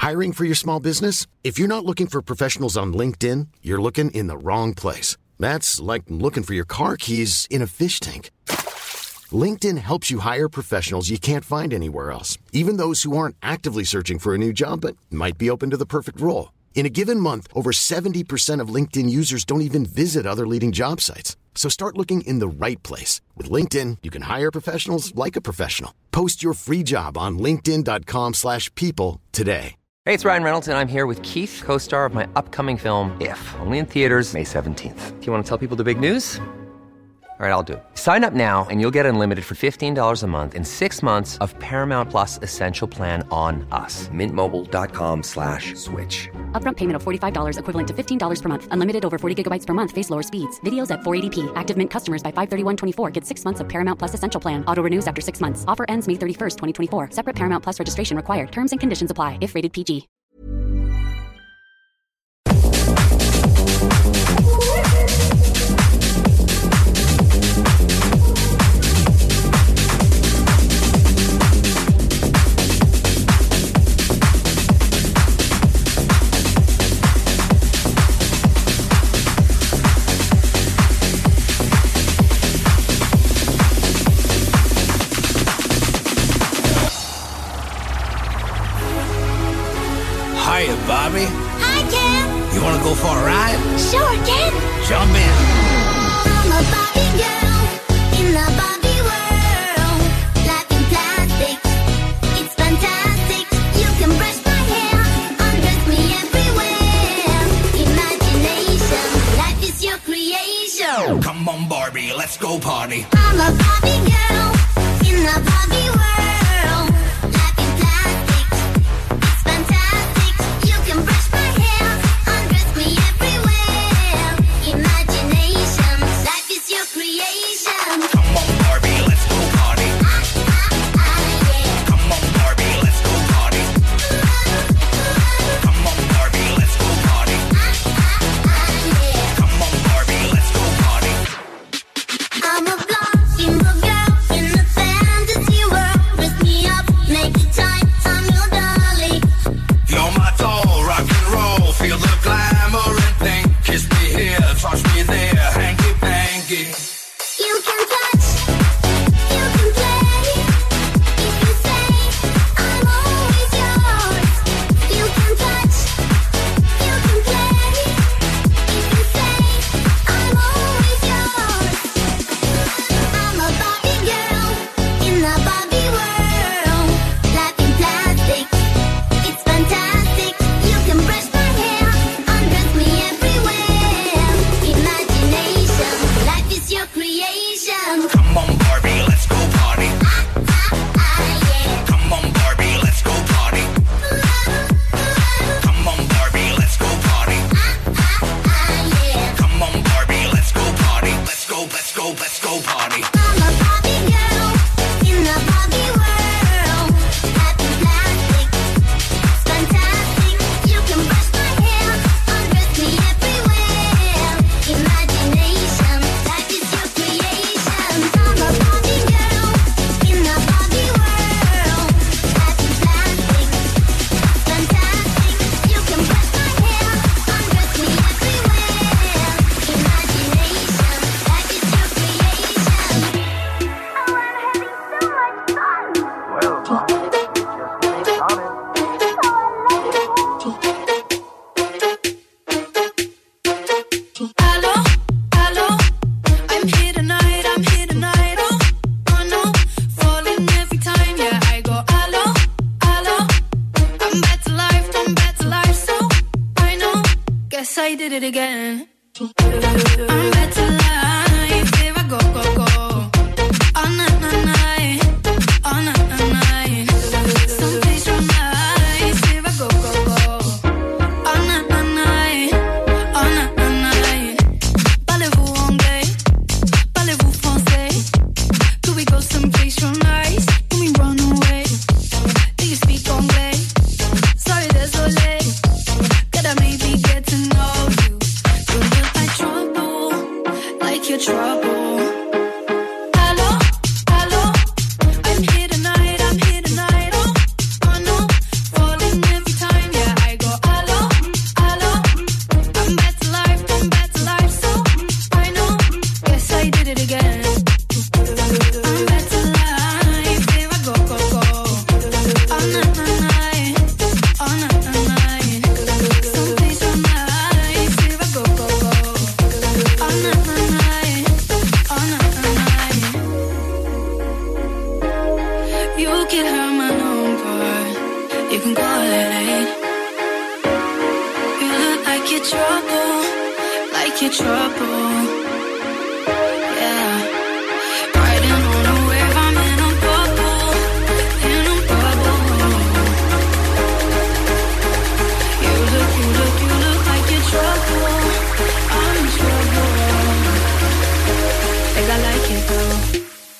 Hiring for your small business? If you're not looking for professionals on LinkedIn, you're looking in the wrong place. That's like looking for your car keys in a fish tank. LinkedIn helps you hire professionals you can't find anywhere else, even those who aren't actively searching for a new job but might be open to the perfect role. In a given month, over 70% of LinkedIn users don't even visit other leading job sites. So start looking in the right place. With LinkedIn, you can hire professionals like a professional. Post your free job on linkedin.com/people today. Hey, it's Ryan Reynolds, and I'm here with Keith, co-star of my upcoming film, If, only in theaters May 17th. Do you want to tell people the big news? All right, I'll do it. Sign up now and you'll get unlimited for $15 a month and 6 months of Paramount Plus Essential Plan on us. MintMobile.com/switch. Upfront payment of $45 equivalent to $15 per month. Unlimited over 40 gigabytes per month. Face lower speeds. Videos at 480p. Active Mint customers by 531.24 get 6 months of Paramount Plus Essential Plan. Auto renews after 6 months. Offer ends May 31st, 2024. Separate Paramount Plus registration required. Terms and conditions apply if rated PG. Hiya, Bobby. Hi, Ken. You want to go for a ride? Sure, Ken. Jump in. I'm a Barbie girl in the Barbie world. Life in plastic, it's fantastic. You can brush my hair, undress me everywhere. Imagination, life is your creation. Come on, Barbie, let's go party. I'm a Barbie girl in the Barbie world. Life in plastic, it's fantastic. You can brush my hair, undress me everywhere. Imagination, life is your creation. Come on, Barbie, let's go party. Yeah. Come on, Barbie, let's go party. Come on, Barbie, let's go party. Yeah. Come on, Barbie, let's go party. I'm a blonde single girl in a fantasy world. Dress me up, make it tight, I'm your dolly. You're my doll, rock and roll. Feel the glamour and thing. Kiss me here, touch me there. Hanky panky. You can touch, you can play. If you say I'm always yours. You can touch, you can play. If you say I'm always yours. I'm a Barbie girl in the Barbie world. Life in plastic, it's fantastic. You can brush my hair, undress me everywhere. Imagination, life is your creation. Come on, Barbie, let's go party. Yeah. Come on, Barbie, let's go party. Come on, Barbie, let's go party. Yeah. Come on, Barbie, let's go party. Let's go, let's go, let's go party. I'm a Barbie girl in the Barbie world. Life in plastic, it's fantastic. You can brush my hair, undress me everywhere. Imagination, life is your creation. I'm a Barbie girl in the Barbie world. Life in plastic, it's fantastic. You can brush my hair, undress me everywhere. Imagination, life is your creation. Oh, I'm having so much fun. Hello, hello, I'm here tonight, oh no, falling every time, yeah, I go hello, hello, I'm back to life, so I know, guess I did it again. I'm back to life, here I go, all night, all night, someplace real nice, here I go, all night, all night. Parlez-vous anglais? Parlez-vous français? Could we go someplace real nice? Can we run away? Do you speak anglais? Sorry, désolé. Could I maybe get to know you? You look like trouble, like your trouble. Yeah. Riding on a wave, I'm in a bubble. In a bubble. You look like you're trouble. I'm in trouble. Think I like it though.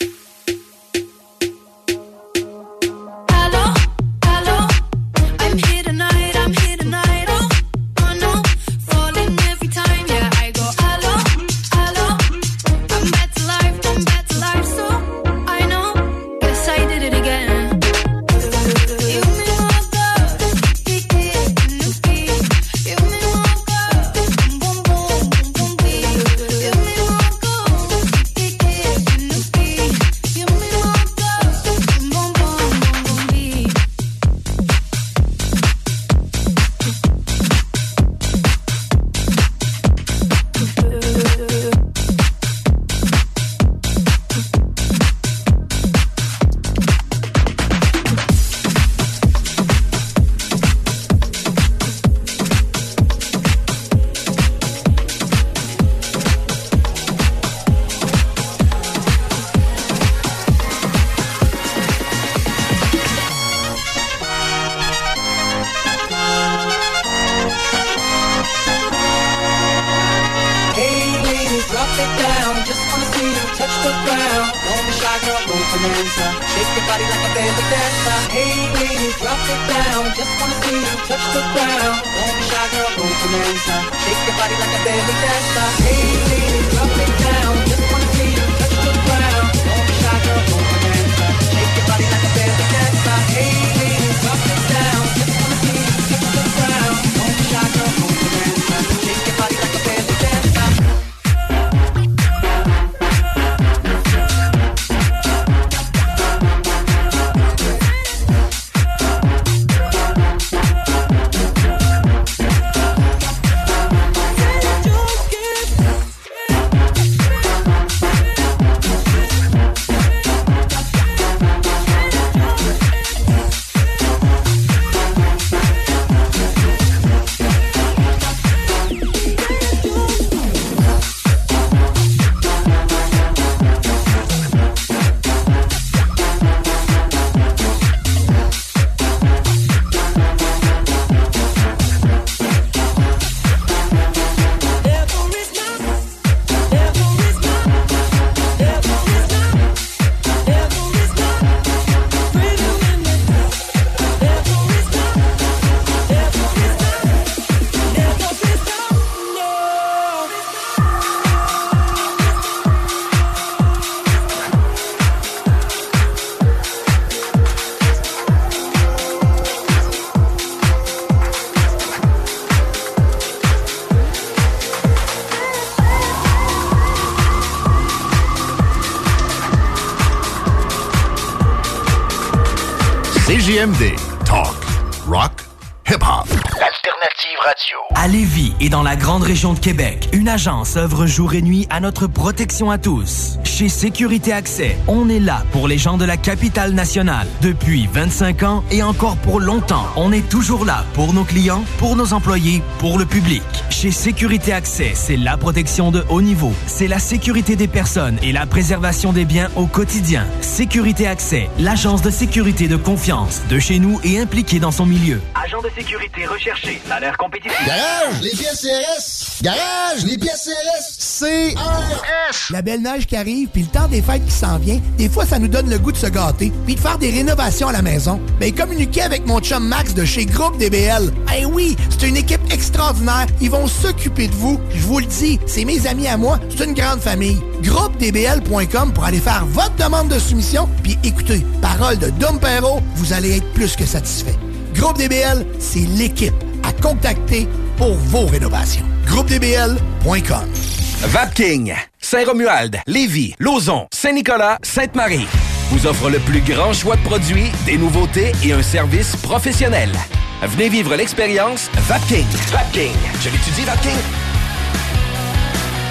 CJMD. Talk. Rock. Hip-hop. Alternative radio. À Lévis et dans la grande région de Québec, une agence œuvre jour et nuit à notre protection à tous. Chez Sécurité Accès, on est là pour les gens de la capitale nationale. Depuis 25 ans et encore pour longtemps, on est toujours là pour nos clients, pour nos employés, pour le public. Chez Sécurité Accès, c'est la protection de haut niveau. C'est la sécurité des personnes et la préservation des biens au quotidien. Sécurité Accès, l'agence de sécurité de confiance de chez nous et impliquée dans son milieu. Agent de sécurité recherché, salaire compétitif. Garage, les pièces CRS. Garage, les pièces CRS. CRS. La belle neige qui arrive, puis le temps des fêtes qui s'en vient, des fois, ça nous donne le goût de se gâter, puis de faire des rénovations à la maison. Ben, communiquez avec mon chum Max de chez Groupe DBL. Eh oui, c'est une équipe extraordinaire. Ils vont s'occuper de vous. Je vous le dis, c'est mes amis à moi. C'est une grande famille. GroupeDBL.com pour aller faire votre demande de soumission. Puis écoutez, parole de Dom Perrault, vous allez être plus que satisfait. Groupe DBL, c'est l'équipe à contacter pour vos rénovations. GroupeDBL.com. Vapking, Saint-Romuald, Lévis, Lauson, Saint-Nicolas, Sainte-Marie vous offre le plus grand choix de produits, des nouveautés et un service professionnel. Venez vivre l'expérience Vapking. Vapking, je l'étudie Vapking.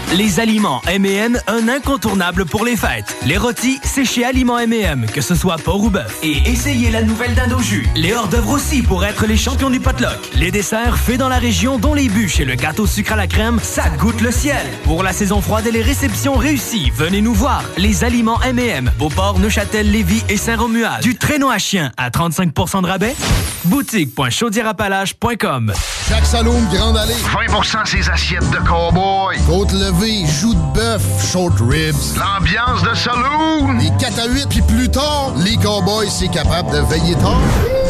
Les aliments M&M, un incontournable pour les fêtes. Les rôtis, c'est chez Aliments M&M, que ce soit porc ou bœuf. Et essayez la nouvelle dinde au jus. Les hors-d'œuvre aussi pour être les champions du potluck. Les desserts faits dans la région, dont les bûches et le gâteau sucre à la crème, ça goûte le ciel. Pour la saison froide et les réceptions réussies, venez nous voir. Les aliments M&M, Beauport, Neuchâtel, Lévis et Saint-Romuald. Du traîneau à chien à 35% de rabais. Boutique.chaudierapalache.com. Jacques Saloum, Grande Allée. 20% ses assiettes de cow-boy. Côte levée, joues de bœuf, short ribs. L'ambiance de saloon. Les 4 à 8, puis plus tard, les cowboys, c'est capable de veiller tard.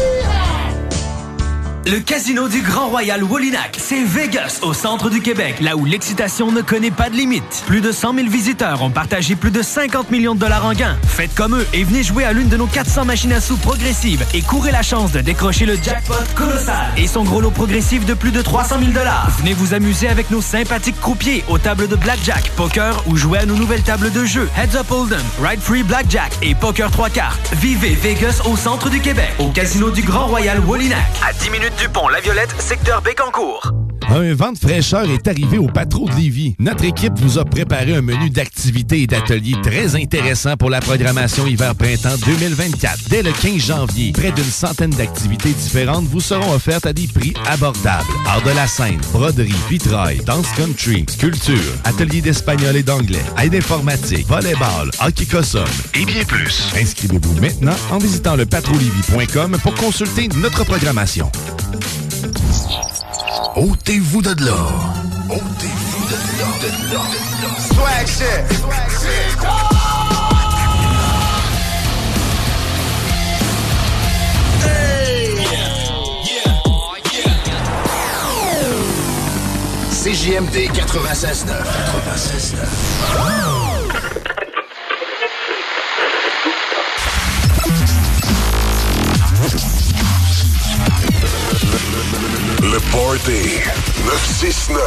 Le casino du Grand Royal Wallinac, c'est Vegas, au centre du Québec, là où l'excitation ne connaît pas de limite. Plus de 100 000 visiteurs ont partagé plus de 50 millions de dollars en gains. Faites comme eux et venez jouer à l'une de nos 400 machines à sous progressives et courez la chance de décrocher le jackpot colossal et son gros lot progressif de plus de 300 000 dollars. Venez vous amuser avec nos sympathiques croupiers aux tables de blackjack, poker ou jouer à nos nouvelles tables de jeu Heads Up Hold'em, Ride Free Blackjack et Poker 3 cartes. Vivez Vegas au centre du Québec, au casino du Grand Royal Wallinac. À 10 minutes du pont La Violette, secteur Bécancour. Un vent de fraîcheur est arrivé au Patro de Lévis. Notre équipe vous a préparé un menu d'activités et d'ateliers très intéressant pour la programmation hiver-printemps 2024. Dès le 15 janvier, près d'une centaine d'activités différentes vous seront offertes à des prix abordables. Art de la scène, broderie, vitrail, danse country, sculpture, ateliers d'espagnol et d'anglais, aide informatique, volleyball, hockey cossum et bien plus. Inscrivez-vous maintenant en visitant le patrolevie.com pour consulter notre programmation. Ôtez-vous de là. Ôtez-vous de là. Swag shit. CJMD 96.9. Le Party 969.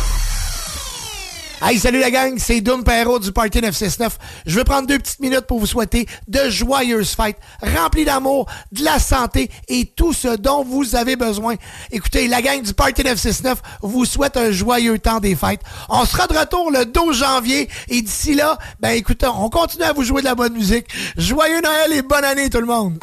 Hey, salut la gang, c'est Doom Perrault du Party 969. Je vais prendre 2 petites minutes pour vous souhaiter de joyeuses fêtes, remplies d'amour, de la santé et tout ce dont vous avez besoin. Écoutez, la gang du Party 969 vous souhaite un joyeux temps des fêtes. On sera de retour le 12 janvier et d'ici là, ben écoutez, on continue à vous jouer de la bonne musique. Joyeux Noël et bonne année tout le monde!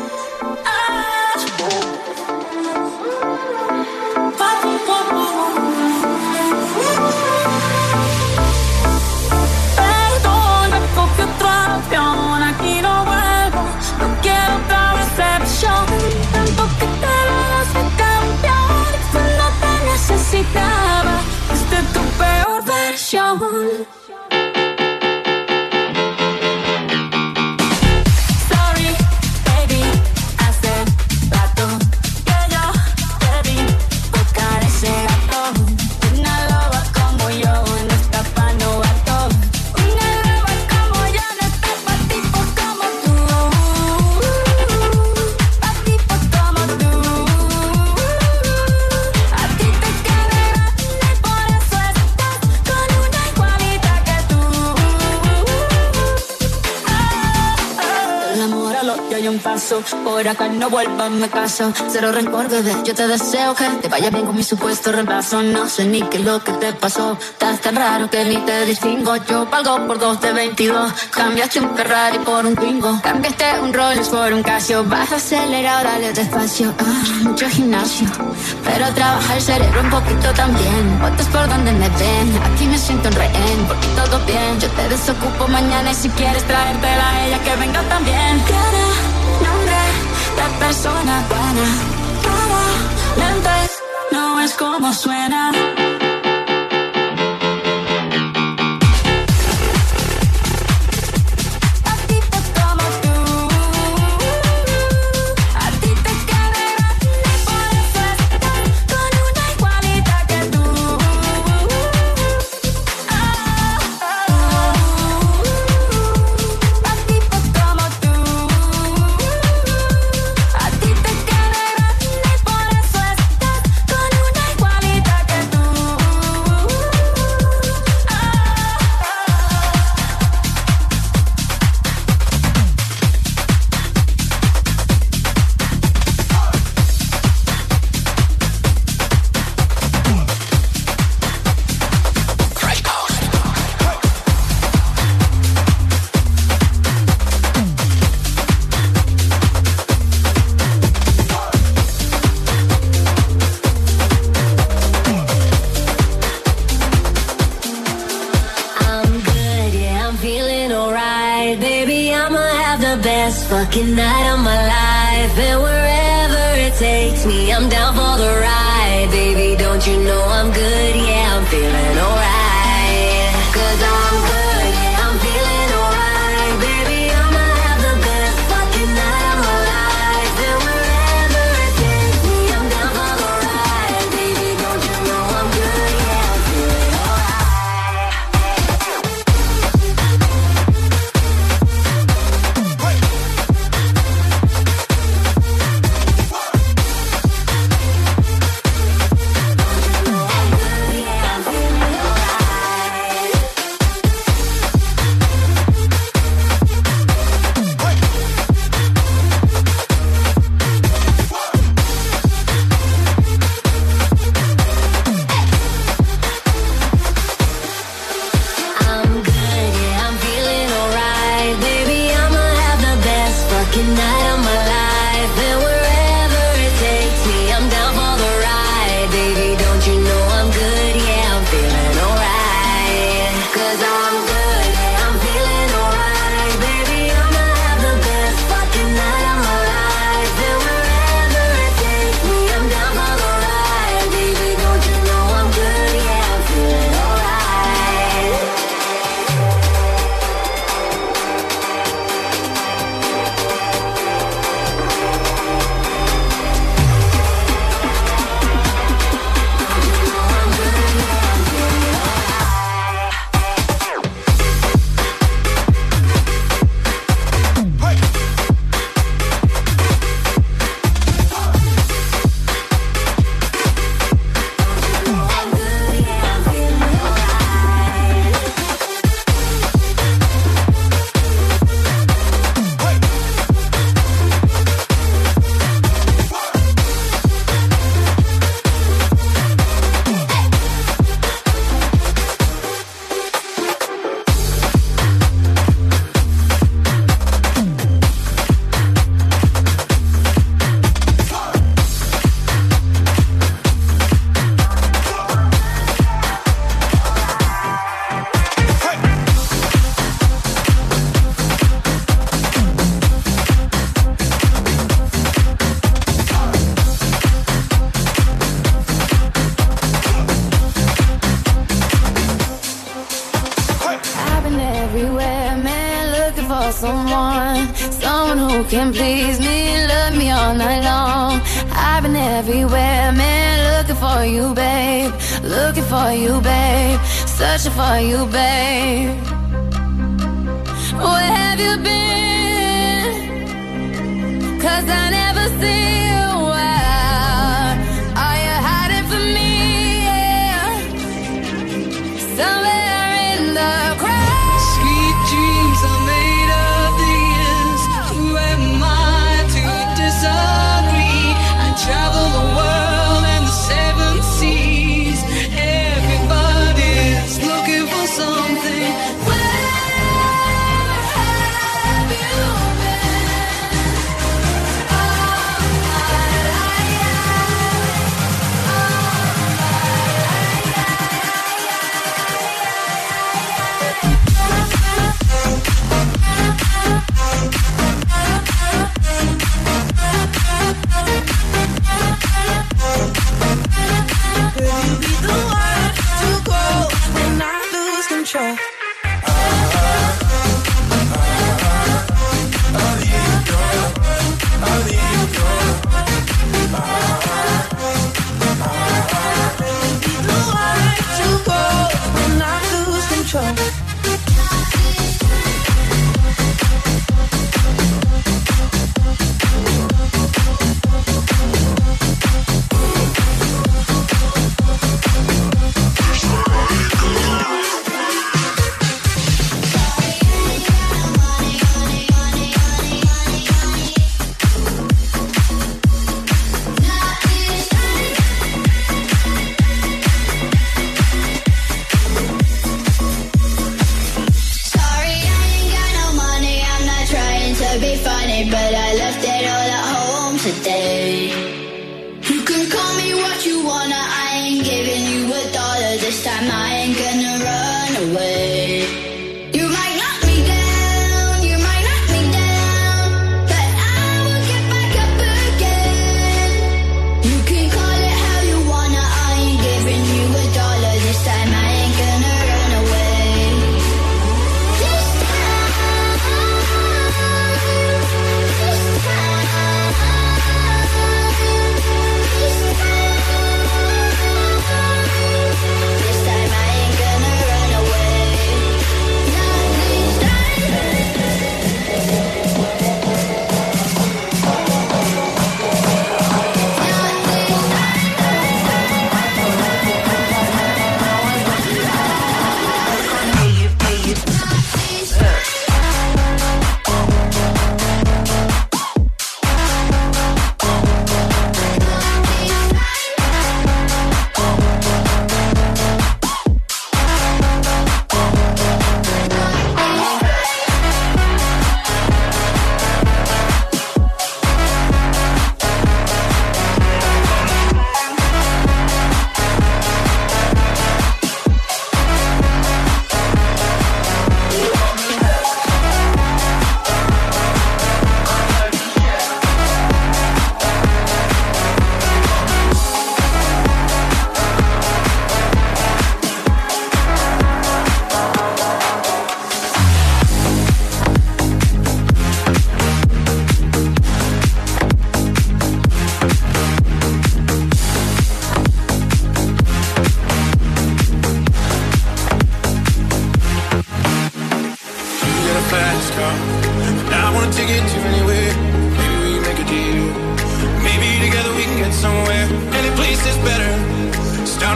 Aquí no vuelvo, no quiero otra recepción. Tanto que te das de campeón. Cuando te necesitaba, fuiste tu peor versión. Paso, por acá no vuelvas, me caso. Cero rencor, bebé, yo te deseo que te vaya bien con mi supuesto reemplazo. No sé ni qué es lo que te pasó. Estás tan raro que ni te distingo. Yo valgo por 2 de 22. Cambiaste un Ferrari por un Twingo. Cambiaste un Rolls por un Casio. Vas acelerado, dale despacio. Mucho gimnasio, pero trabaja el cerebro un poquito también. Botas por donde me ven, aquí me siento en rehén. Porque todo bien, yo te desocupo mañana. Y si quieres traértela a ella, que venga también. Nombre de persona buena, lentes, no es como suena. Que best fucking night of my life. And wherever it takes me, I'm down for the ride. Baby, don't you know I'm good? Yeah, I'm feeling alright. 'Cause I'm good, yeah, I'm feeling alright. Baby, I'ma have the best fucking night of my life. And wherever it takes me, I'm down for the ride. Baby, don't you know I'm good? Yeah, I'm feeling alright. Night of my life, and wherever it takes me, I'm down for the ride. Baby, don't you know I'm good? Yeah, I'm feeling alright. 'Cause I'm good, yeah, I'm feeling alright. Baby, I'ma have the best fucking night of my life. And wherever it takes me, I'm down for the ride. Baby, don't you know I'm good? Yeah, I'm feeling alright. Someone who can please me, love me all night long. I've been everywhere, man, looking for you, babe. Looking for you, babe. Searching for you, babe. Where have you been? 'Cause I never see you. Where are you hiding from me? Yeah. Somewhere in the crowd. Sweet dreams are made of these. Who am I to disagree? I travel the world and the seven seas. Everybody's looking for something. Where have you been? Oh,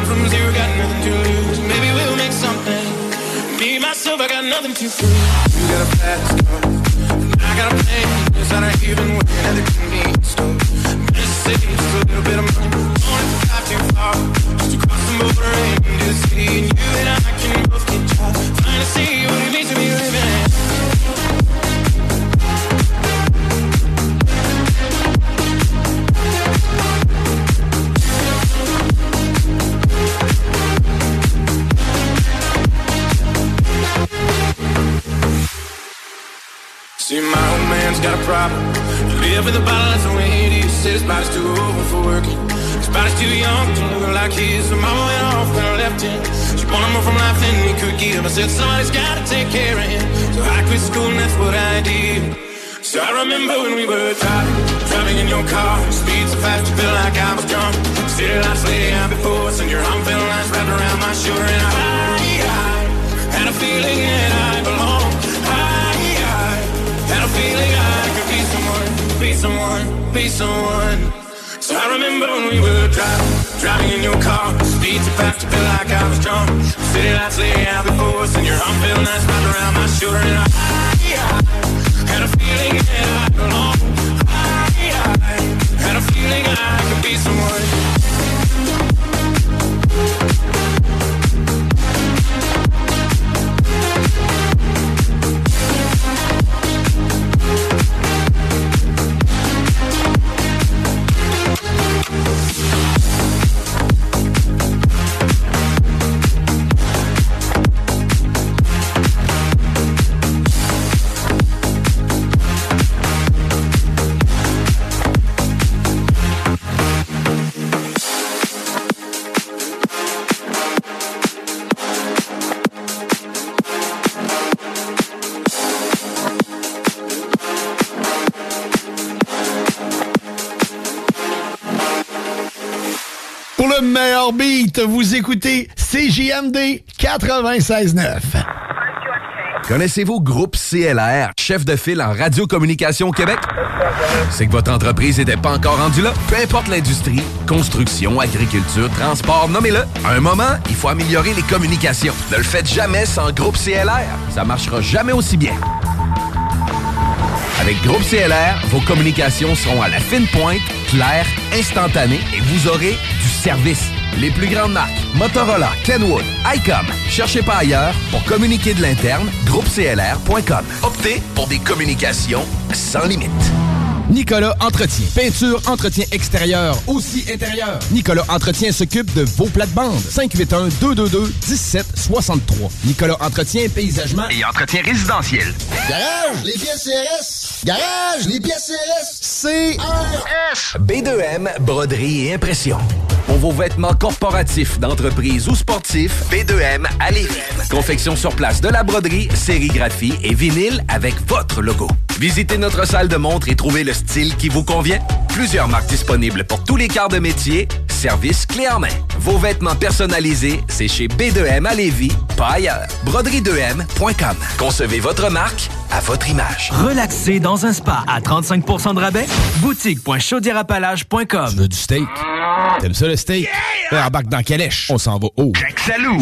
starting from zero, got nothing to lose. Maybe we'll make something. Me, myself, I got nothing to prove. You got a fast car, and I got a plan. It's not even working at the convenience store. Just save just a little bit of money. Don't have to drive too far, just to cross the border and into the city. And you and I can both get jobs. Trying to see what it means to be living. See, my old man's got a problem. He live with a bottle, that's the way it is. Said his body's too old for working. His body's too young to look like his. So mama went off and I left him. She wanted more from life than he could give. I said, somebody's gotta take care of him. So I quit school and that's what I did. So I remember when we were driving in your car. Speed so fast you felt like I was drunk. City lights lay out before us and your arm felt nice wrapped around my shoulder. And I had a feeling that I belonged. Had a feeling I could be someone, be someone, be someone. So I remember when we were driving in your car. Speed so fast you felt like I was drunk. City lights lay out before us and your arm felt nice wrapped around my shoulder. And I had a feeling that I belonged. I had a feeling I could be someone. Le meilleur beat, vous écoutez CJMD 96.9. Connaissez-vous Groupe CLR, chef de file en radiocommunication au Québec? C'est que votre entreprise n'était pas encore rendue là? Peu importe l'industrie, construction, agriculture, transport, nommez-le. À un moment, il faut améliorer les communications. Ne le faites jamais sans Groupe CLR. Ça marchera jamais aussi bien. Avec Groupe CLR, vos communications seront à la fine pointe, claires, instantanées et vous aurez du service. Les plus grandes marques, Motorola, Kenwood, ICOM. Cherchez pas ailleurs pour communiquer de l'interne, groupeclr.com. Optez pour des communications sans limite. Nicolas Entretien. Peinture, entretien extérieur, aussi intérieur. Nicolas Entretien s'occupe de vos plates-bandes. 581-222-1763. Nicolas Entretien, paysagement et entretien résidentiel. Garage, les pièces CRS. Garage, les pièces CRS. CRS. B2M, broderie et impression. Pour vos vêtements corporatifs, d'entreprise ou sportifs, B2M à Lévis. Confection sur place de la broderie, sérigraphie et vinyle avec votre logo. Visitez notre salle de montre et trouvez le style qui vous convient. Plusieurs marques disponibles pour tous les quarts de métier. Service clé en main. Vos vêtements personnalisés, c'est chez B2M à Lévis, pas ailleurs. Broderie2M.com. Concevez votre marque à votre image. Relaxer dans un spa à 35% de rabais. Boutique.chaudierapalage.com. Tu veux du steak? T'aimes ça le steak? Yeah! Embarque dans Calèche. On s'en va haut. Jack Salou.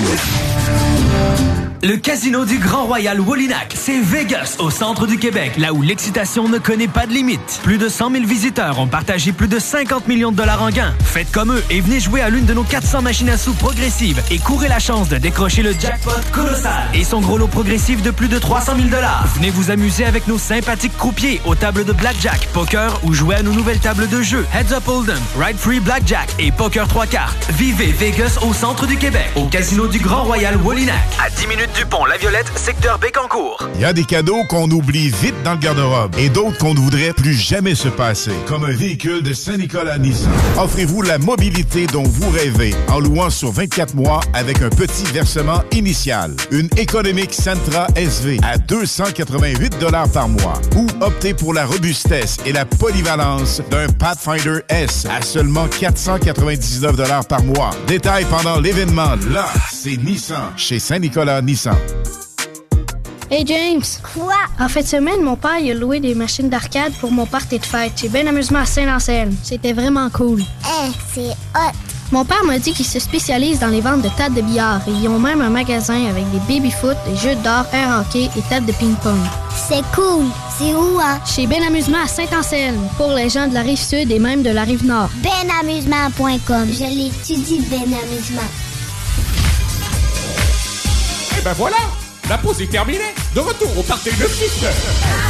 Le Casino du Grand Royal Wallinac, c'est Vegas, au centre du Québec, là où l'excitation ne connaît pas de limite. Plus de 100 000 visiteurs ont partagé plus de 50 millions de dollars en gains. Faites comme eux et venez jouer à l'une de nos 400 machines à sous progressives et courez la chance de décrocher le jackpot colossal et son gros lot progressif de plus de 300 000 dollars. Venez vous amuser avec nos sympathiques croupiers aux tables de blackjack, poker ou jouer à nos nouvelles tables de jeu Heads Up Hold'em, Ride Free Blackjack et Poker 3 cartes. Vivez Vegas au centre du Québec, au Casino du Grand Royal Wallinac. À 10 minutes du pont La Violette, secteur Bécancour. Il y a des cadeaux qu'on oublie vite dans le garde-robe et d'autres qu'on ne voudrait plus jamais se passer, comme un véhicule de Saint-Nicolas Nissan. Offrez-vous la mobilité dont vous rêvez en louant sur 24 mois avec un petit versement initial. Une économique Sentra SV à 288 $ par mois ou optez pour la robustesse et la polyvalence d'un Pathfinder S à seulement 499 $ par mois. Détail pendant l'événement. Là, c'est Nissan chez Saint-Nicolas Nissan. Hey James! Quoi? En fin de semaine, mon père il a loué des machines d'arcade pour mon party de fête. J'ai bien amusement à Saint-Anselme. C'était vraiment cool. C'est hot! Mon père m'a dit qu'ils se spécialisent dans les ventes de tables de billard et ils ont même un magasin avec des baby-foot, des jeux d'or, air hockey et tables de ping-pong. C'est cool. C'est où, hein? Chez Ben Amusement à Saint-Anselme, pour les gens de la Rive-Sud et même de la Rive-Nord. Benamusement.com. Je l'étudie, Ben Amusement. Et ben voilà, la pause est terminée. De retour au party de 6 heures.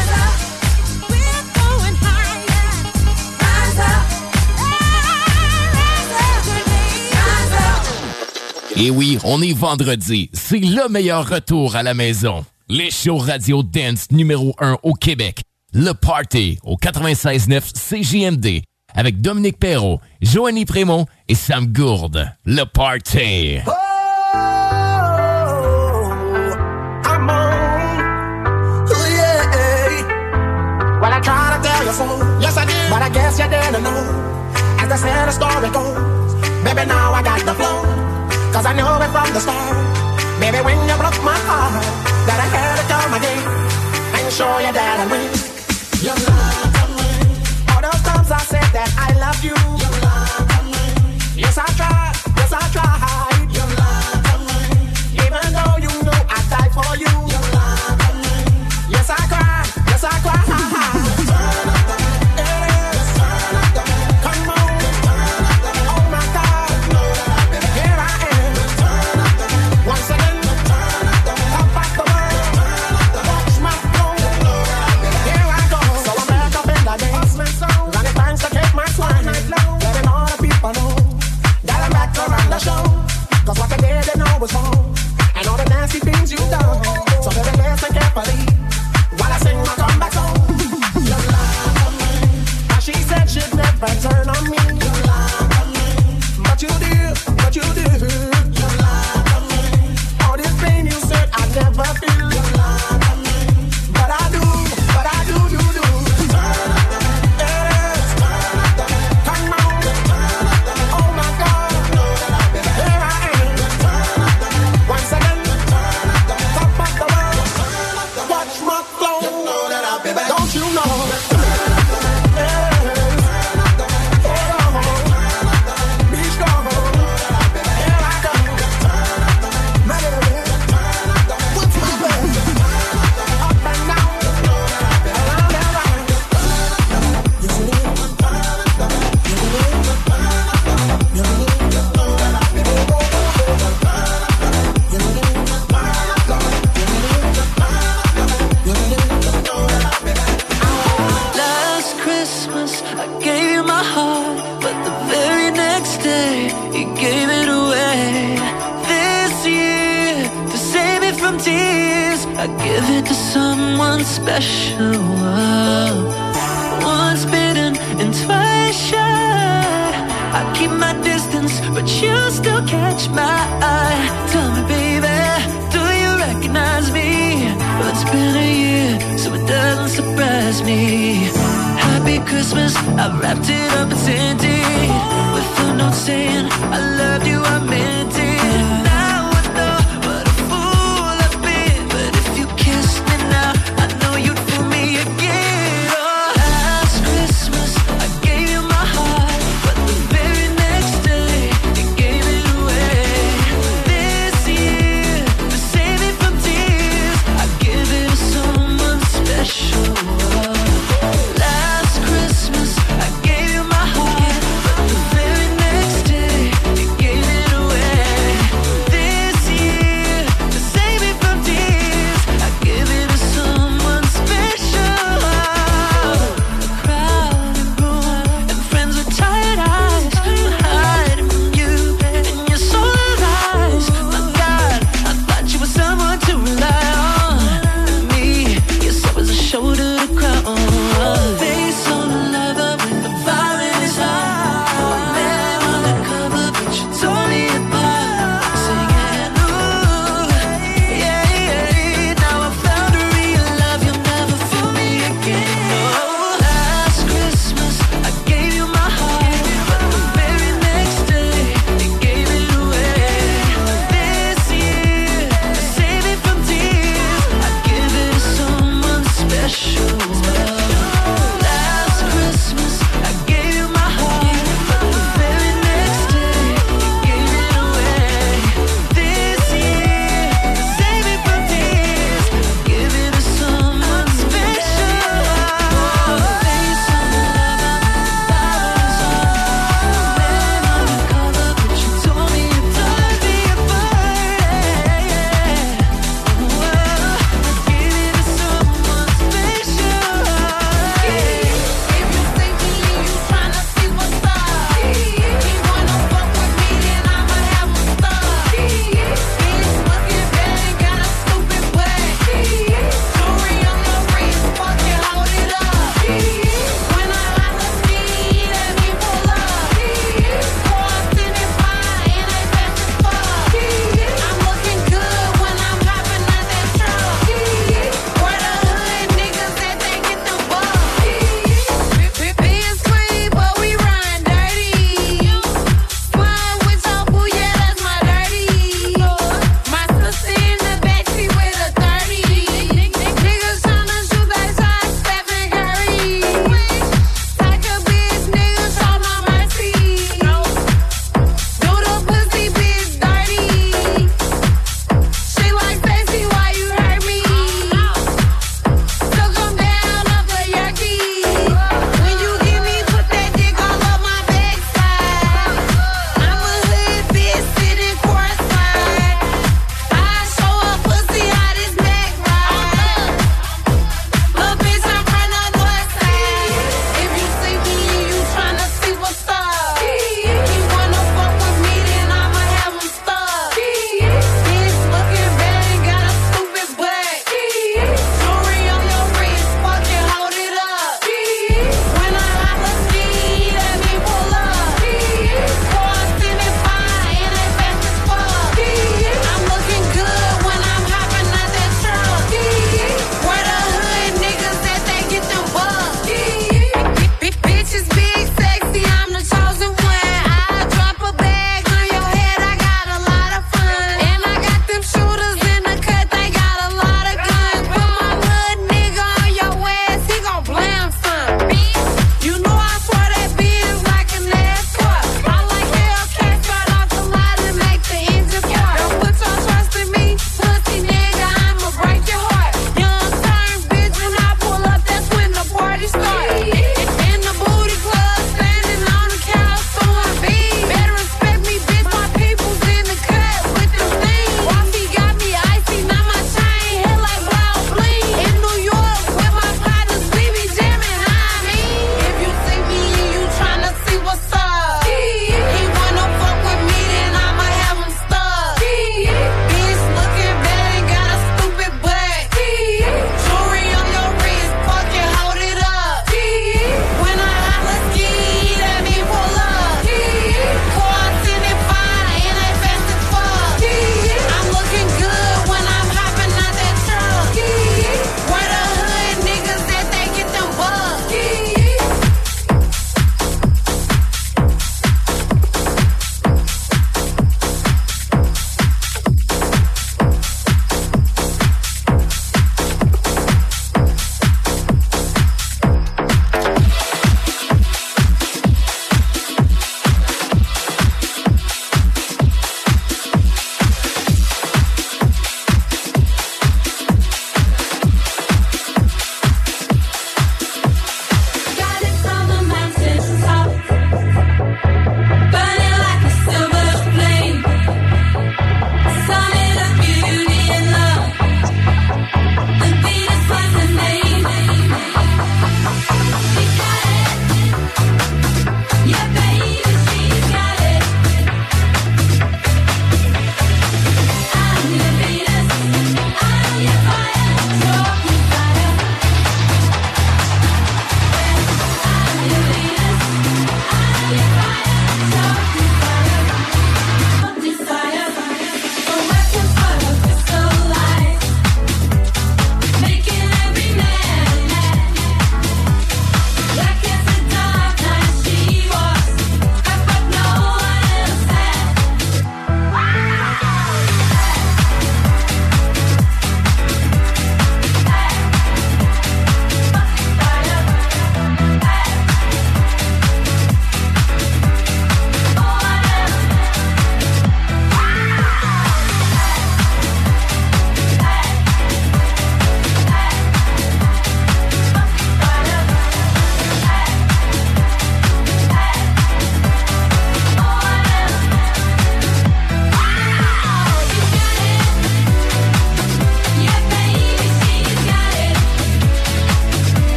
Et oui, on est vendredi. C'est le meilleur retour à la maison. Les shows radio dance numéro 1 au Québec. Le Party au 96.9 CJMD avec Dominique Perrault, Joanie Prémont et Sam Gourde. Le Party. Oh, I'm on. Oh, yeah. Well, I tried to tell you so. Yes, I did. But I guess you didn't know. As the sad story goes, baby, now I got the flow. Cause I know it from the start. Baby, when you broke my heart, that I had to come again and show you that I win. You love me. All those times I said that I love you. You love me. Yes, I tried. Yes, I tried. You love me. Even though you know I died for you. You love me. Yes, I cried. Yes, I cried. Cause what I did, they know was wrong. And all the nasty things you've done. So baby, listen carefully while I sing my comeback song. You love me. Now she said she'd never turn on me. You love me. But you did, but you did. You love me. All this pain you said I'd never feel. You love me. But I do, you do. Give it to someone special. Once bitten and twice shy. I keep my distance, but you still catch my eye. Tell me, baby, do you recognize me? Well, it's been a year, so it doesn't surprise me. Happy Christmas, I wrapped it up in Sandy with a note saying I loved you, I meant it. Gave you my heart, but the very next day you gave it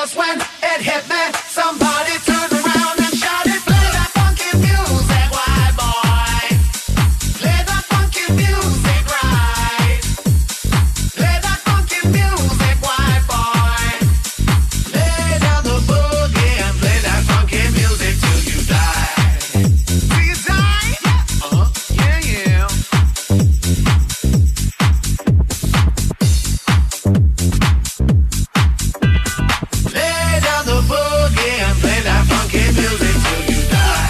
'cause when it hit me, somebody turned around and shouted, play that funky music, white boy. Play that funky music right. Play that funky music, white boy. Lay down the boogie and play that funky music till you die. Till you die? Yeah, yeah. Lay down the boogie and play that funky music till you die.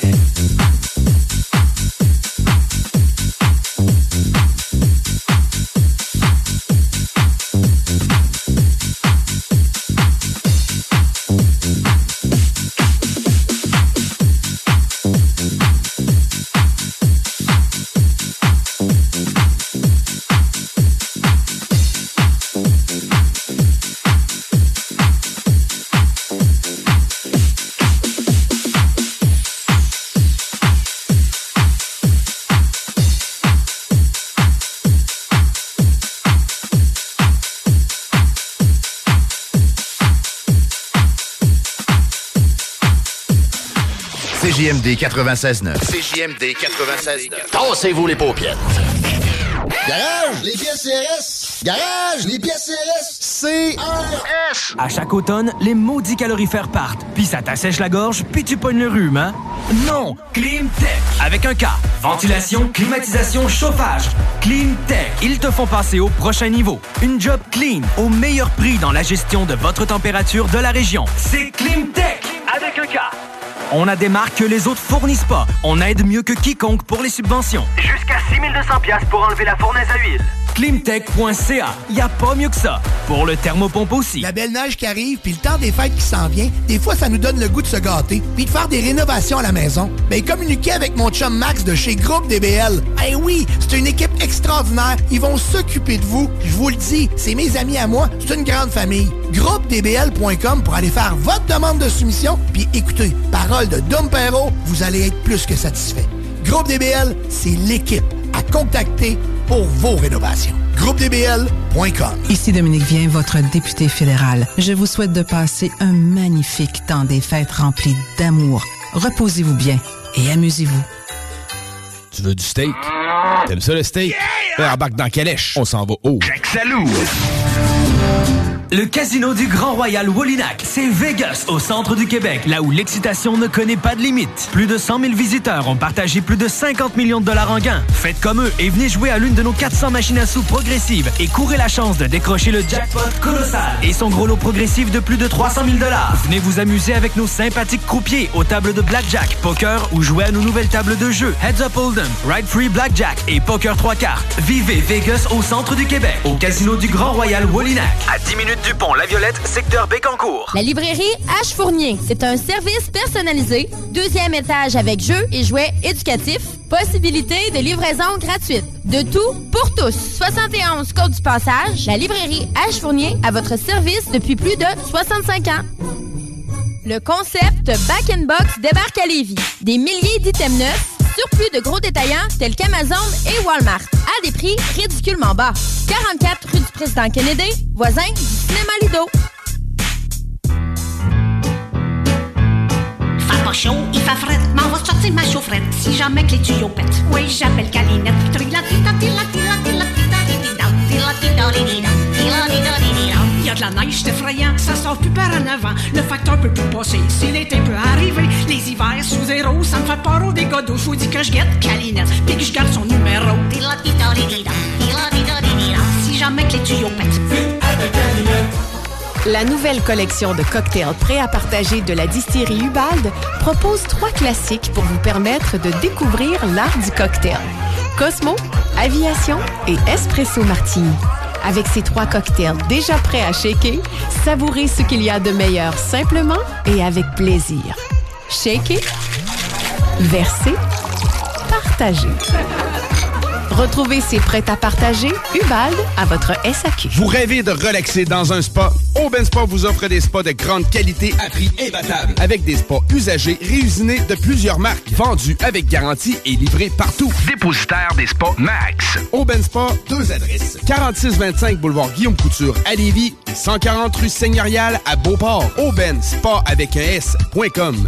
CJMD 96.9. CJMD 96.9. Tassez-vous les paupières. Garage, les pièces CRS. Garage, les pièces CRS. CRS. À chaque automne, les maudits calorifères partent. Puis ça t'assèche la gorge, puis tu pognes le rhume, hein? Non! Climtech. Avec un K. Ventilation, climatisation, chauffage. Climtech. Ils te font passer au prochain niveau. Une job clean, au meilleur prix dans la gestion de votre température de la région. C'est Climtech. Avec un K. On a des marques que les autres fournissent pas. On aide mieux que quiconque pour les subventions. Jusqu'à 6 200$ pour enlever la fournaise à huile. Climtech.ca. Y a pas mieux que ça. Pour le thermopompe aussi. La belle neige qui arrive, puis le temps des fêtes qui s'en vient, des fois, ça nous donne le goût de se gâter, puis de faire des rénovations à la maison. Ben, communiquez avec mon chum Max de chez Groupe DBL. Eh oui, c'est une équipe extraordinaire. Ils vont s'occuper de vous. Je vous le dis, c'est mes amis à moi. C'est une grande famille. GroupeDBL.com pour aller faire votre demande de soumission. Puis écoutez, parole de Dom Perrault, vous allez être plus que satisfait. Groupe DBL, c'est l'équipe à contacter pour vos rénovations. GroupeDBL.com. Ici Dominique Vien, votre député fédéral. Je vous souhaite de passer un magnifique temps des fêtes rempli d'amour. Reposez-vous bien et amusez-vous. Tu veux du steak? T'aimes ça le steak? Yeah! Embarque dans Calèche. On s'en va haut. Jack Salou. Le casino du Grand Royal Wallinac, c'est Vegas, au centre du Québec, là où l'excitation ne connaît pas de limite. Plus de 100 000 visiteurs ont partagé plus de 50 millions de dollars en gains. Faites comme eux et venez jouer à l'une de nos 400 machines à sous progressives et courez la chance de décrocher le jackpot colossal et son gros lot progressif de plus de 300 000 dollars. Venez vous amuser avec nos sympathiques croupiers aux tables de blackjack, poker ou jouer à nos nouvelles tables de jeu Heads Up Hold'em, Ride Free Blackjack et Poker 3 cartes. Vivez Vegas au centre du Québec, au casino du Grand Royal Wallinac. À 10 minutes du pont La Violette, secteur Bécancour. La librairie H. Fournier, c'est un service personnalisé, 2e étage avec jeux et jouets éducatifs, possibilité de livraison gratuite. De tout pour tous. 71 Côte du Passage, la librairie H. Fournier à votre service depuis plus de 65 ans. Le concept Back in Box débarque à Lévis. Des milliers d'items neufs, surplus de gros détaillants tels qu'Amazon et Walmart, à des prix ridiculement bas. 44 rue du Président Kennedy, voisin du cinéma Lido. Il fait pas chaud, il fait fret, m'en va sortir ma chaufferette si jamais que les tuyaux pètent. Oui, j'appelle Calinette. Il y a de la neige, c'est effrayant, ça sort plus par en avant. Le facteur peut plus passer, si l'été peut arriver. Les hivers sous zéro, ça me fait peur au dégâts d'eau. Je vous dis que je guette Calinette, puis que je garde son numéro. Si jamais que les tuyaux pètent. La nouvelle collection de cocktails prêts à partager de la distillerie Ubald propose 3 classiques pour vous permettre de découvrir l'art du cocktail. Cosmo, Aviation et Espresso Martini. Avec ces 3 cocktails déjà prêts à shaker, savourez ce qu'il y a de meilleur simplement et avec plaisir. Shaker, verser, partager. Retrouvez ces prêts à partager Ubalde à votre SAQ. Vous rêvez de relaxer dans un spa? Aubin Spa vous offre des spas de grande qualité à prix imbattable. Avec des spas usagés réusinés de plusieurs marques, vendus avec garantie et livrés partout. Dépositaire des spas Max. Aubin Spa, 2 adresses. 4625 boulevard Guillaume Couture à Lévis et 140 rue Seigneurial à Beauport. Aubin Spa avec un S.com.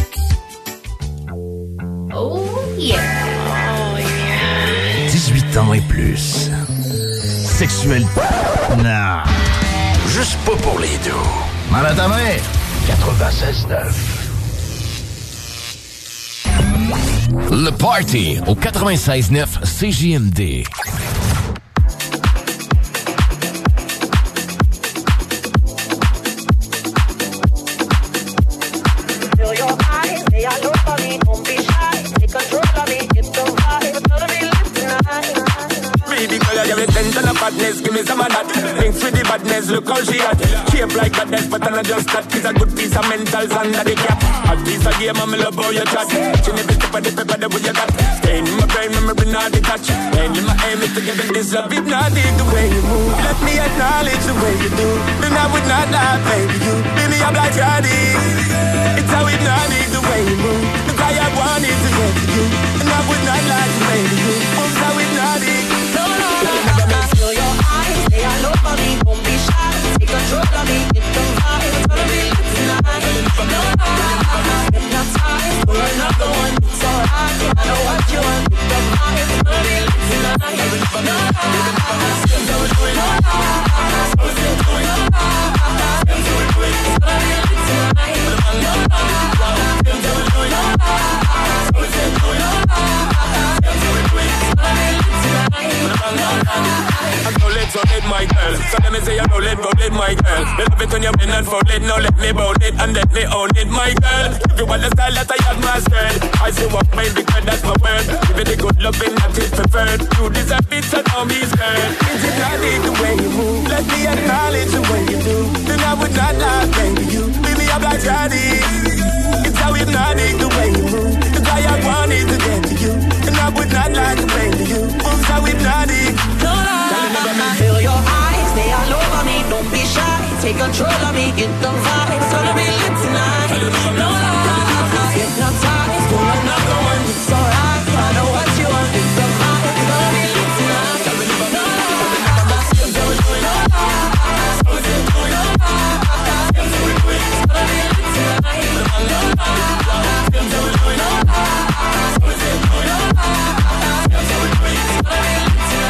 Oh yeah! 18 ans et plus. Sexuel. Non. Juste pas pour les deux. Mal à ta mère. 96.9. Le Party au 96.9 CJMD. Badness, give me some of that. Thanks for the badness, look how she at. Shape like badness, but I'm not just that. It's a good piece of mentals under the cap. A piece of game, I'm love how you chat. She never step on the paper, the way you got. Staying in my brain, memory not detached. And in my aim is to give it this love. If not, dig the way you move. Let me acknowledge the way you do. Then I would not lie, baby, you. Baby, I'm like Johnny. It's how it not dig the way you move. The guy I wanted to get to you. And I would not lie to baby, you. It's how it not dig. No, no, no, no. Feel your eyes, they all over me. Don't be shy, take control of me. Get the vibe, it's gonna be lit tonight. No, no, I'm hypnotized. We're another one, it's alright. I know what you want. Get the vibe, it's gonna be lit tonight. No, no, I'm still doing it. I'm still doing it. It's gonna be lit tonight. No, no, I'm still doing it. I'm still doing it. So let my girl. So let me say you roll it, my girl. You love it when you bend and fold it. Now let me bout it and let me own it, my girl. If you want the style that I have mastered, I say what my big girl, that's my word. Give it the good loving that is preferred. You deserve it, so now me scared. Is it not the way you move? Let me acknowledge the way you do. Then I would not lie, baby, you. Baby, I'm like Johnny. It's how hypnotic the way you move. The guy I wanted to get to you. And I would not lie to baby, you. It's how hypnotic. No, no, feel your eyes, they all over me. Don't be shy, take control of me. Get the vibe, it's gonna be lit tonight. No, I'm hypnotized. Pull another one, it's alright. I know what you want. Get the vibe, it's gonna be lit tonight. No, I'm still doing it. I'm still doing it. It's gonna be lit tonight. No, I'm still doing it. I'm still doing it. It's gonna be lit tonight.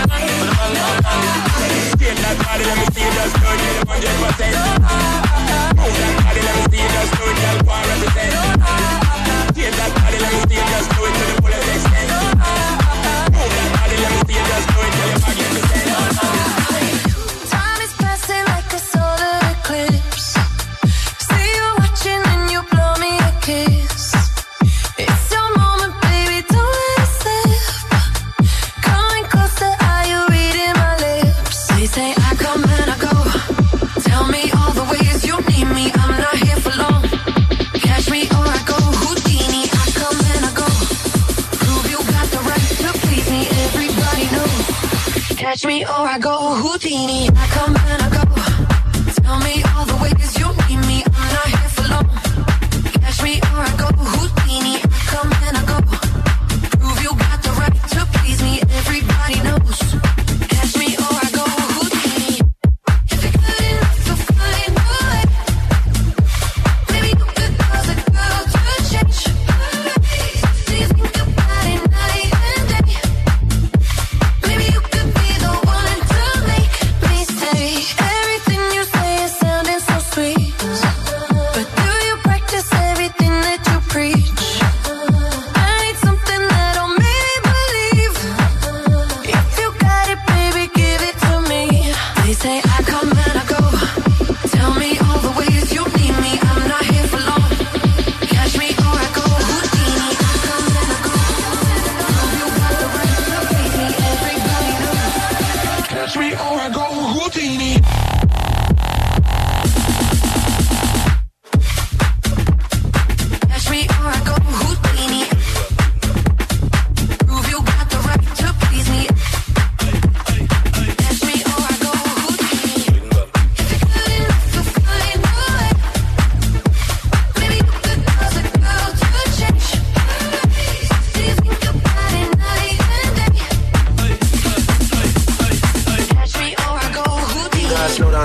Take that body, let me see you just do it, 100%. Move that body, let me see you just do it, girl, 100%. Take that body, let me see you just do it to the fullest extent. Move that body, let me see you just do it, girl, you're magnificent. Time is passing like a solar eclipse. See you watching and you blow me a kiss. It's your moment, baby, don't let it slip. Coming closer, are you reading my lips? They say I come and I go. Tell me all the ways you need me. I'm not here for long. Catch me or I go Houdini. I come and I go. Prove you got the right to please me. Everybody knows. Catch me or I go Houdini. I come and I go. Tell me all the ways you need me. I'm not here for long. Catch me or I go Houdini. I come and I go. Prove you got the right to please me. Everybody knows. Catch me or I go Houdini. If you're good enough to find a way, maybe you could cause a girl to change. Do you think about it night and day? Maybe you could be the one to make me stay. Everything you say is sounding so sweet, but do you practice everything that you preach? I need something that'll make me believe. If you got it, baby, give it to me. They say I come and I go. Tell me all the ways you need me. I'm not here for long. Catch me or I go Houdini. I come and I go. You got the right to please me. Everybody knows. Catch me or I go Houdini. Catch me or I go Houdini. Prove you got the right to please me.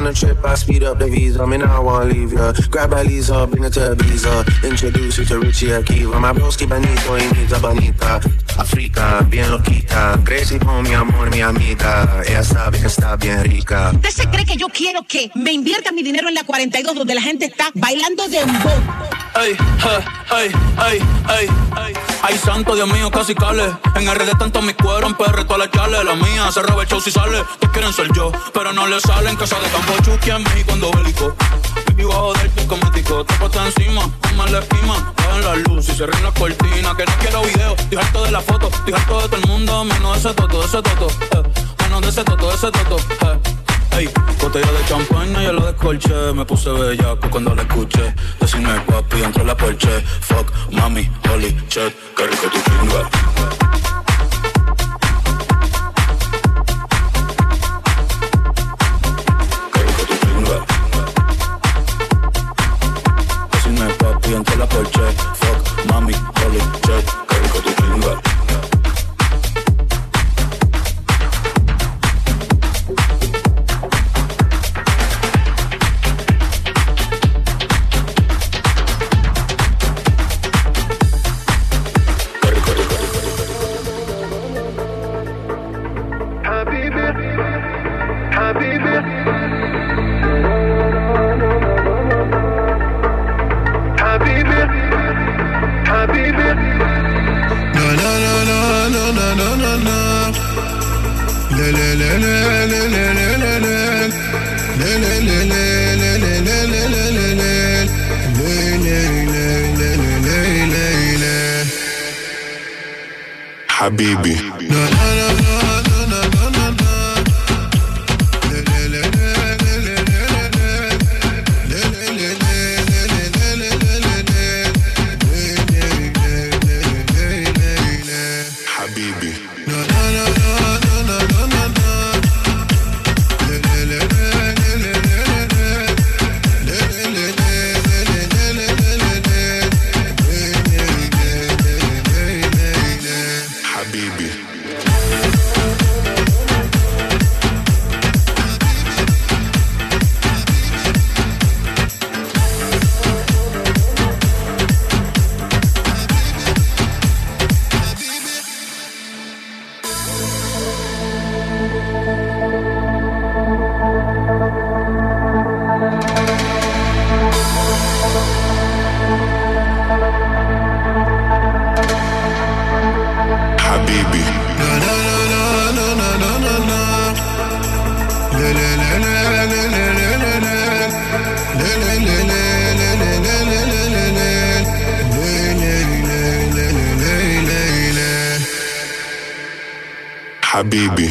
a trip, I speed up the visa. Me now I wanna leave ya. Grab my Lisa, bring her to Ibiza. Introduce you to Richie Akiva. My broski Benito, he needs a bonita. Africa, bien loquita. Crazy con mi amor, mi amiga. Ella sabe que está bien rica. ¿Usted se cree que yo quiero que me invierta mi dinero en la 42 donde la gente está bailando dembow? Ay, ay, ay, ay, ay. Ay, santo, Dios mío, casi cale. En RD tanto mi cuero, en PR toda la chale. La mía se roba el show si sale. Todos quieren ser yo, pero no le salen. Casa de campo, Chucky en México cuando bélico. Vivo a joder tu cosmético. Te puesto encima, toma la esquima. Bajan la luz y se ríen las cortinas. Que no quiero video, estoy harto de la foto. Estoy harto de todo el mundo, menos de ese toto, ese toto. Menos de ese toto, ese toto. Ey, botella de champaña, ya lo descolché. Me puse bellaco cuando la escuché. Decime papi, entró la Porsche. Fuck, mami, holy shit, qué rico tu pinga. Qué rico tu pinga. Decime papi, entró la Porsche. Fuck, mami, holy shit, qué rico tu pinga. Habibi. Habibi.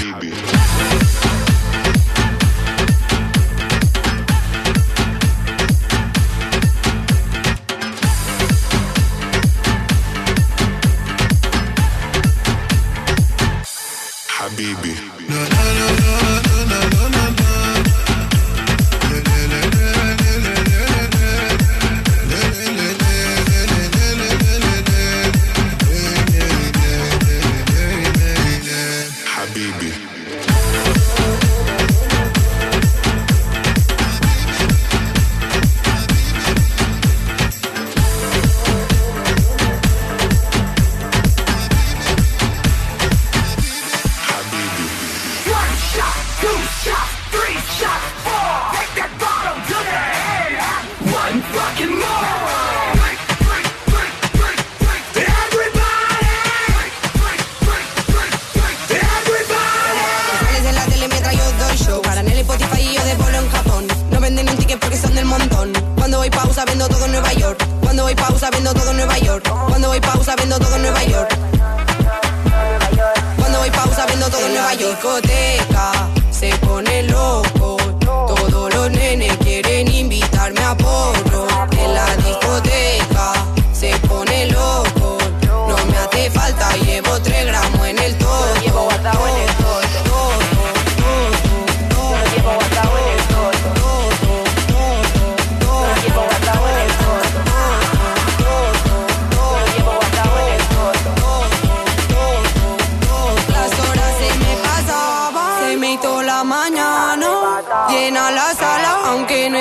Mañana llena la sala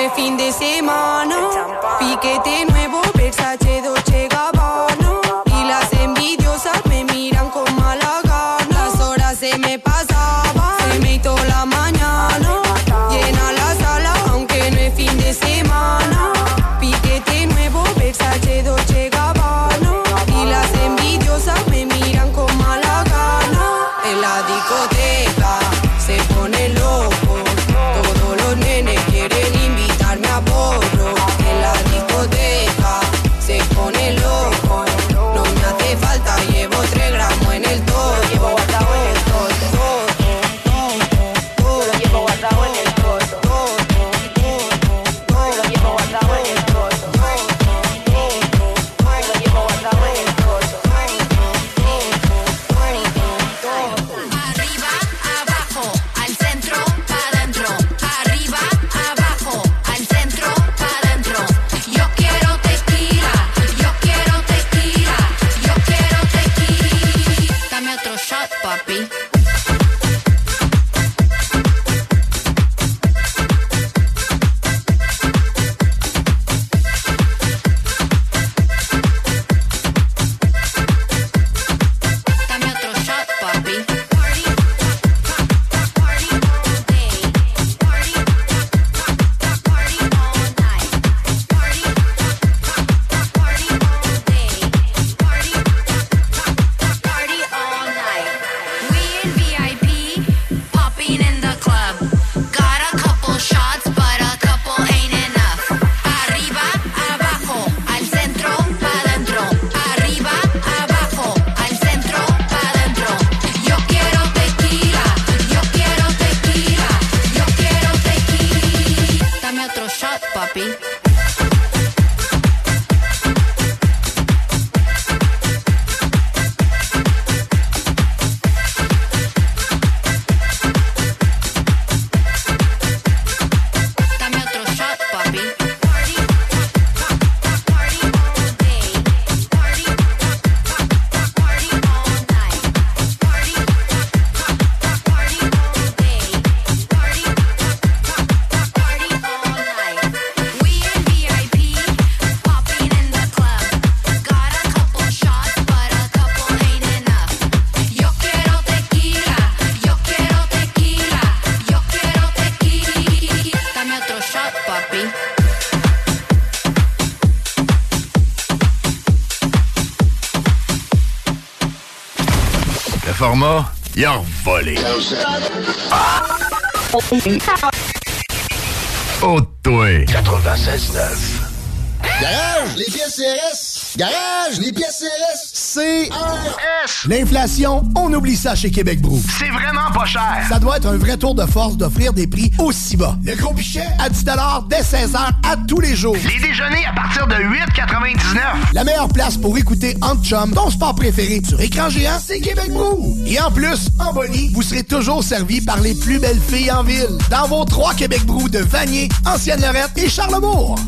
es fin de semana. Piquete nuevo, Versace, Dolce Gabbana. Y las envidiosas me miran con mala gana. Las horas se me pasaban, se me hizo la mañana. Llena la sala, aunque no es fin de semana. Piquete nuevo, Versace, Dolce Gabbana. Y las envidiosas me miran con mala gana. En la discoteca se pone loco. Todos los nenes quieren invitarme a porro. En la discoteca se pone loco. No me hace falta, llevo 3 gramos en el todo. Llevo guardado en el todo. Lo llevo guardado en el todo. Lo llevo guardado en el todo. Lo llevo guardado en el todo. Arriba, abajo, al centro, pa' dentro. Arriba, abajo, al centro, pa' dentro. Yo quiero tequila, yo quiero tequila, yo quiero tequila. Dame otro shot, papi. Dame otro shot, papi. Party, party all day. Party, party all night. Party, party all day. Party, party all night. We in VIP, popping in the club. Got a couple shots, but a couple ain't enough. Arriba, abajo, al centro, pa' dentro. Arriba, abajo, al centro, pa' dentro. Yo quiero tequila, yo quiero tequila, yo quiero tequila. Dame otro shot, papi. Dame otro shot, papi. Party, party all day. Party, party all night. Party, party all day. Party, party all night. We in VIP, popping in the club. Got a couple shots, but a couple ain't enough. Yo quiero tequila, yo quiero tequila, yo quiero tequila. Dame otro shot, papi. Le format, il a volé. Oh, toi. 96.9. Garage, les pièces CRS. Garage, les pièces CRS. CRS. L'inflation, on oublie ça chez Québec Brou. C'est vraiment pas cher. Ça doit être un vrai tour de force d'offrir des prix aussi bas. Le gros pichet à 10 $ dès 16h à tous les jours. Les déjeuners à partir de 8,99. La meilleure place pour écouter Entre Chum, ton sport préféré sur écran géant, c'est Québec Brou. Et en plus, en bonnie, vous serez toujours servi par les plus belles filles en ville. Dans vos 3 Québec Brou de Vanier, Ancienne-Lorette et Charlebourg.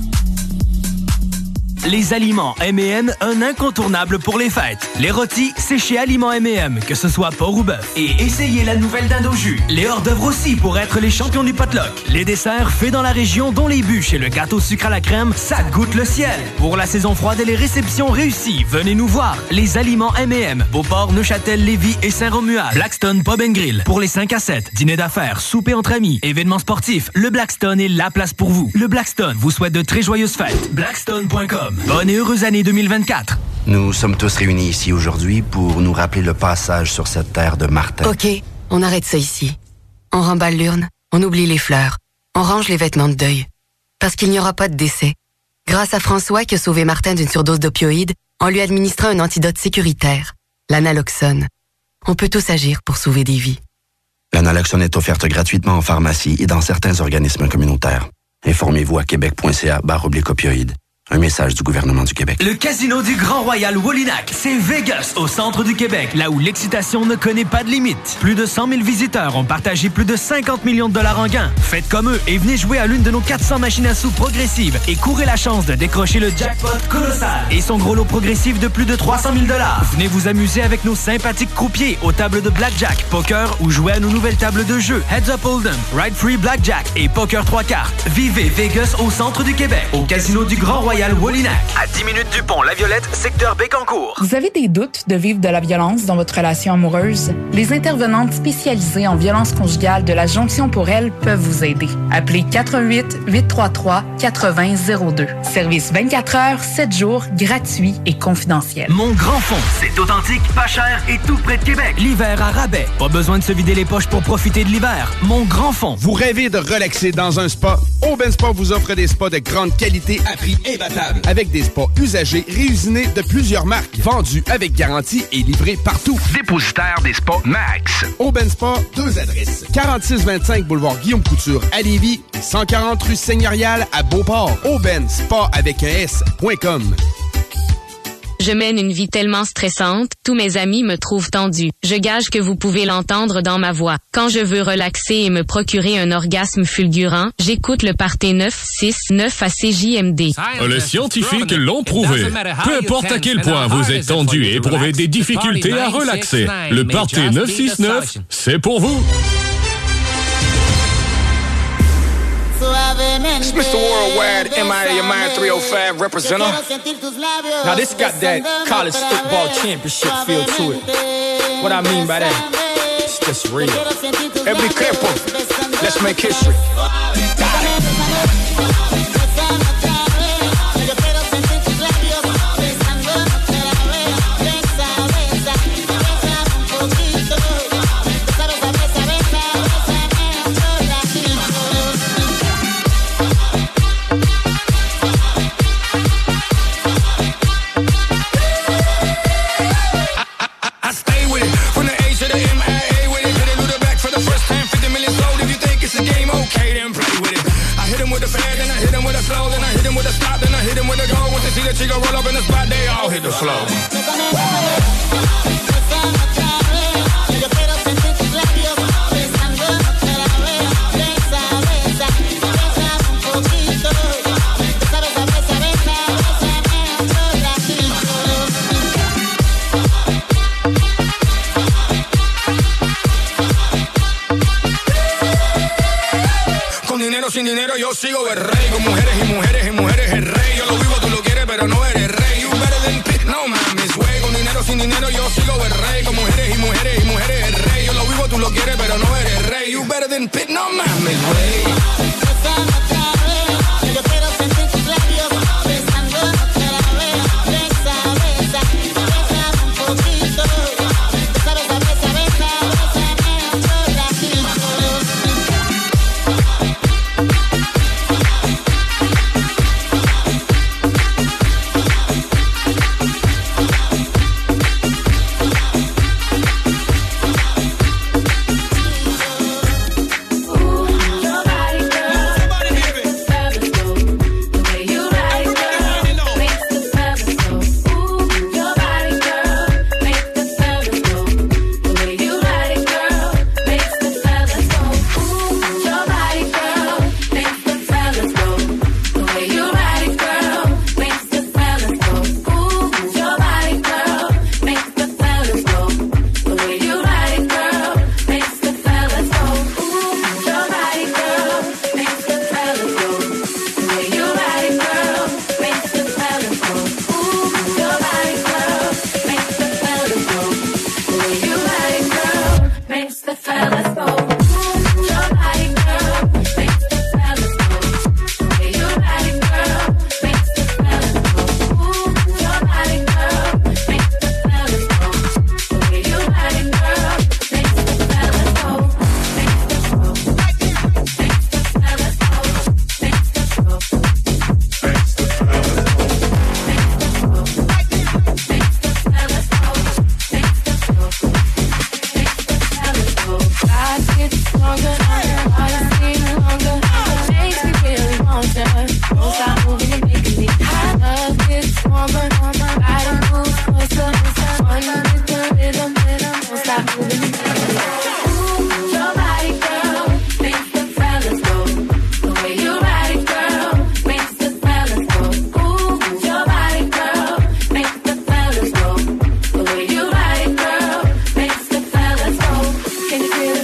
Les aliments M&M, un incontournable pour les fêtes. Les rôtis, c'est chez Aliments M&M, que ce soit porc ou bœuf. Et essayez la nouvelle dinde au jus. Les hors-d'œuvre aussi pour être les champions du potluck. Les desserts faits dans la région, dont les bûches et le gâteau sucre à la crème, ça goûte le ciel. Pour la saison froide et les réceptions réussies, venez nous voir. Les aliments M&M, Beauport, Neuchâtel, Lévis et Saint-Romuald. Blackstone Pub & Grill, pour les 5 à 7. Dîner d'affaires, souper entre amis, événements sportifs. Le Blackstone est la place pour vous. Le Blackstone vous souhaite de très joyeuses fêtes. Blackstone.com. Bonne et heureuse année 2024. Nous sommes tous réunis ici aujourd'hui pour nous rappeler le passage sur cette terre de Martin. OK, on arrête ça ici. On remballe l'urne, on oublie les fleurs, on range les vêtements de deuil. Parce qu'il n'y aura pas de décès. Grâce à François qui a sauvé Martin d'une surdose d'opioïdes, en lui administrant un antidote sécuritaire, l'analoxone. On peut tous agir pour sauver des vies. L'analoxone est offerte gratuitement en pharmacie et dans certains organismes communautaires. Informez-vous à québec.ca/opioïdes. Un message du gouvernement du Québec. Le Casino du Grand Royal Wallinac, c'est Vegas, au centre du Québec, là où l'excitation ne connaît pas de limite. Plus de 100 000 visiteurs ont partagé plus de 50 millions de dollars en gains. Faites comme eux et venez jouer à l'une de nos 400 machines à sous progressives et courez la chance de décrocher le jackpot colossal et son gros lot progressif de plus de 300 000 dollars. Venez vous amuser avec nos sympathiques croupiers aux tables de blackjack, poker ou jouer à nos nouvelles tables de jeu Heads Up Hold'em, Ride Free Blackjack et Poker 3 cartes. Vivez Vegas au centre du Québec, au Casino du Grand Royal Wallinac, à 10 minutes du pont La Violette, secteur Bécancour. Vous avez des doutes de vivre de la violence dans votre relation amoureuse? Les intervenantes spécialisées en violence conjugale de la Jonction pour elle peuvent vous aider. Appelez 418-833-8002. Service 24 heures, 7 jours, gratuit et confidentiel. Mon Grand Fond, c'est authentique, pas cher et tout près de Québec. L'hiver à rabais. Pas besoin de se vider les poches pour profiter de l'hiver. Mon Grand Fond. Vous rêvez de relaxer dans un spa? Aubin Spa vous offre des spas de grande qualité à prix imbattable. Avec des spas usagés réusinés de plusieurs marques, vendus avec garantie et livrés partout. Dépositaire des spas Max. Aubin Spa, 2 adresses. 4625 boulevard Guillaume Couture à Lévis et 140 rue Seigneurial à Beauport. Aubin Spa avec un S.com. Je mène une vie tellement stressante, tous mes amis me trouvent tendue. Je gage que vous pouvez l'entendre dans ma voix. Quand je veux relaxer et me procurer un orgasme fulgurant, j'écoute le Party 969 à CJMD. Les scientifiques l'ont prouvé. Peu importe à quel point vous êtes tendu et éprouvez des difficultés à relaxer, le Party 969, c'est pour vous. It's Mr. Worldwide, MIA Your Mind 305 representative. Now this got that college football championship feel to it. What I mean by that, it's just real. Everybody careful, let's make history. She gon' roll up in the spot, they all hit the floor. Con dinero, sin dinero, yo sigo el rey. Con mujeres y mujeres y mujeres el rey. Yo lo vivo, tú lo quieres, pero no eres rey. You better than Pitt, no mames, güey. Con dinero, sin dinero, yo sigo el rey. Con mujeres y mujeres y mujeres el rey. Yo lo vivo, tú lo quieres, pero no eres rey. You better than Pitt, no mames, güey. Yo quiero sentir tus labios besándote la besa, besa, besa. Bésame un poquito. Besa, besa, besa, besa. Bésame otro ratito.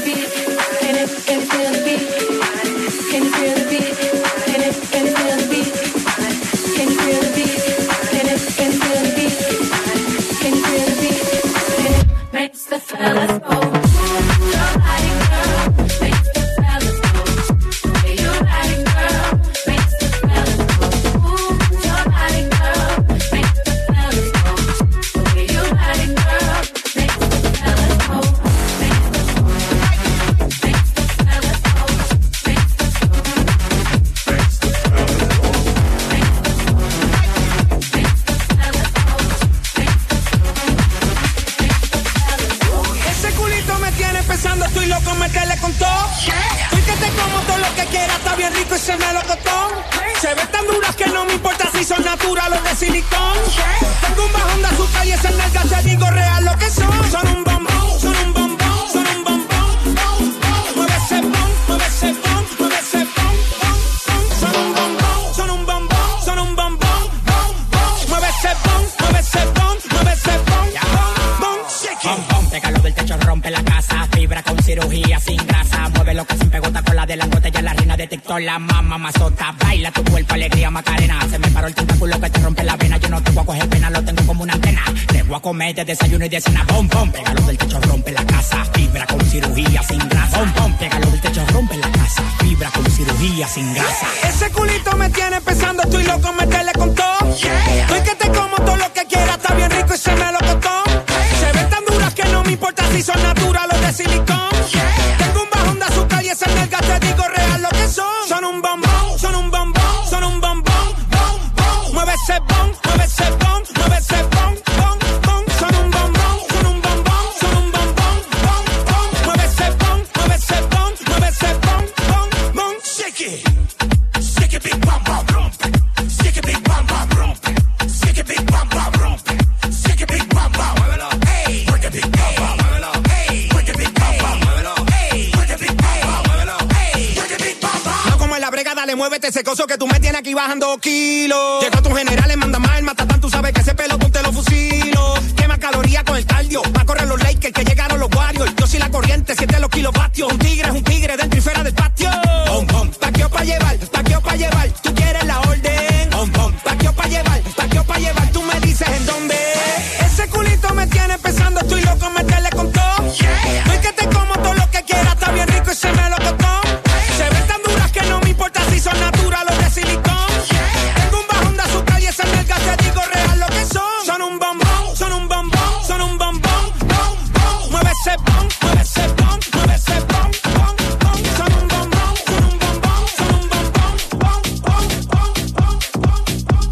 La mamá mazota, baila tu cuerpo, alegría, Macarena. Se me paró el tentáculo que te rompe la vena. Yo no te voy a coger pena, lo tengo como una antena. Te voy a comer de desayuno y de cena. Bom, bom, pégalo del techo, rompe la casa. Fibra con cirugía sin grasa. Bom, bom, pégalo del techo, rompe la casa. Fibra con cirugía sin grasa. Ese culito me tiene pensando, estoy loco, meterle con todo. Estoy que te como todo lo que quiera, está bien rico y se me lo costó. Se ven tan duras que no me importa si son naturales o de silicón. Tengo un bajón de azúcar y esa nalga te digo real lo que son. Son un bombón, son un bombón, son un bombón, bom, bom. Mueve ese bom, mueve ese bom, mueve ese bom, bom, bom. Son un bombón, son un bombón, son un bombón, bom, bom. Mueve ese bom, mueve ese bom, mueve ese bom, bom, bom. Shake it big bam bam rompe. Shake it big bam bam rompe. Shake it big bam bam rompe. Shake it big bam bam, muévelo, hey. Work it big bam bam, muévelo, hey. Work it big bam bam, muévelo, hey. Work it big bam bam, muévelo, hey. Work it big bam bam. No como en la brega, dale, muévete ese coso que tú me tienes aquí bajando kilos. Llegó tu general, le manda más el matatán, tú sabes que ese pelotón te lo fusilo. Quema calorías con el cardio, va a correr los Lakers que llegaron los Warriors. Yo soy la corriente, 7 los kilovatios. Un tigre dentro y fuera del patio. Bom, bom, paqueo pa' llevar, paqueo pa' llevar. Tú quieres la orden. Bom, bom, paqueo pa' llevar, paqueo pa' llevar. Tú me dices en dónde. Ese culito me tiene pensando, estoy loco, meterle con todo. Estoy que te como todo lo que quiera, está bien rico y se me lo costó. Se ven tan duras que no me importa si son naturales o de silicón. Tengo un bajón de azúcar y esa nalga te digo real lo que son. Son un bombón, son un bombón, son un bombón, bom, bom. Mueve ese bom, mueve ese bom, mueve ese bom, bom, bom. Son un bombón, son un bombón, son un bombón, bom, bom, bom, bom, bom, bom.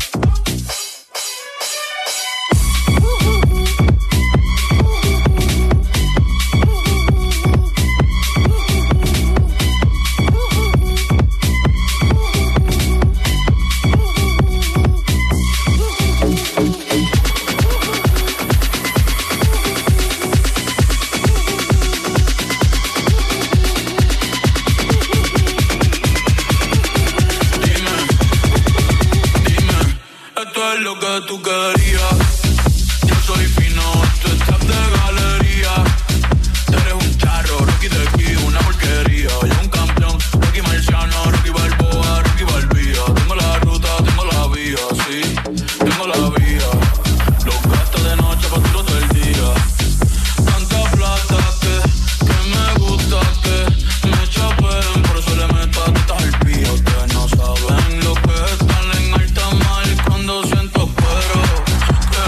Esto es lo que tú querías. Yo soy fino, tú estás de galería. Eres un charro, Rocky de aquí, una porquería. Yo un campeón, Rocky Marciano, Rocky Balboa, Rocky Balbía. Tengo la ruta, tengo la vía, sí, tengo la vía. Los gastos de noche, facturo todo el día. Tanta plata que me gusta que me chapen. Por eso le meto a tetas al pío. Ustedes no saben lo que están en alta mar cuando siento cuero. Que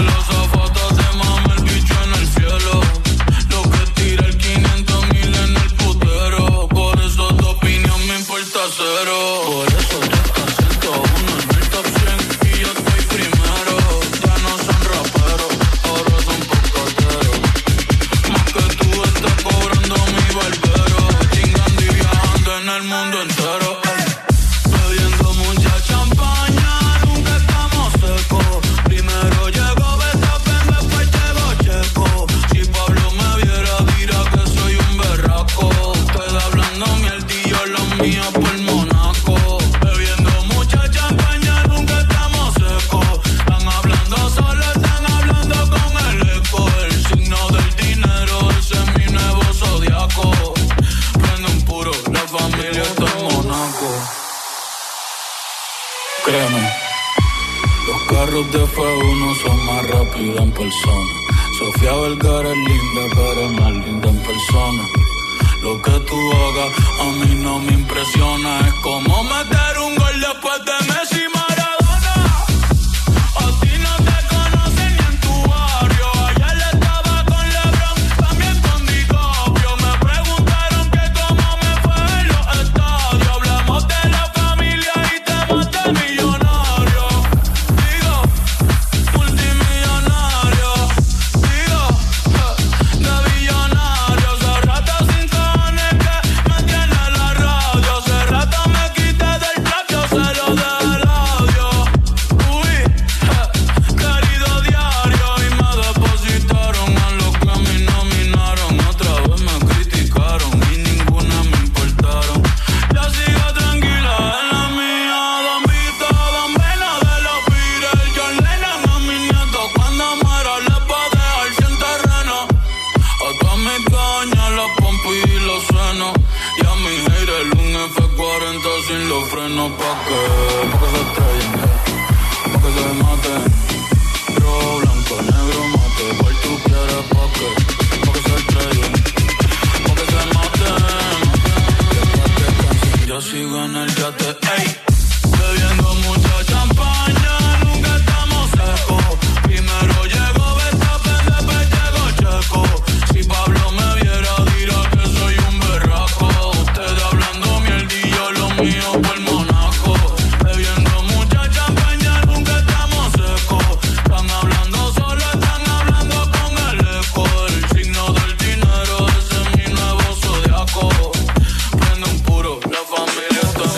Créeme, los carros de F1 son más rápidos en persona. Sofía Vergara es linda, pero es más linda en persona. Lo que tú hagas a mí no me impresiona. Es como meter un gol después de Messi y Maradona. A ti no te conocen ni en tu barrio. Ayer estaba con LeBron, también con DiCaprio. Me preguntaron que cómo me fue en los estadios. Hablamos de la familia y temas de millonarios. Digo, multimillonario. Digo, de billonario. Hace rato sin cojones que me tiene la radio. Hace rato me quité del plato, se lo dejé el audio. Uy, querido diario. Y me depositaron a los que a mí nominaron. Otra vez me criticaron y ninguna me importaron. Ya sigo tranquila en la mía. Don Vito, Don Vena de los Beatles. John Lennon a mis nietos. Cuando muera les va a dejar sin terreno. A todas mis cañas, las pompis y los senos. Y a mi haters un F40 sin los frenos. ¿Pa' qué? Pa' que se estrellen, pa' que se maten. Rojo, blanco, negro, mate. ¿Cuál tú quieres? ¿Pa' qué? Pa' que se estrellen, pa' que se maten. Después que cansen, yo sigo en el yate, ey. Bebiendo mucha champaña, nunca estamos secos. Primero llegó Verstappen, después llegó Checo. Si Pablo me viera, dirá que soy un berraco. Ustedes hablando mierdillo, lo mío por Monaco. Bebiendo mucha champaña, nunca estamos secos. Están hablando solo, están hablando con el eco. El signo del dinero, ese es mi nuevo zodiaco. Prende un puro, la familia está en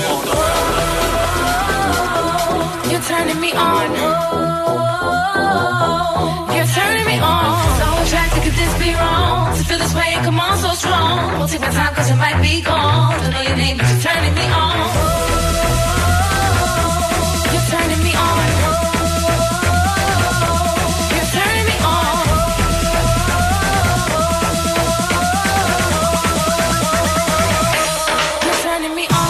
You're turning me on. You're turning me on. So attracted, could this be wrong? To feel this way, come on, so strong. Won't take my time, cause it might be gone. Don't know your name, but you're turning me on. You're turning me on. You're turning me on. You're turning me on.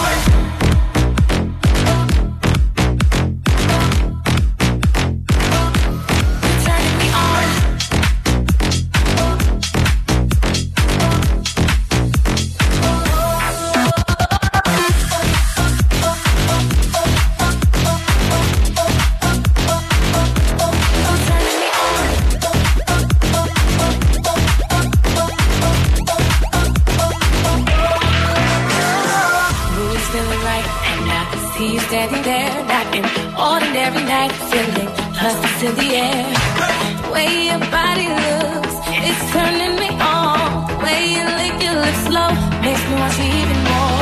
Standing there, not an ordinary night, feeling lust in the air. The way your body looks, it's turning me on. The way you lick your lips slow, makes me want you even more.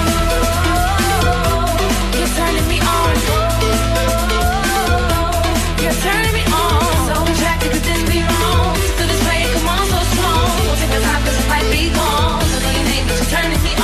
You're turning me on. You're turning me on. So attracted, could this be wrong? Feel this way, come on, so strong. Won't take my time, cause it might be gone. Don't know your name, but you're turning me on.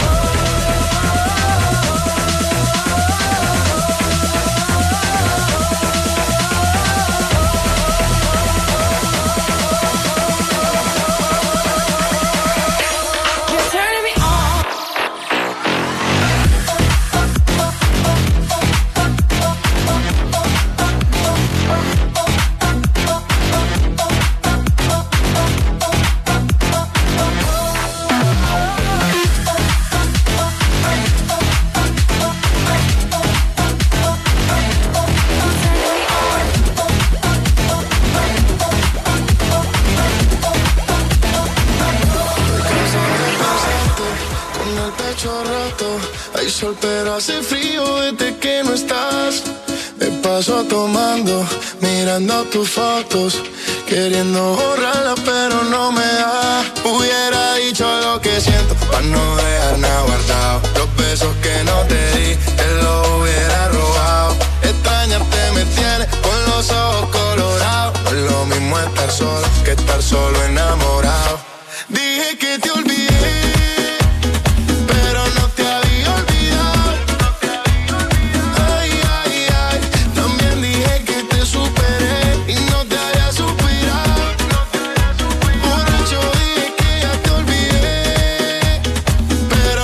Sol, pero hace frío desde que no estás. Me paso tomando, mirando tus fotos, queriendo borrarlas, pero no me da. Hubiera dicho lo que siento, pa' no dejar nada guardado. Los besos que no te di, te los hubiera robado. Extrañarte me tiene con los ojos colorados. No es lo mismo estar solo que estar solo enamorado. Dije que te olvidé, pero no te había olvidado. Ay, ay, ay, también dije que te superé y no te había suspirado. Borracho dije que ya te olvidé, pero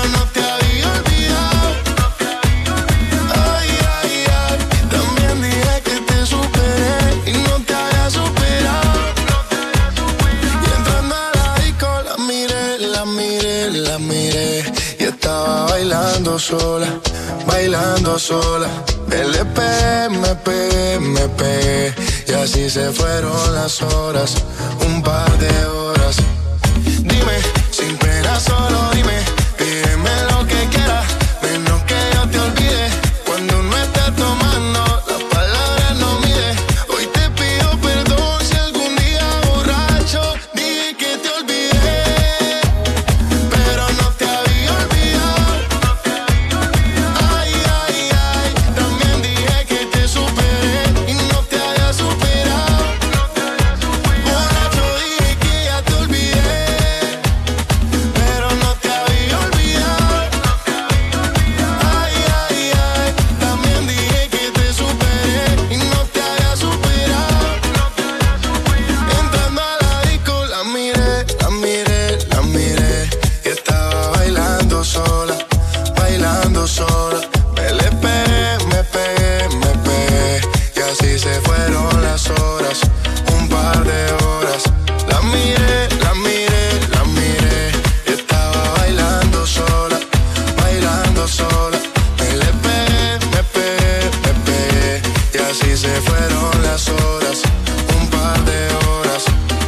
bailando sola, bailando sola. LP, MP, MP. Y así se fueron las horas, un par de horas. Dime, sin pena solo dime, pídeme lo que quieras, menos que yo te olvide. Cuando uno está tomando, las palabras no mide. Hoy te pido perdón si algún día borracho dije que te olvidé, pero no te había olvidado. Ay, ay, ay, también dije que te superé y no te había superado. Borracho dije que ya te olvidé, pero no te había olvidado. Ay, ay, ay, también dije que te superé y no te había superado. Entrando a la disco la miré, la miré, la miré, y estaba bailando sola, bailando sola. Me pegué, y así se fueron las horas, un par de horas. La miré, la miré, la miré, y estaba bailando sola, bailando sola. Me pegué, y así se fueron las horas, un par de horas.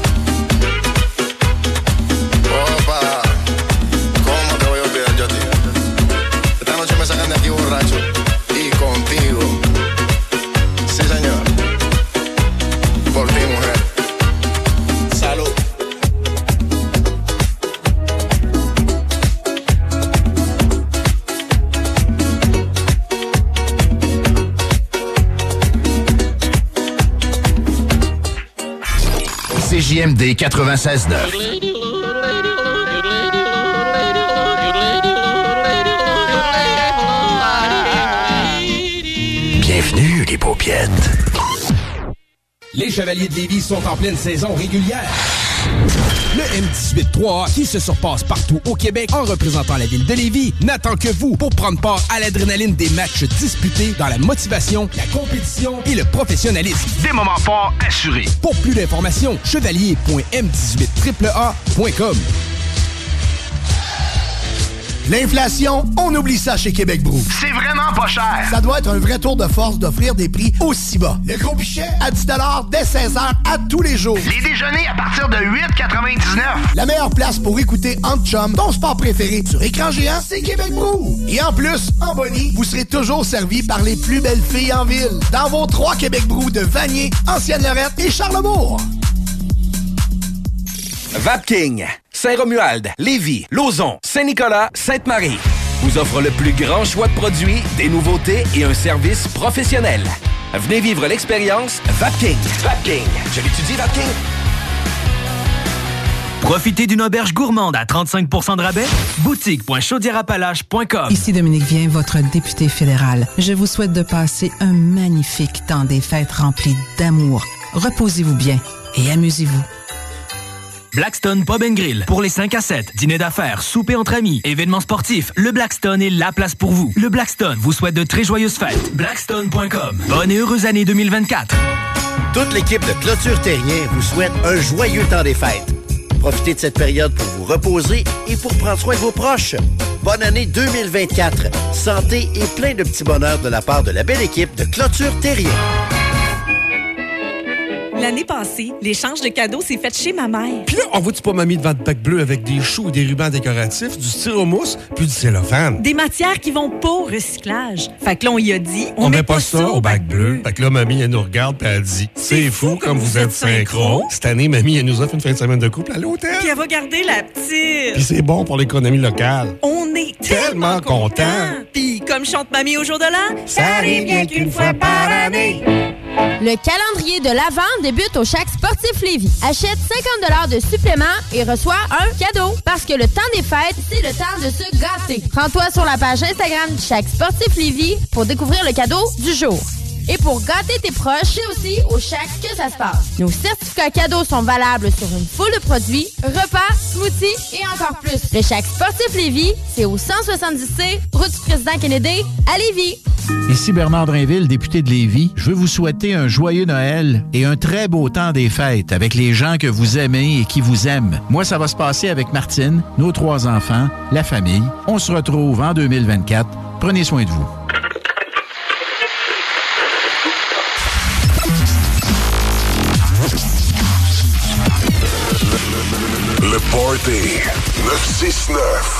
Opa, ¿cómo te voy a olvidar yo a ti? Esta noche me sacan de aquí borracho y contigo. Sí, señor. Por ti, mujer. Salud. CJMD 96.9. Bienvenue, les paupiètes. Les Chevaliers de Lévis sont en pleine saison régulière. Le M18-3A, qui se surpasse partout au Québec en représentant la ville de Lévis, n'attend que vous pour prendre part à l'adrénaline des matchs disputés dans la motivation, la compétition et le professionnalisme. Des moments forts assurés. Pour plus d'informations, chevalier.m18AAA.com. L'inflation, on oublie ça chez Québec Brou. C'est vraiment pas cher. Ça doit être un vrai tour de force d'offrir des prix aussi bas. Le gros pichet à 10 $ dès 16h à tous les jours. Les déjeuners à partir de 8,99. La meilleure place pour écouter en chum ton sport préféré sur écran géant, c'est Québec Brou. Et en plus, en boni, vous serez toujours servi par les plus belles filles en ville. Dans vos 3 Québec Brou de Vanier, Ancienne-Lorette et Charlebourg. Vapking, Saint-Romuald, Lévis, Lauson, Saint-Nicolas, Sainte-Marie vous offre le plus grand choix de produits, des nouveautés et un service professionnel. Venez vivre l'expérience Vapking. Vapking. Je l'étudie, Vapking. Profitez d'une auberge gourmande à 35% de rabais. Boutique.chaudièreappalaches.com. Ici Dominique Vien, votre député fédéral. Je vous souhaite de passer un magnifique temps des fêtes rempli d'amour. Reposez-vous bien et amusez-vous. Blackstone Pub & Grill. Pour les 5 à 7, dîner d'affaires, souper entre amis, événements sportifs, le Blackstone est la place pour vous. Le Blackstone vous souhaite de très joyeuses fêtes. Blackstone.com. Bonne et heureuse année 2024. Toute l'équipe de Clôture Terrien vous souhaite un joyeux temps des fêtes. Profitez de cette période pour vous reposer et pour prendre soin de vos proches. Bonne année 2024. Santé et plein de petits bonheurs de la part de la belle équipe de Clôture Terrien. L'année passée, l'échange de cadeaux s'est fait chez ma mère. Puis là, on voit-tu pas mamie devant de bac bleu avec des choux et des rubans décoratifs, du styromousse, puis du cellophane. Des matières qui vont pas au recyclage. Fait que là, on y a dit, on met pas ça au bac bleu. Fait que là, mamie, elle nous regarde puis elle dit, c'est fou comme vous êtes synchro. Cette année, mamie, elle nous offre une fin de semaine de couple à l'hôtel. Puis elle va garder la petite. Puis c'est bon pour l'économie locale. On est tellement contents. Puis comme chante mamie au jour de l'an, ça arrive bien qu'une fois par année. Le calendrier de l'Avent débute au Chac Sportif Lévis. Achète 50 $ de supplément et reçois un cadeau. Parce que le temps des fêtes, c'est le temps de se gâter. Rends-toi sur la page Instagram du Chac Sportif Lévis pour découvrir le cadeau du jour. Et pour gâter tes proches, c'est aussi au Chac que ça se passe. Nos certificats certificats cadeaux sont valables sur une foule de produits, repas, smoothies et encore plus. Le Shack Sportif Lévis, c'est au 170C, route du Président Kennedy, à Lévis. Ici Bernard Drainville, député de Lévis. Je veux vous souhaiter un joyeux Noël et un très beau temps des fêtes avec les gens que vous aimez et qui vous aiment. Moi, ça va se passer avec Martine, nos 3 enfants, la famille. On se retrouve en 2024. Prenez soin de vous. Le Party 969.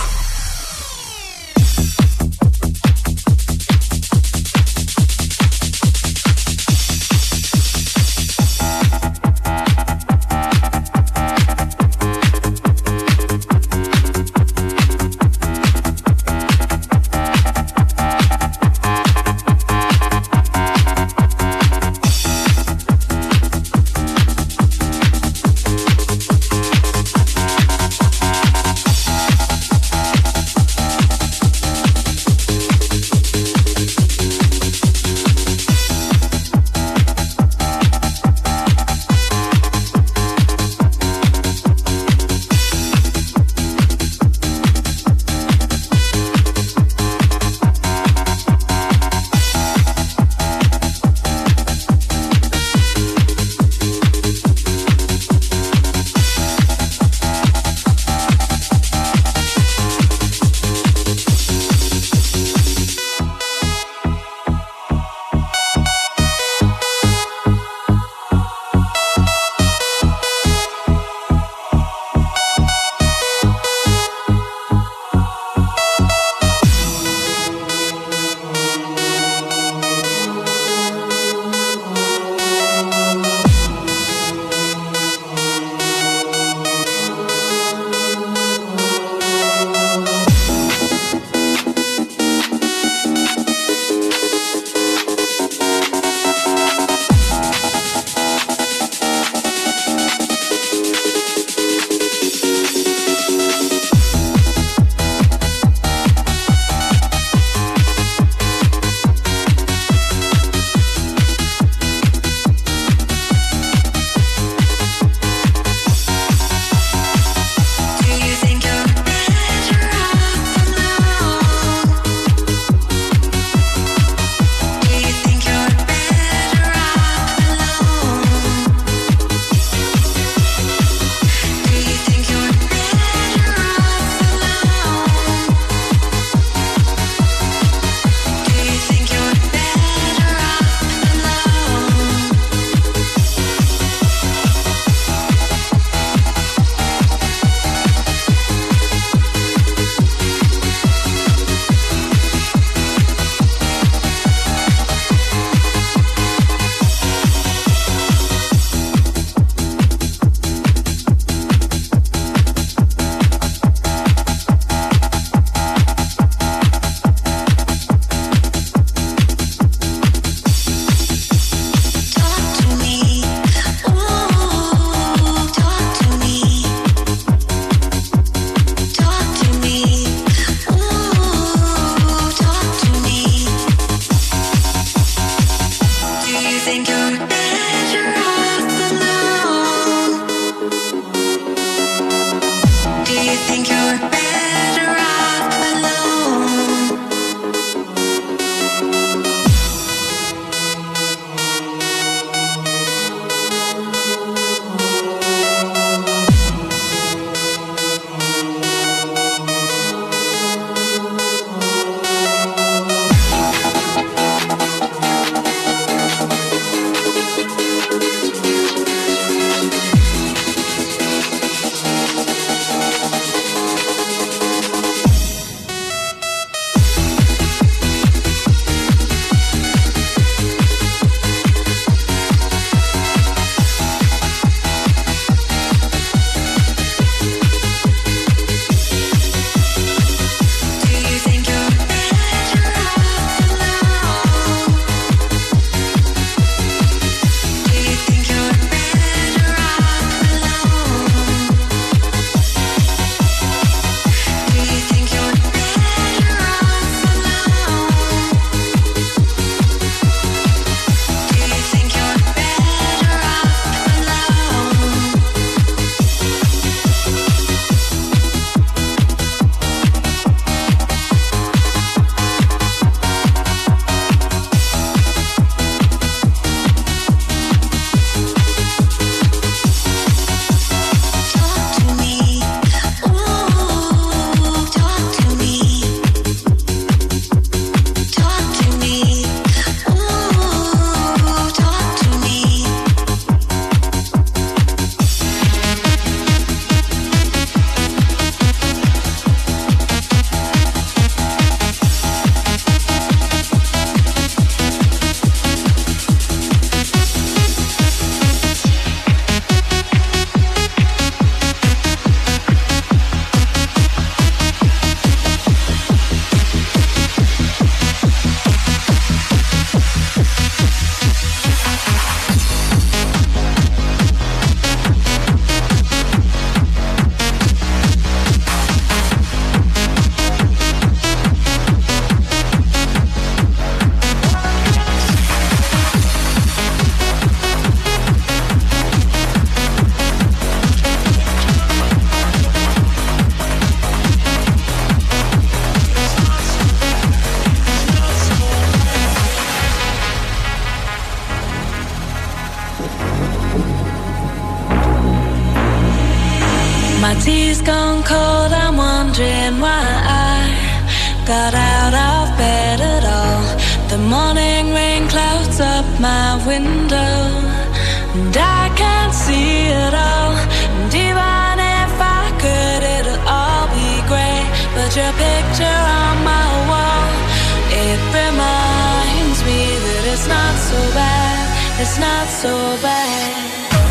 got out of bed at all. The morning rain clouds up my window, and I can't see it all. And even if I could, it'll all be grey. But your picture on my wall, it reminds me that it's not so bad. It's not so bad.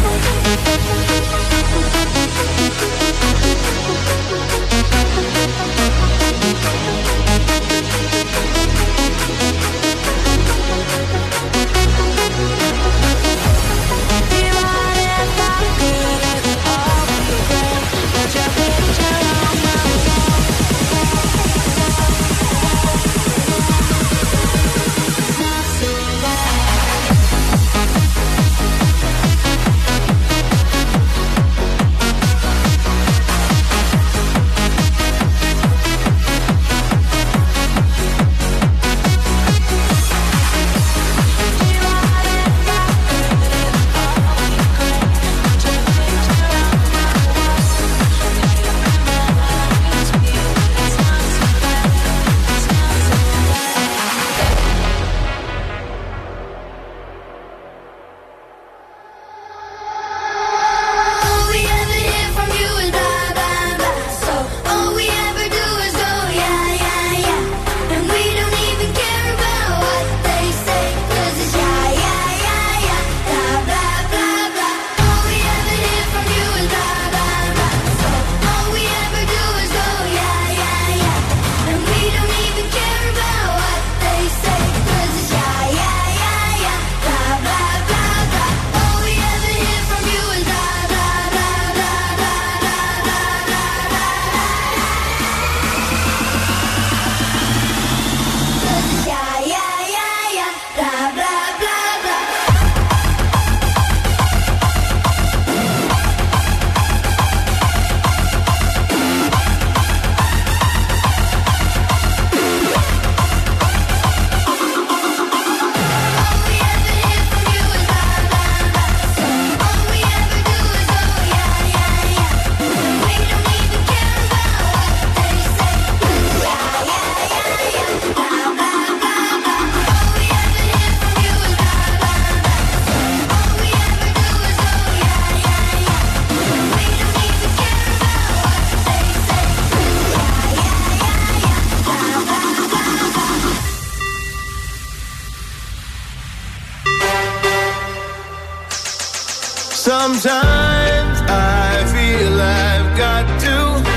Sometimes I feel I've got to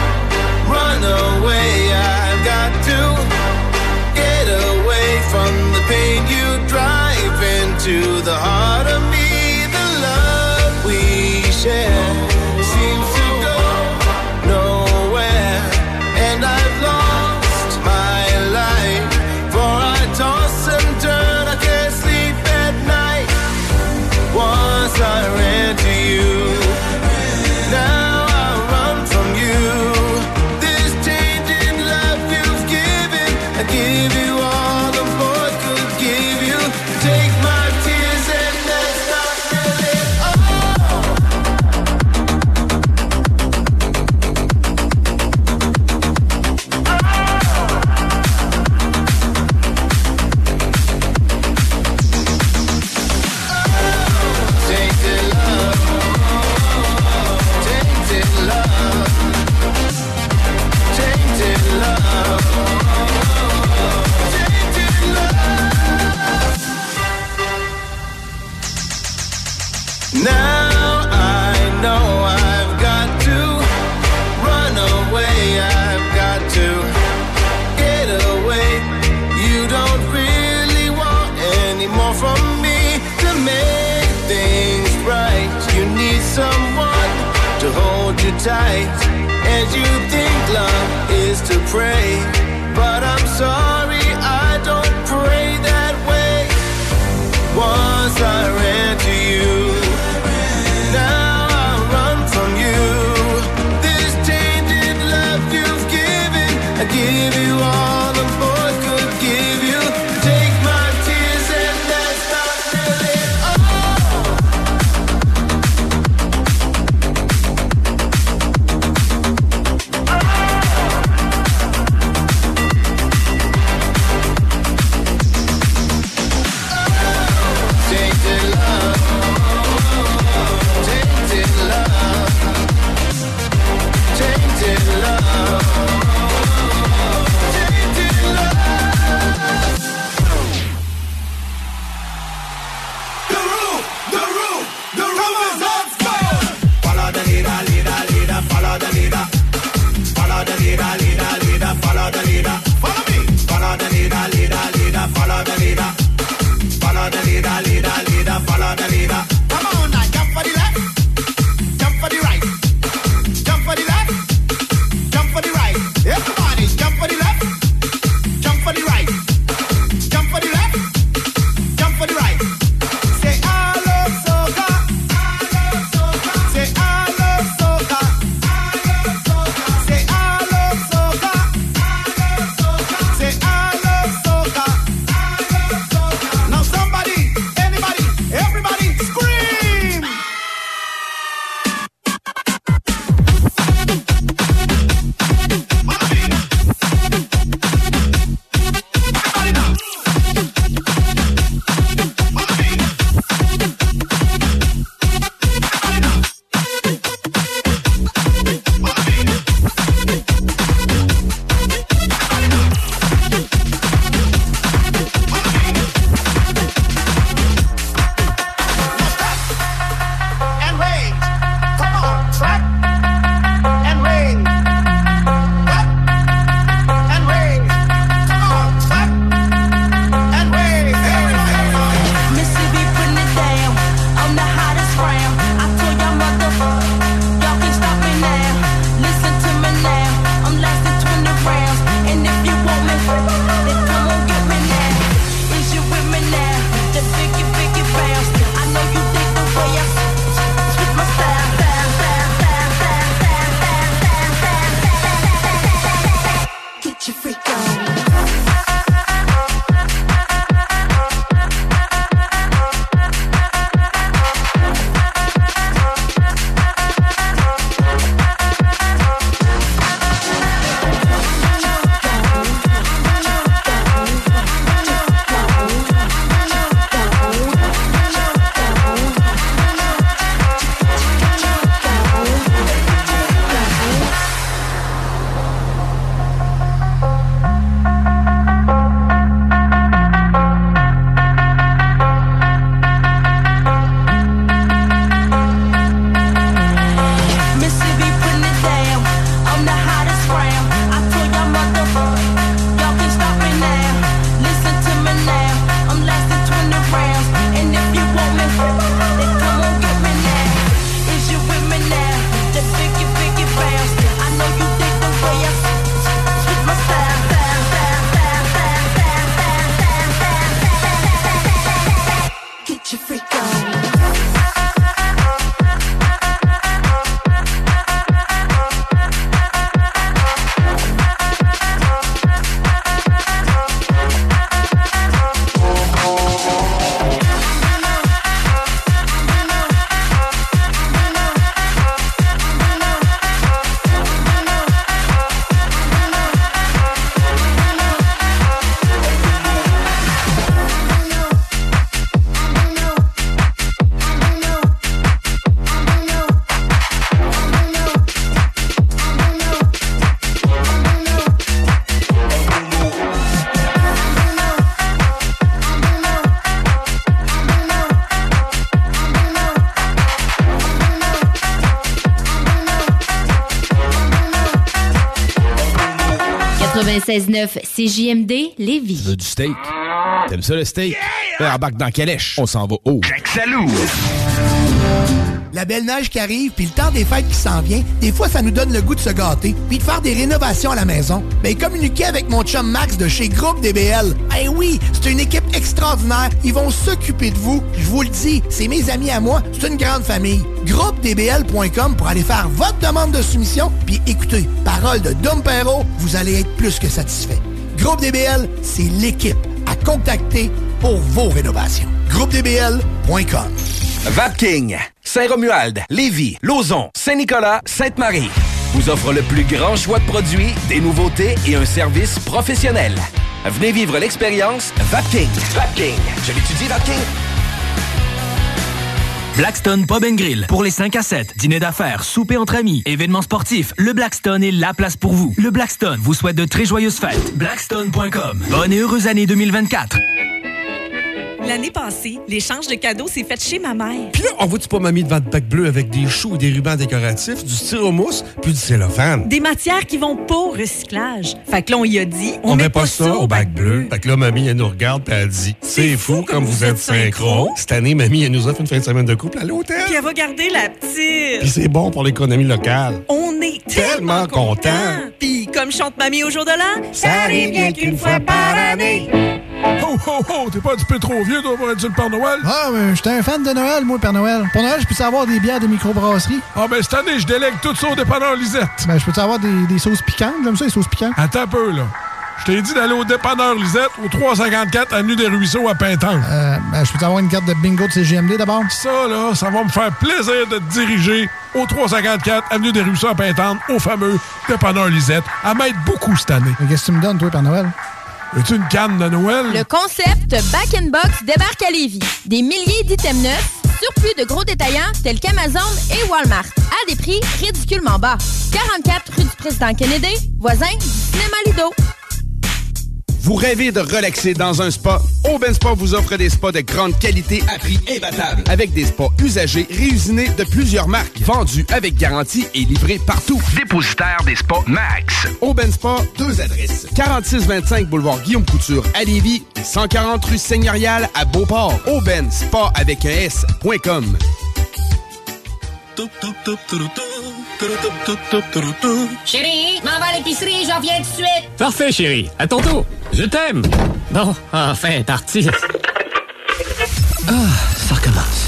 run away. I've got to get away from the pain you drive into the heart of me. The love we share seems to go nowhere, and I've lost my life, for I toss and turn, I can't sleep at night. Once I ran to you, now I run from you. This tainted love you've given, I give you all the boy could give you. Take my tears and that's not really now I know I've got to run away. I've got to get away. You don't really want any more from me to make things right. You need someone to hold you tight, and you think love is to pray, but I'm sorry, I don't pray that way. Once I ran to you, now I run from you. This tainted love you've given, I give you all the boy could give you. Take my tears and that's not really 96.9 CJMD Lévis. Tu veux du steak? T'aimes ça le steak? Yeah! Embarque dans Calèche. On s'en va haut. Jacques Salou. La belle neige qui arrive, puis le temps des fêtes qui s'en vient, des fois, ça nous donne le goût de se gâter, puis de faire des rénovations à la maison. Ben, communiquez avec mon chum Max de chez Groupe DBL. Eh oui, c'est une équipe extraordinaire. Ils vont s'occuper de vous. Je vous le dis, c'est mes amis à moi. C'est une grande famille. GroupeDBL.com pour aller faire votre demande de soumission. Puis écoutez, parole de Dom Perrault, vous allez être plus que satisfait. Groupe DBL, c'est l'équipe à contacter pour vos rénovations. GroupeDBL.com. Vapking, Saint-Romuald, Lévis, Lauson, Saint-Nicolas, Sainte-Marie vous offre le plus grand choix de produits, des nouveautés et un service professionnel. Venez vivre l'expérience Vapking. Vapking. Je l'étudie, Vapking. Blackstone Pub & Grill. Pour les 5 à 7, dîner d'affaires, souper entre amis, événements sportifs, le Blackstone est la place pour vous. Le Blackstone vous souhaite de très joyeuses fêtes. Blackstone.com. Bonne et heureuse année 2024. L'année passée, l'échange de cadeaux s'est fait chez ma mère. Puis là, on voit-tu pas mamie devant le bac bleu avec des choux et des rubans décoratifs, du styromousse, puis du cellophane? Des matières qui vont pas au recyclage. Fait que là, on y a dit, on met pas ça au bac bleu. Fait que là, mamie, elle nous regarde puis elle dit, c'est fou comme vous êtes synchro. Cette année, mamie, elle nous offre une fin de semaine de couple à l'hôtel. Puis elle va garder la petite. Puis c'est bon pour l'économie locale. On est tellement contents. Puis comme chante mamie au jour de l'an, ça arrive bien qu'une fois par année. Oh, oh, oh, t'es pas un petit peu trop vieux, toi, pour être sur le Père Noël? Ah, mais j'étais un fan de Noël, moi, Père Noël. Pour Noël, je peux avoir des bières de microbrasserie. Ah, ben, cette année, je délègue tout ça au dépanneur Lisette. Ben, je peux avoir des sauces piquantes? J'aime ça, les sauces piquantes. Attends un peu, là. Je t'ai dit d'aller au dépanneur Lisette, au 354 Avenue des Ruisseaux à Pintange. Ben, je peux avoir une carte de bingo de CGMD d'abord? Ça, là, ça va me faire plaisir de te diriger au 354 Avenue des Ruisseaux à Pintange, au fameux dépanneur Lisette. À m'aide beaucoup cette année. Mais qu'est-ce que tu me donnes, toi, Père Noël? Veux-tu une canne de Noël? Le concept Back in Box débarque à Lévis. Des milliers d'items neufs, surplus de gros détaillants tels qu'Amazon et Walmart, à des prix ridiculement bas. 44 rue du Président Kennedy, voisin du cinéma Lido. Vous rêvez de relaxer dans un spa? Aubin Spa vous offre des spas de grande qualité à prix imbattable. Avec des spas usagés réusinés de plusieurs marques. Vendus avec garantie et livrés partout. Dépositaire des spas Max. Aubin Spa, 2 adresses. 4625 boulevard Guillaume Couture à Lévis et 140 rue Seigneurial à Beauport. Aubin Spa avec un S.com. Chérie, m'en va à l'épicerie, j'en viens tout de suite. Parfait, chérie. À ton tour. Je t'aime. Bon, enfin, parti. Ah, ça recommence.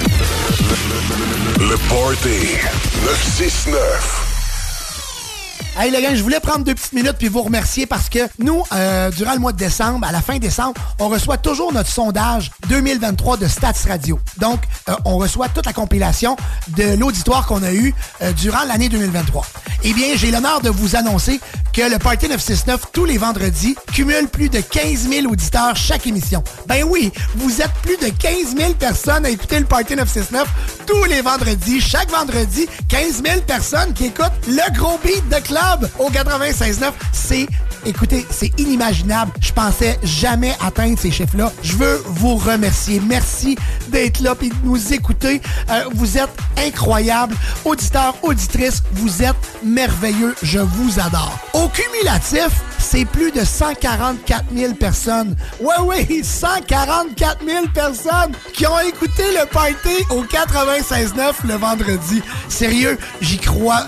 Le Party 969. Hey les gars, je voulais prendre 2 petites minutes puis vous remercier parce que nous, durant le mois de décembre, à la fin décembre, on reçoit toujours notre sondage 2023 de Stats Radio. Donc, on reçoit toute la compilation de l'auditoire qu'on a eu durant l'année 2023. Eh bien, j'ai l'honneur de vous annoncer que le Party 969, tous les vendredis, cumule plus de 15 000 auditeurs chaque émission. Ben oui, vous êtes plus de 15 000 personnes à écouter le Party 969 tous les vendredis. Chaque vendredi, 15 000 personnes qui écoutent le gros beat de club au 96.9. Écoutez, c'est inimaginable. Je pensais jamais atteindre ces chiffres-là. Je veux vous remercier. Merci d'être là et de nous écouter. Vous êtes incroyables. Auditeurs, auditrices, vous êtes merveilleux. Je vous adore. Au cumulatif, c'est plus de 144 000 personnes. Oui, 144 000 personnes qui ont écouté le party au 96.9 le vendredi. Sérieux, j'y crois.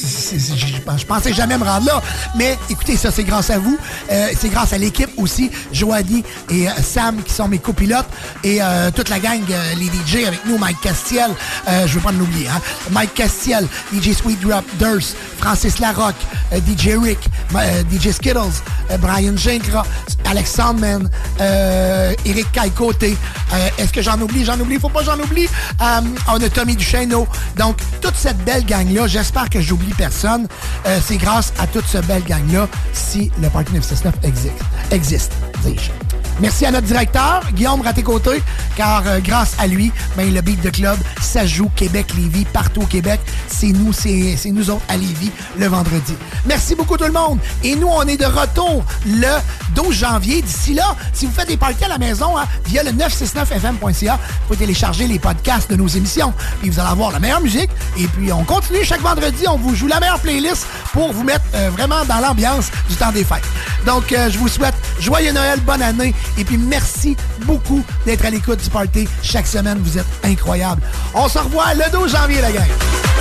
Je pensais jamais me rendre là. Mais écoutez, ça, c'est grâce à vous. C'est grâce à l'équipe aussi. Joanie et Sam qui sont mes copilotes. Et toute la gang, les DJ avec nous. Mike Castiel. Je veux pas l'oublier. Hein? Mike Castiel, DJ Sweet Drop, Durst, Francis Larocque, DJ Rick, DJ Skittles, Brian Gincra, Alex Sandman, Eric Caille-Côté. Est-ce que j'en oublie? Faut pas que j'en oublie. On a Tommy Duchesneau. Donc, toute cette belle gang-là, j'espère que j'oublie personne. C'est grâce à toute cette belle gang-là si le Party 969 existe, dis-je. Merci à notre directeur, Guillaume Raté-Côté, car grâce à lui, le beat de club, ça joue Québec-Lévis, partout au Québec. C'est nous autres à Lévis, le vendredi. Merci beaucoup tout le monde. Et nous, on est de retour le 12 janvier. D'ici là, si vous faites des parties à la maison, via le 969fm.ca, vous pouvez télécharger les podcasts de nos émissions. Puis vous allez avoir la meilleure musique. Et puis, on continue chaque vendredi. On vous joue la meilleure playlist pour vous mettre vraiment dans l'ambiance du temps des fêtes. Donc, je vous souhaite joyeux Noël, bonne année. Et puis, merci beaucoup d'être à l'écoute du party. Chaque semaine, vous êtes incroyables. On se revoit le 12 janvier, la gang.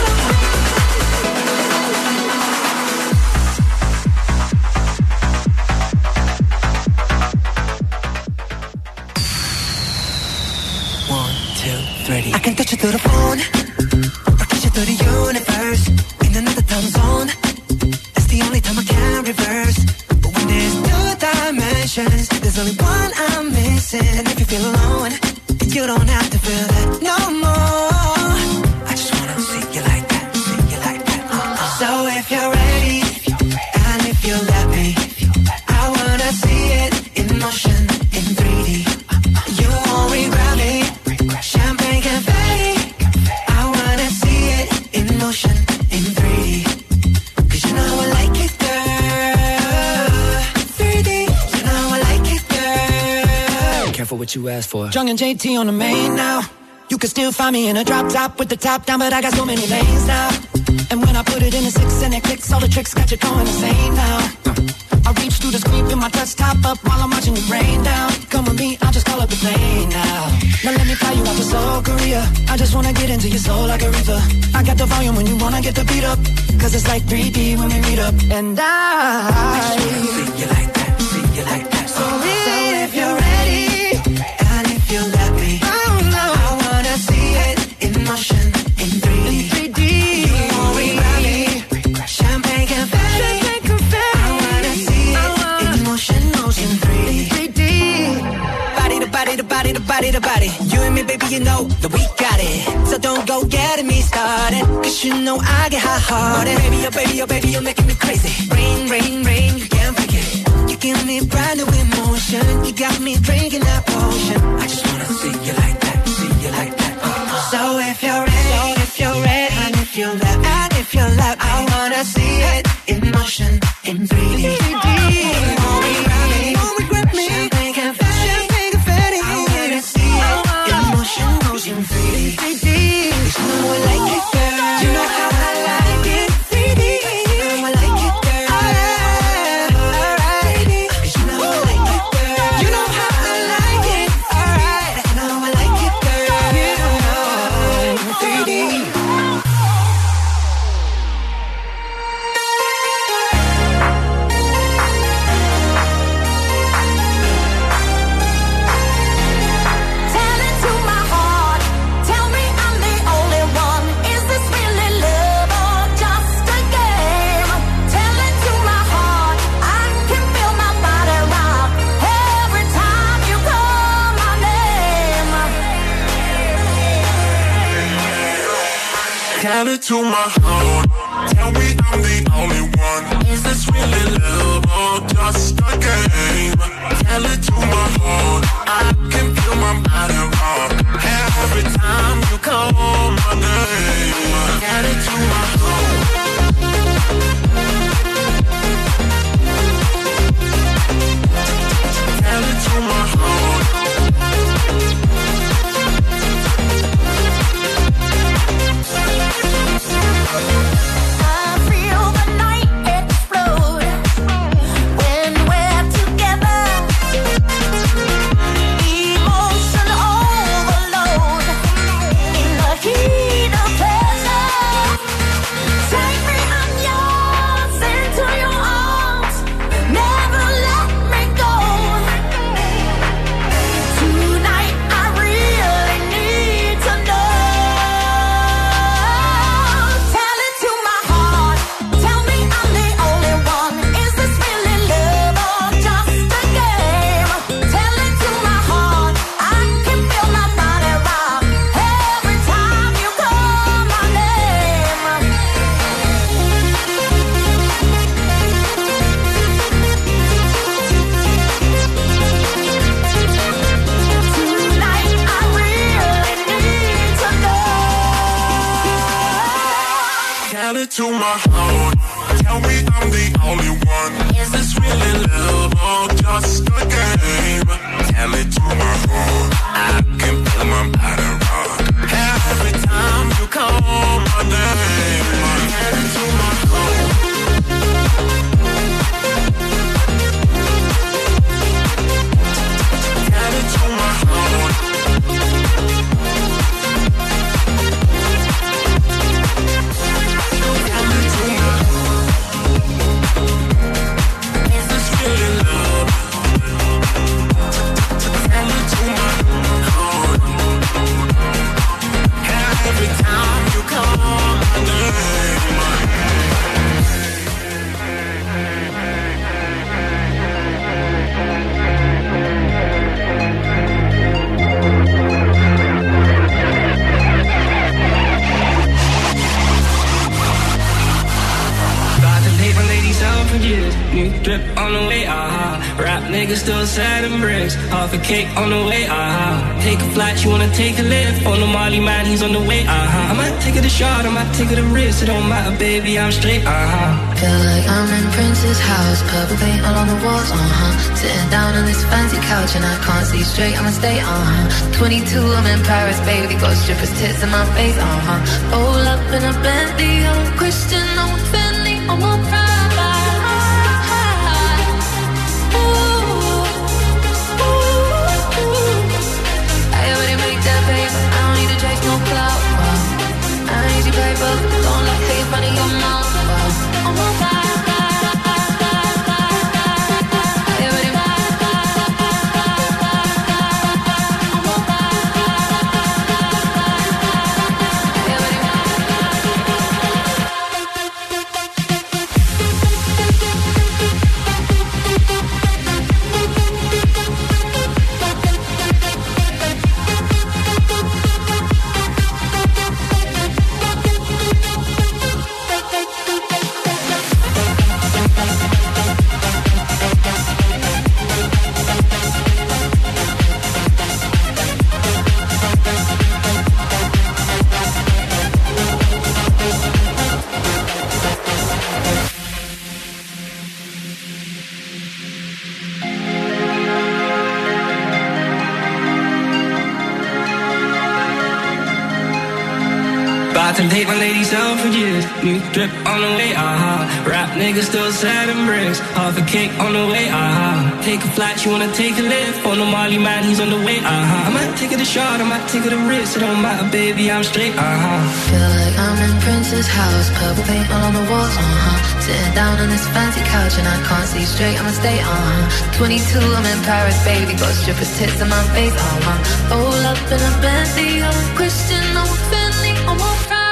I can touch you through the phone, or kiss you through the universe. In another time zone, that's the only time I can reverse. But when there's two dimensions, there's only one I'm missing. And if you feel alone, you don't have to feel that no more. I just wanna see you like that, So if you're ready, and if you let me, I wanna see it in motion, in 3D. You won't regret me. Champagne confetti, I wanna see it in motion, in 3D. 'Cause you know I like it, girl. 3D, you know I like it, girl. Careful what you ask for. Jung and JT on the main now. You can still find me in a drop top with the top down, but I got so many lanes now. And when I put it in a 6 and it clicks, all the tricks got you going insane now. I reach through the screen, put my touch top up while I'm watching it rain down. Come with me, I'll just call up the plane now. Now let me fly you out to Seoul, Korea. I just wanna get into your soul like a river. I got the volume when you wanna get the beat up. 'Cause it's like 3D when we meet up. And I just wanna see you like that, So if you're ready, and if you let me, I wanna see it in motion, in 3D. You won't regret me. Champagne confetti. I wanna see it in motion, in 3D. Body to body. You and me, baby, you know that we got it. So don't go getting me started. 'Cause you know I get hot-hearted. Baby, you're making me crazy. Rain, you can't break it. You give me brand new emotion. You got me drinking that potion. I just wanna see you like that, So if you're ready, and if you let me, I wanna see it in motion, in 3D. Won't regret me. Champagne confetti. I wanna see it in motion, in 3D. 'Cause you know I like it, girl. You know how I like it. 3D. You know I like it, girl. Alright. 'Cause you know I like it, girl. You know how I like it. Alright. You know I like it, girl. You know 3D. Tell it to my heart. Tell me I'm the only one. Is this really love or just a game? Tell it to my heart. I can feel my body rock every time you call my name. Tell it to my heart. Tell it to my heart. I feel the night explode when we're together. Emotion overload in the heat of pleasure. Take me, I'm yours, into your arms. Never let me go. Tonight I really need to know. Tell it to my heart. Tell me I'm the only one. Is this really love or just a game? Tell it to my heart. I can feel my body rock every time you call my name. Tonight I really need to know. Tell it to my heart. Tell me I'm the only one. Is this really love or just a game? Tell it to my heart. I can feel my body rock every time you call my name. Tell it to my heart. Tell it to my heart. Tell it to my heart. Is this really love? Tell it to my heart. Every time you call my name. About to take my ladies out for years. New drip on the way, Rap niggas still sad and bricks. Half a cake on the way, Take a flight, you wanna take a lift. On the Molly man, he's on the way, I might take it a shot, I might take it a risk. It don't matter, baby, I'm straight, Feel like I'm in Prince's house, purple paint all on the walls, Sitting down on this fancy couch and I can't see straight, I'ma stay, 22, I'm in Paris, baby, got strippers' tits in my face, Roll up in a Bentley, I'm Christian, I'm Bentley, I'm on pride. I already made that paper, I don't need to chase no clout, I don't need your paper, don't let it in front of your mouth, I'm on fire. About to take my ladies out for years. New drip on the way, Rap niggas still sad and bricks. Half a cake on the way, Take a flight, you wanna take a lift. On the Molly man, he's on the way, I might take it a shot, I might take it a risk. It don't matter, baby, I'm straight, Feel like I'm in Prince's house, purple paint all on the walls, Sitting down on this fancy couch and I can't see straight, I'ma stay, 22, I'm in Paris, baby, got strippers' tits in my face, Roll up in a Bentley, I'm Christian, I'm Bentley, I'm on fire.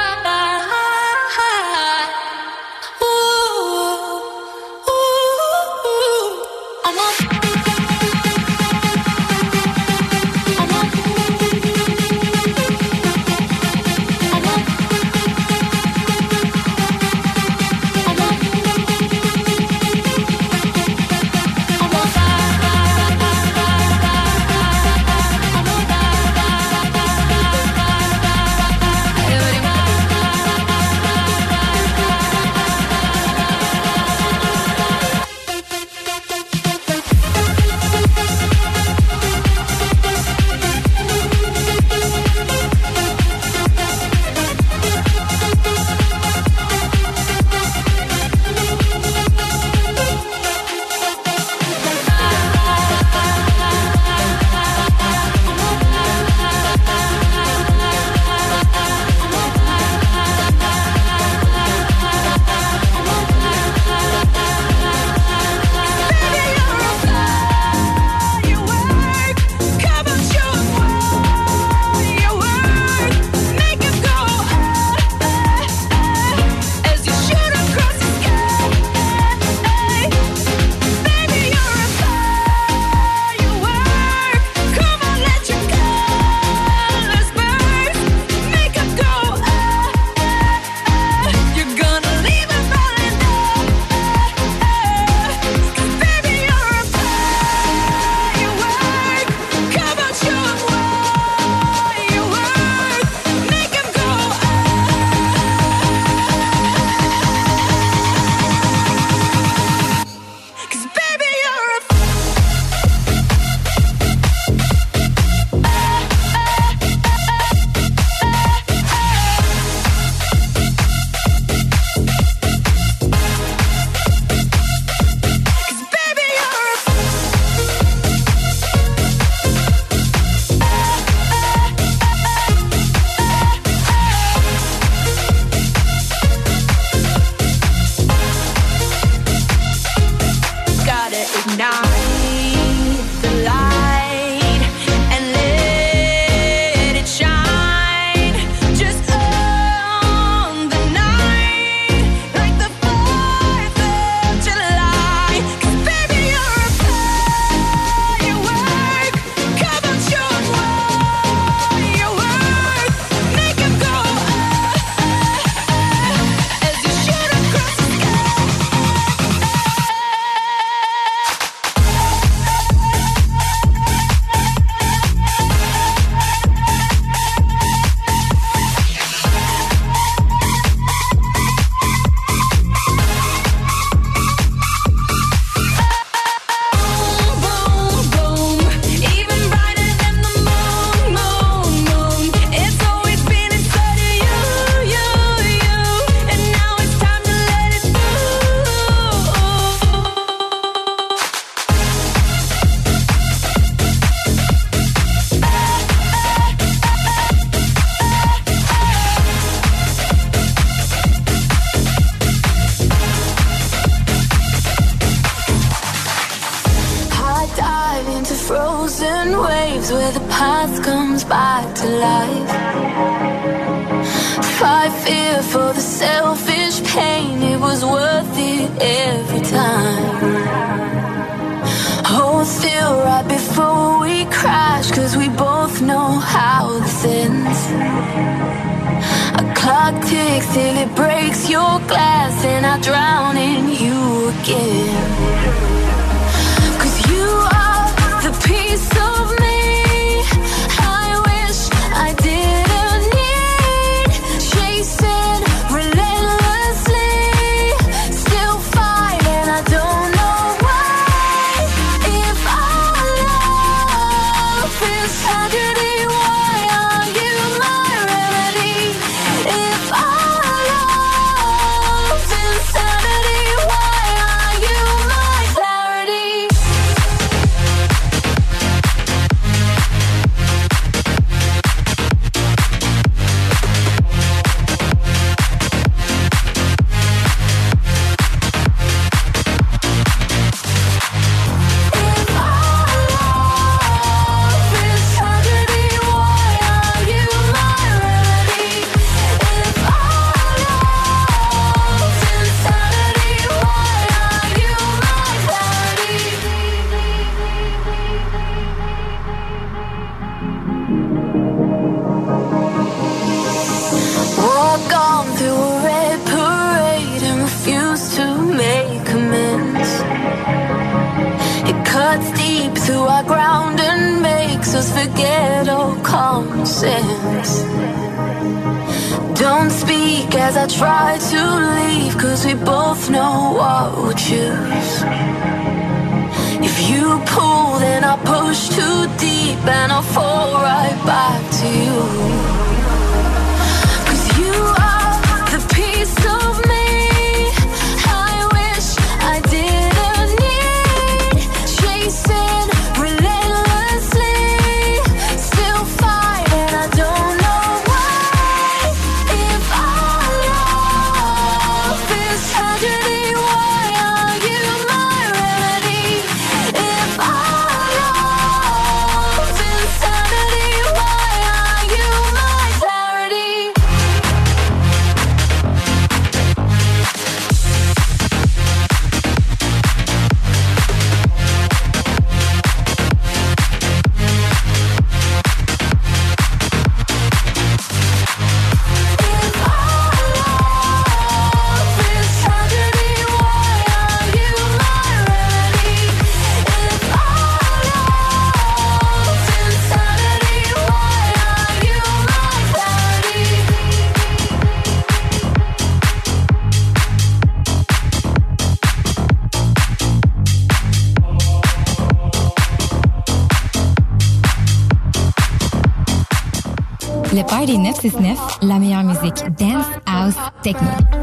Le Party 969, la meilleure musique dance, house, techno.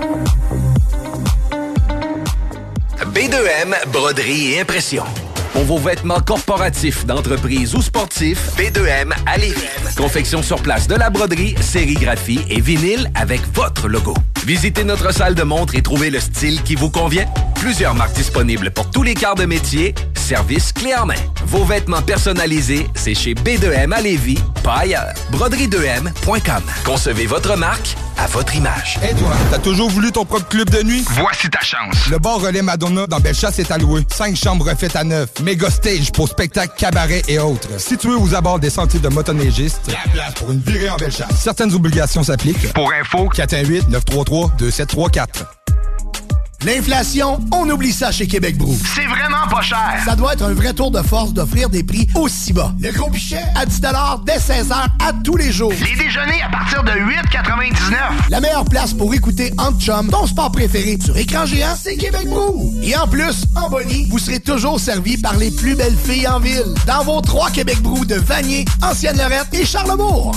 B2M, broderie et impression. Pour vos vêtements corporatifs, d'entreprise ou sportifs, B2M à Lévis. Confection sur place de la broderie, sérigraphie et vinyle avec votre logo. Visitez notre salle de montre et trouvez le style qui vous convient. Plusieurs marques disponibles pour tous les quarts de métier. Service clé en main. Vos vêtements personnalisés, c'est chez B2M à Lévis, pas ailleurs. Broderie2M.com. Concevez votre marque à votre image. Et toi, t'as toujours voulu ton propre club de nuit? Voici ta chance. Le bar Relais Madonna dans Bellechasse est alloué. 5 chambres refaites à neuf. Méga stage pour spectacles, cabarets et autres. Situé aux abords des sentiers de motoneigistes. La place pour une virée en Bellechasse. Certaines obligations s'appliquent. Pour info, 418-933-2734. L'inflation, on oublie ça chez Québec Brou. c'est vraiment pas cher. Ça doit être un vrai tour de force d'offrir des prix aussi bas. Le gros pichet à 10$ dès 16h à tous les jours. Les déjeuners à partir de 8,99. La meilleure place pour écouter Entre Chum, ton sport préféré sur écran géant, c'est Québec Brou. Et en plus, en boni, vous serez toujours servi par les plus belles filles en ville. Dans vos 3 Québec Brou de Vanier, Ancienne-Lorette et Charlebourg.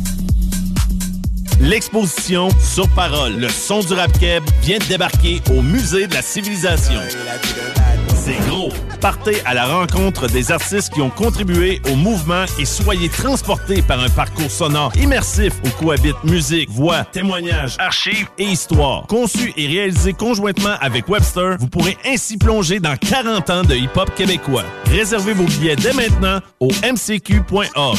L'exposition Sur Parole, le son du rap keb vient de débarquer au Musée de la Civilisation. C'est gros. Partez à la rencontre des artistes qui ont contribué au mouvement et soyez transportés par un parcours sonore immersif où cohabitent musique, voix, témoignages, archives et histoire. Conçu et réalisé conjointement avec Webster, vous pourrez ainsi plonger dans 40 ans de hip-hop québécois. Réservez vos billets dès maintenant au mcq.org.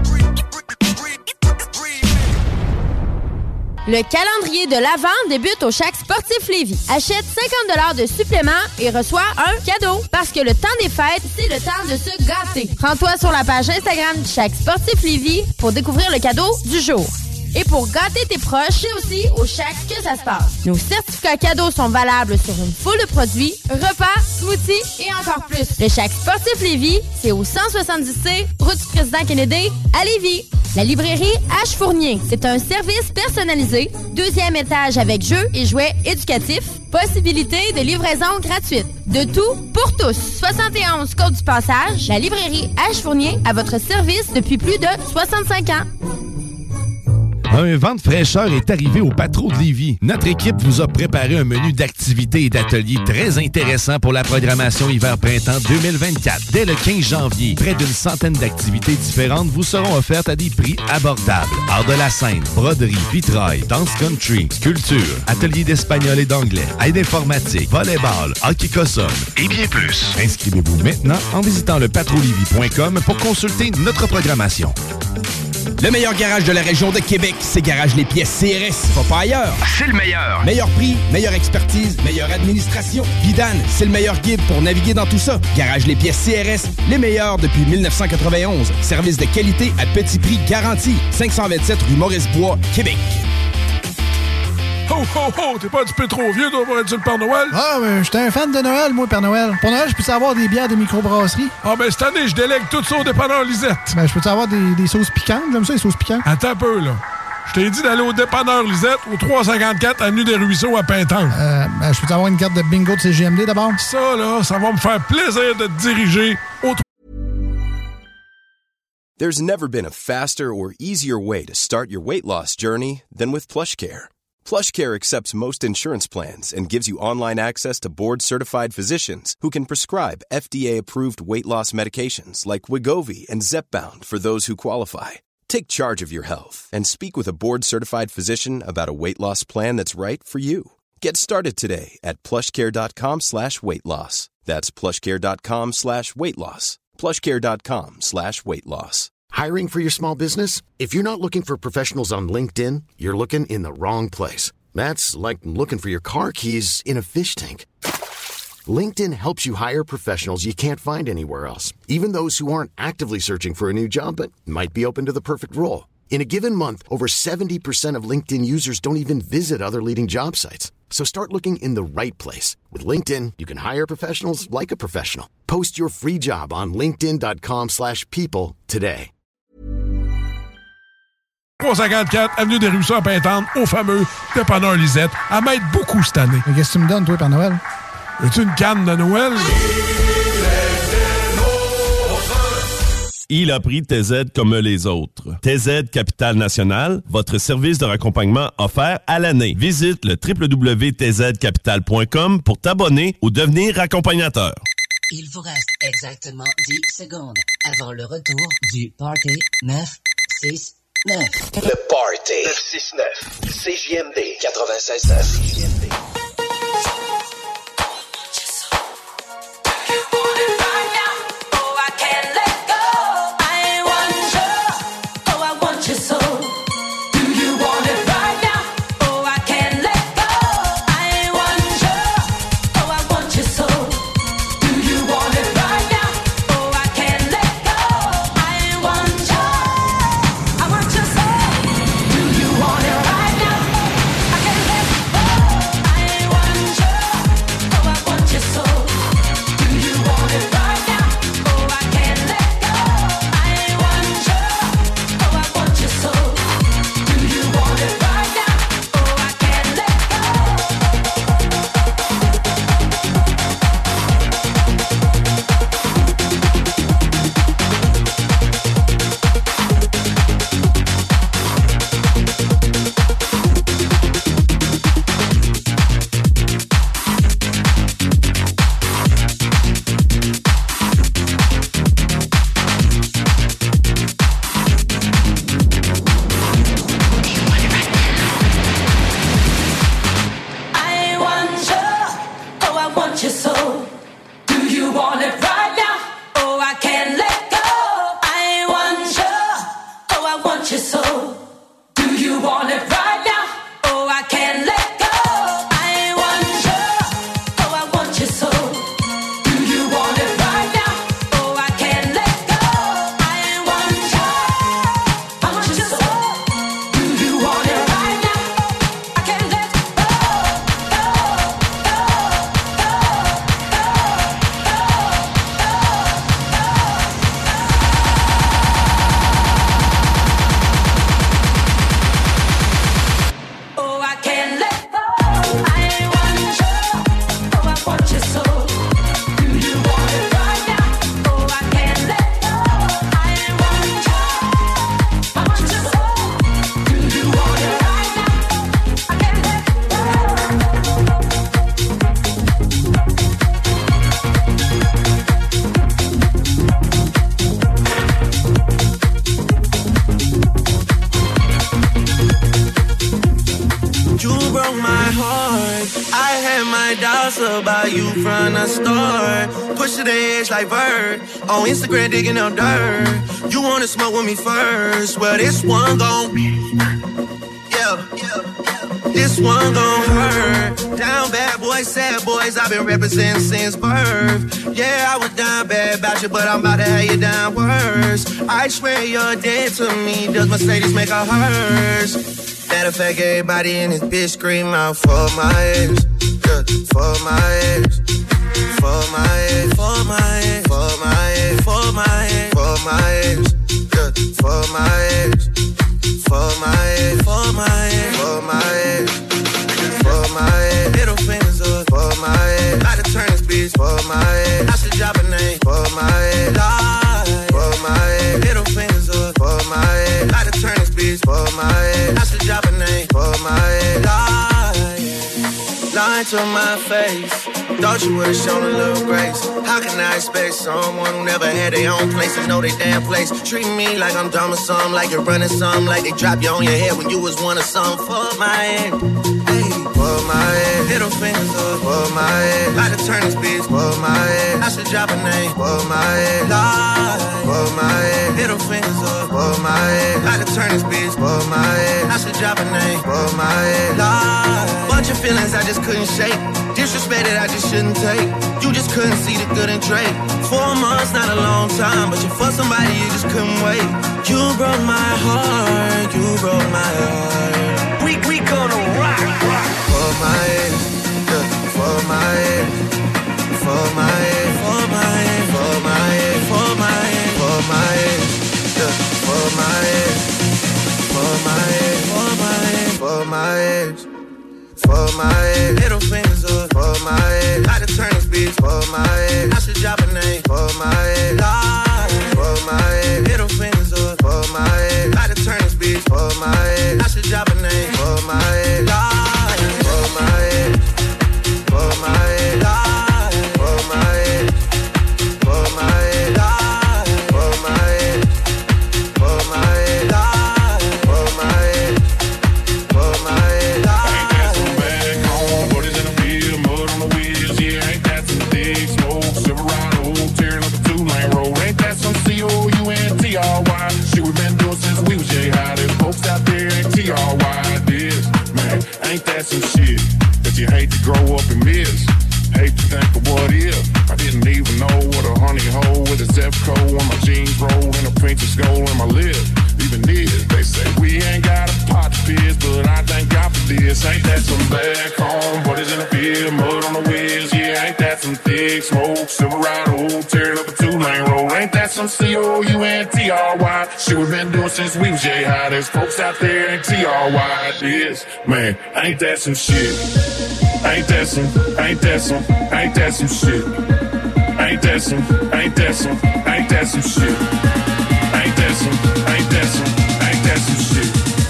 Le calendrier de l'Avent débute au Shack Sportif Lévis. Achète 50$ de supplément et reçois un cadeau. Parce que le temps des fêtes, c'est le temps de se gâter. Rends-toi sur la page Instagram du Shack Sportif Lévis pour découvrir le cadeau du jour. Et pour gâter tes proches, c'est aussi au Shack que ça se passe. Nos certificats cadeaux sont valables sur une foule de produits, repas, smoothies et encore plus. Le Shack Sportif Lévis, c'est au 170C, route du Président Kennedy, à Lévis. La librairie H. Fournier, c'est un service personnalisé, 2e étage avec jeux et jouets éducatifs, possibilité de livraison gratuite. De tout pour tous. 71 Côte du Passage, la librairie H. Fournier à votre service depuis plus de 65 ans. Un vent de fraîcheur est arrivé au Patro de Lévis. Notre équipe vous a préparé un menu d'activités et d'ateliers très intéressant pour la programmation hiver-printemps 2024. Dès le 15 janvier, près d'une centaine d'activités différentes vous seront offertes à des prix abordables. Art de la scène, broderie, vitrail, danse country, sculpture, ateliers d'espagnol et d'anglais, aide informatique, volleyball, hockey cossum et bien plus. Inscrivez-vous maintenant en visitant le patrolivie.com pour consulter notre programmation. Le meilleur garage de la région de Québec, c'est Garage Les Pièces CRS. Va pas ailleurs. C'est le meilleur. Meilleur prix, meilleure expertise, meilleure administration. Vidane, c'est le meilleur guide pour naviguer dans tout ça. Garage Les Pièces CRS, les meilleurs depuis 1991. Service de qualité à petit prix garanti. 527 rue Maurice-Bois, Québec. Ho, ho, ho! T'es pas un petit peu trop vieux, toi, pour être sur le Père Noël? Ah, mais j'étais un fan de Noël, moi, Père Noël. Pour Noël, je peux avoir des bières de microbrasserie? Ah, ben cette année, je délègue tout ça au dépanneur Lisette. Ben, je peux avoir des sauces piquantes? J'aime ça, les sauces piquantes. Attends un peu, là. Je t'ai dit d'aller au dépanneur Lisette, au 354 Avenue des Ruisseaux à Pintan. Ben, je peux avoir une carte de bingo de CGMD d'abord? Ça, là, ça va me faire plaisir de te diriger au... There's never been a faster or easier way to start your weight loss journey than with PlushCare. PlushCare accepts most insurance plans and gives you online access to board-certified physicians who can prescribe FDA-approved weight loss medications like Wegovy and Zepbound for those who qualify. Take charge of your health and speak with a board-certified physician about a weight loss plan that's right for you. Get started today at plushcare.com/weightloss. That's plushcare.com/weightloss. plushcare.com/weightloss. Hiring for your small business? If you're not looking for professionals on LinkedIn, you're looking in the wrong place. That's like looking for your car keys in a fish tank. LinkedIn helps you hire professionals you can't find anywhere else, even those who aren't actively searching for a new job but might be open to the perfect role. In a given month, over 70% of LinkedIn users don't even visit other leading job sites. So start looking in the right place. With LinkedIn, you can hire professionals like a professional. Post your free job on linkedin.com/people today. 354 Avenue des Ruisseaux à Pintante, au fameux dépanneur Lisette, à m'aide beaucoup cette année. Mais qu'est-ce que tu me donnes, toi, Père Noël? Veux-tu une canne de Noël? Il a pris TZ comme les autres. TZ Capital National, votre service de raccompagnement offert à l'année. Visite le www.tzcapital.com pour t'abonner ou devenir accompagnateur. Il vous reste exactement 10 secondes avant le retour du Party 969. Le Party 969 CJMD 96.9. Like Bird on Instagram digging up dirt. You wanna smoke with me first? Well, this one gon' this one gon' hurt. Down bad boys, sad boys, I've been representing since birth. Yeah, I was down bad about you, but I'm about to have you down worse. I swear you're dead to me. Does Mercedes make her hers? Matter of fact, everybody in this bitch scream out for my ex, yeah, for my ex. For my ex, for my ex, for my ex, for my ex, for my ex, yeah. For my ex, for my ex, for my ex, for my ex, for my ex. Middle fingers up for my ex. Like to turn this bitch for my ex. I should drop a name for my ex. Lie for my ex. Middle fingers up for my ex. Like to turn this bitch for my ex. I should drop a name for my ex. Lying to my face. Thought you would've shown a little grace. How can I expect someone who never had their own place to know their damn place? Treat me like I'm dumb or something, like you're running something, like they drop you on your head when you was one of something. For my head, hey, for my head. Middle fingers up for my head. Like to turn this bitch for my head. I should drop a name for my head. Lie for my head. Middle fingers up for my head. Like to turn this bitch for my head. I should drop a name for my head. Lie. Bunch of feelings I just couldn't shake. Disrespect that I just shouldn't take. You just couldn't see the good in Drake. 4 months, not a long time, but you for somebody you just couldn't wait. You broke my heart, you broke my heart. We gonna rock. For my ex, yeah, for my ex, for my ex, for my ex, for my ex, for my ex, for my ex, yeah, for my ex, for my ex, for my ex, for my ex. For my ex, middle fingers up for my ex. Like to turn this bitch for my ex. I should drop a name for my ex. Lie for my ex, middle fingers up for my ex. Like to turn this bitch for my ex. I should drop a name for my ex. Lie for my ex, for my ex. Lie for my ex, for my ex. Lie for my ex, for my ex. Lie gold in my lip. Even this, they say we ain't got a pot to piss, but I thank God for this. Ain't that some back home? Buddies in the field, mud on the wheels. Yeah, ain't that some thick smoke? Silverado, tearing up a 2-lane road. Ain't that some COUNTRY? Shit we've been doing since we was J-High. There's folks out there in TRY. This, man, ain't that some shit? Ain't that some shit? Ain't that some shit? Ain't that some shit? Ain't that some shit? Ain't that some shit?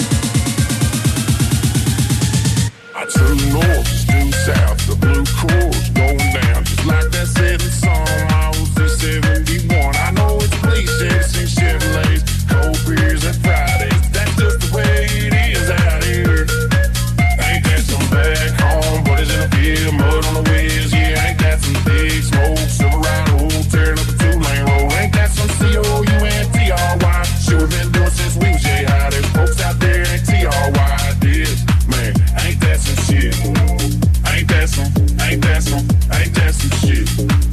I turn north, due south, the blue course going down. Just like that setting song, I was just 71. I know it's cliche to sing Chevrolets, cold beers and Fridays. That's just the way it is out here. Ain't that some back home, buddies in the field, mud on the wheels. Yeah, ain't that some big smoke, Silverado, tearing up a 2-lane road. Ain't that some COUNTRY? Shit we've been doing since we was J-High. There's folks out there in TRY. This, man, ain't that some shit? Ain't that some shit?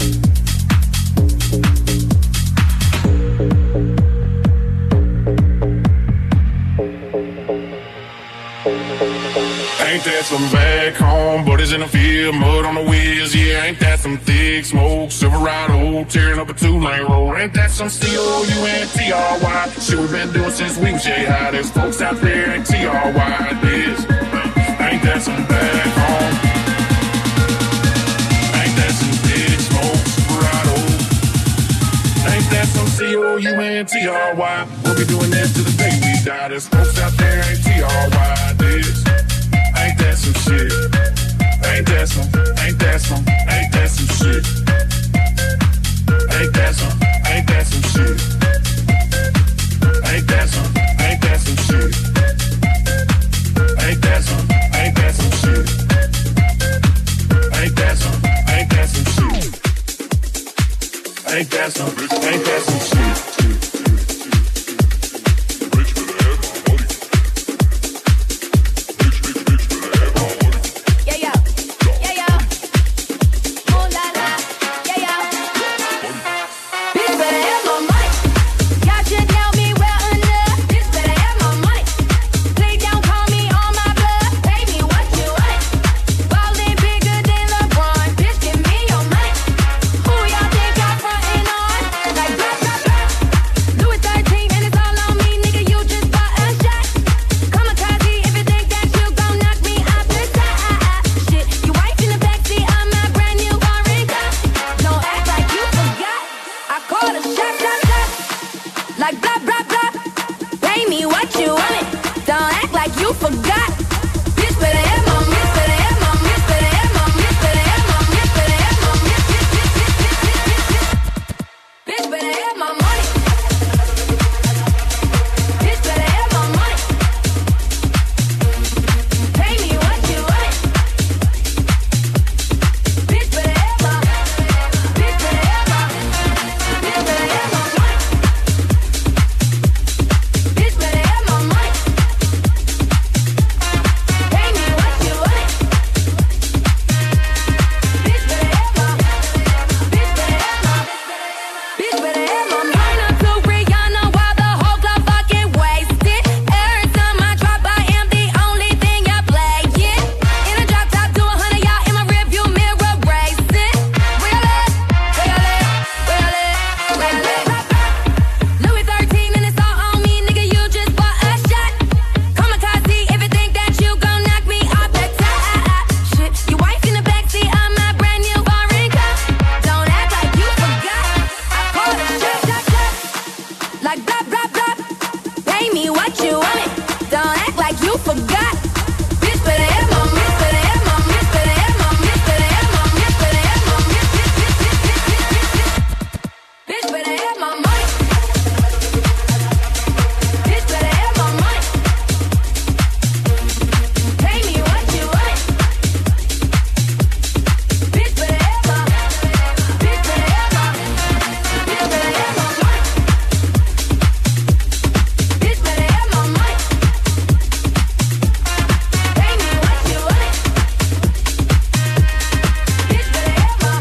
Ain't that some back home, buddies in the field, mud on the wheels. Yeah, ain't that some thick smoke, Silverado, tearing up a 2-lane road. Ain't that some COUNTRY? Shit we've been doing since we was J-High. There's folks out there in TRY. This, ain't that some back home? Ain't that some thick smoke, Silverado? Ain't that some COUNTRY? We'll be doing this till the day we die. There's folks out there in TRY. This, ain't that some shit? Ain't that some shit? Ain't that some shit? Ain't that some shit? Ain't that some shit? Ain't that some shit? Ain't that some shit? Ain't that some shit? Ain't that some shit? Ain't that some shit?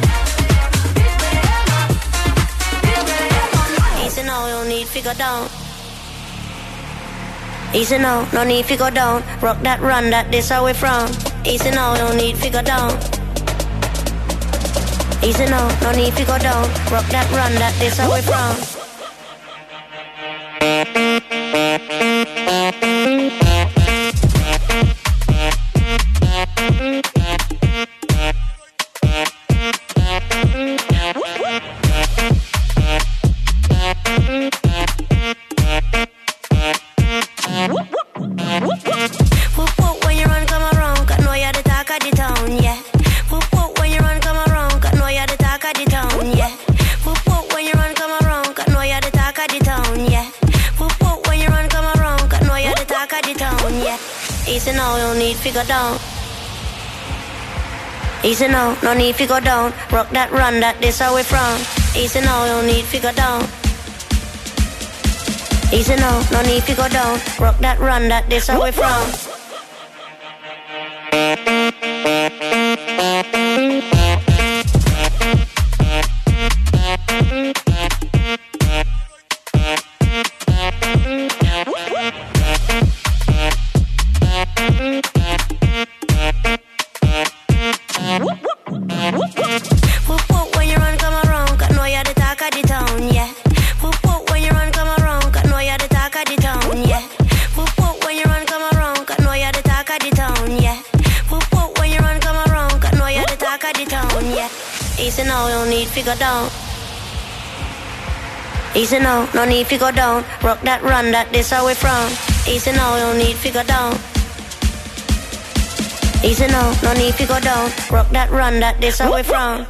figure down. Easy now, no need to go down. Rock that, run that, this how we from. Easy now, no need to go down. Easy now, no need to go down. Rock that, run that, this how we from. Easy now, no need to go down. Easy now, no need to go down. Rock that, run that, this how we from. Easy now, no need to go down. Easy now, no need to go down. Rock that, run that, this how we from. Easy now, no need to go down. Easy now, no need to go down. Rock that, run that, this how we from. Easy now, no need to go down. Easy now, no need to go down. Rock that, run that, this how we from.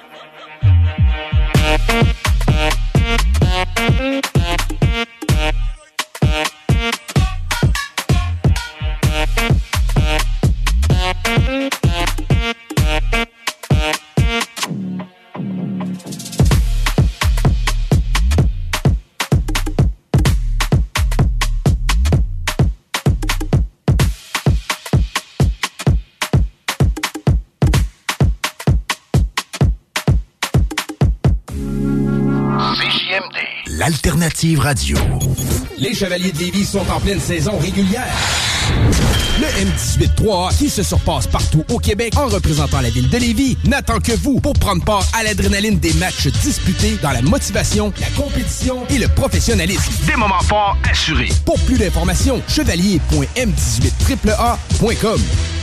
L'Alternative Radio. Les Chevaliers de Lévis sont en pleine saison régulière. Le M18-3A, qui se surpasse partout au Québec en représentant la ville de Lévis, n'attend que vous pour prendre part à l'adrénaline des matchs disputés dans la motivation, la compétition et le professionnalisme. Des moments forts assurés. Pour plus d'informations, chevalier.m18AAA.com.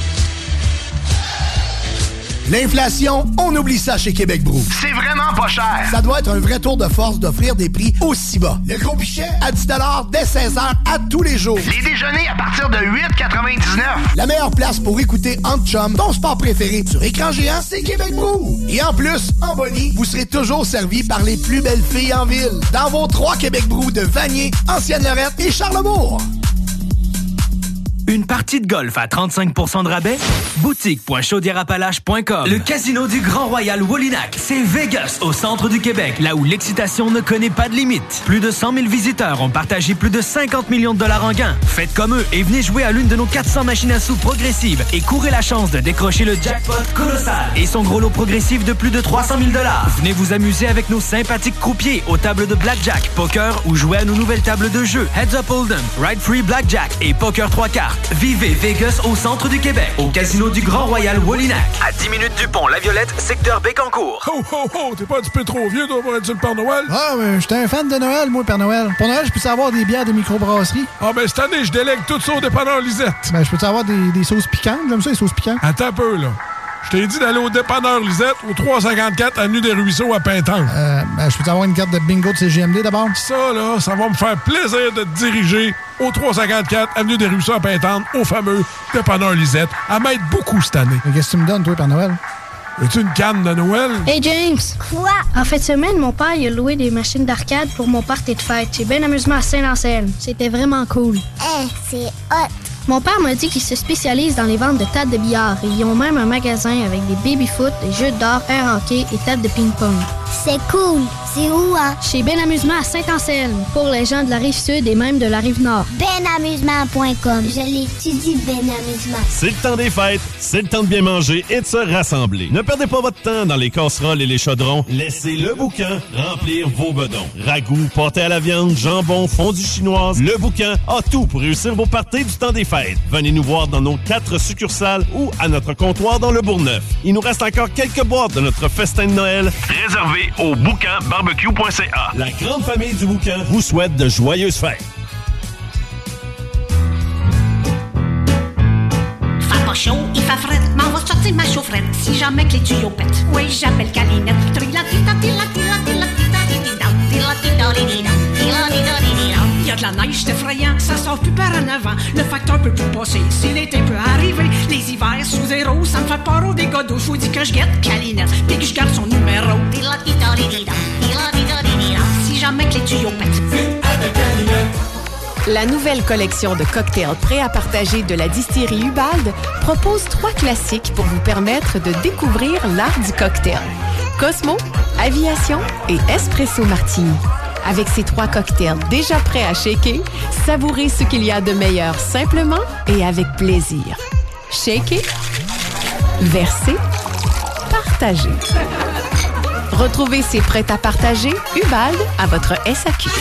L'inflation, on oublie ça chez Québec Brou. C'est vraiment pas cher. Ça doit être un vrai tour de force d'offrir des prix aussi bas. Le gros pichet à 10 $ dès 16h à tous les jours. Les déjeuners à partir de 8,99. La meilleure place pour écouter Entre Chum, ton sport préféré sur écran géant, c'est Québec Brou. Et en plus, en Bonnie, vous serez toujours servi par les plus belles filles en ville. Dans vos 3 Québec Brou de Vanier, Ancienne-Lorette et Charlebourg. Une partie de golf à 35% de rabais? Boutique.chaudierapalache.com. Le casino du Grand Royal Wallinac, c'est Vegas, au centre du Québec, là où l'excitation ne connaît pas de limite. Plus de 100 000 visiteurs ont partagé plus de 50 millions de dollars en gains. Faites comme eux et venez jouer à l'une de nos 400 machines à sous progressives et courez la chance de décrocher le jackpot colossal et son gros lot progressif de plus de 300 000 dollars. Venez vous amuser avec nos sympathiques croupiers aux tables de blackjack, poker ou jouer à nos nouvelles tables de jeu Heads Up Hold'em, Ride Free Blackjack et Poker 3 cartes. Vivez Vegas au centre du Québec, au casino du Grand Royal Wallinac. À 10 minutes du pont La Violette, secteur Bécancour. Ho, ho, ho! T'es pas un petit peu trop vieux, toi, pour être sur le Père Noël? Ah, mais j'étais un fan de Noël, moi, Père Noël. Pour Noël, je peux savoir des bières de microbrasserie? Ah, ben, cette année, je délègue tout ça au dépanneur Lisette. Ben, je peux savoir des sauces piquantes? J'aime ça, les sauces piquantes. Attends un peu, là. Je t'ai dit d'aller au dépanneur Lisette, au 354 Avenue des Ruisseaux à Pintan. Ben, je peux avoir une carte de bingo de CGMD d'abord? Ça, là, ça va me faire plaisir de te diriger au 354 Avenue des Ruisseaux à Pintan, au fameux dépanneur Lisette, à m'aide beaucoup cette année. Mais qu'est-ce que tu me donnes, toi, Père Noël? Veux-tu une canne de Noël? Hey, James! Quoi? En fin de semaine, mon père il a loué des machines d'arcade pour mon party de fête. J'ai bien amusement à Saint-Anselme. C'était vraiment cool. C'est hot! Mon père m'a dit qu'il se spécialise dans les ventes de tables de billard et ils ont même un magasin avec des baby-foot, des jeux d'or, air hockey et tables de ping-pong. C'est cool! C'est où, hein? Chez Ben Amusement à Saint-Anselme, pour les gens de la Rive-Sud et même de la Rive-Nord. Benamusement.com. Je l'étudie, Ben Amusement. C'est le temps des fêtes, c'est le temps de bien manger et de se rassembler. Ne perdez pas votre temps dans les casseroles et les chaudrons. Laissez le boucan remplir vos bedons. Ragoût, pâté à la viande, jambon, fondue chinoise, le boucan a tout pour réussir vos parties du temps des fêtes. Venez nous voir dans nos 4 succursales ou à notre comptoir dans le Bourgneuf. Il nous reste encore quelques boîtes de notre festin de Noël réservé au boucanbarbecue.ca. La grande famille du boucan vous souhaite de joyeuses fêtes. Fait pas chaud, il fait fret, m'en va sortir ma chaufferette si jamais que les tuyaux pètent. Oui, j'appelle Calinette. Il y a de la neige, c'est effrayant, ça sort plus par en avant. Le facteur peut plus passer, si l'été peut arriver. Les hivers sous zéro, ça me fait peur au dégâts d'eau. Faut dire que je guette Calinette, puis que je garde son numéro. Si jamais que les tuyaux pètent. La nouvelle collection de cocktails prêts à partager de la distillerie Ubald propose 3 classiques pour vous permettre de découvrir l'art du cocktail. Cosmo, Aviation et Espresso Martini. Avec ces 3 cocktails déjà prêts à shaker, savourez ce qu'il y a de meilleur simplement et avec plaisir. Shaker, verser, partager. Retrouvez ces prêts à partager Ubald à votre SAQ.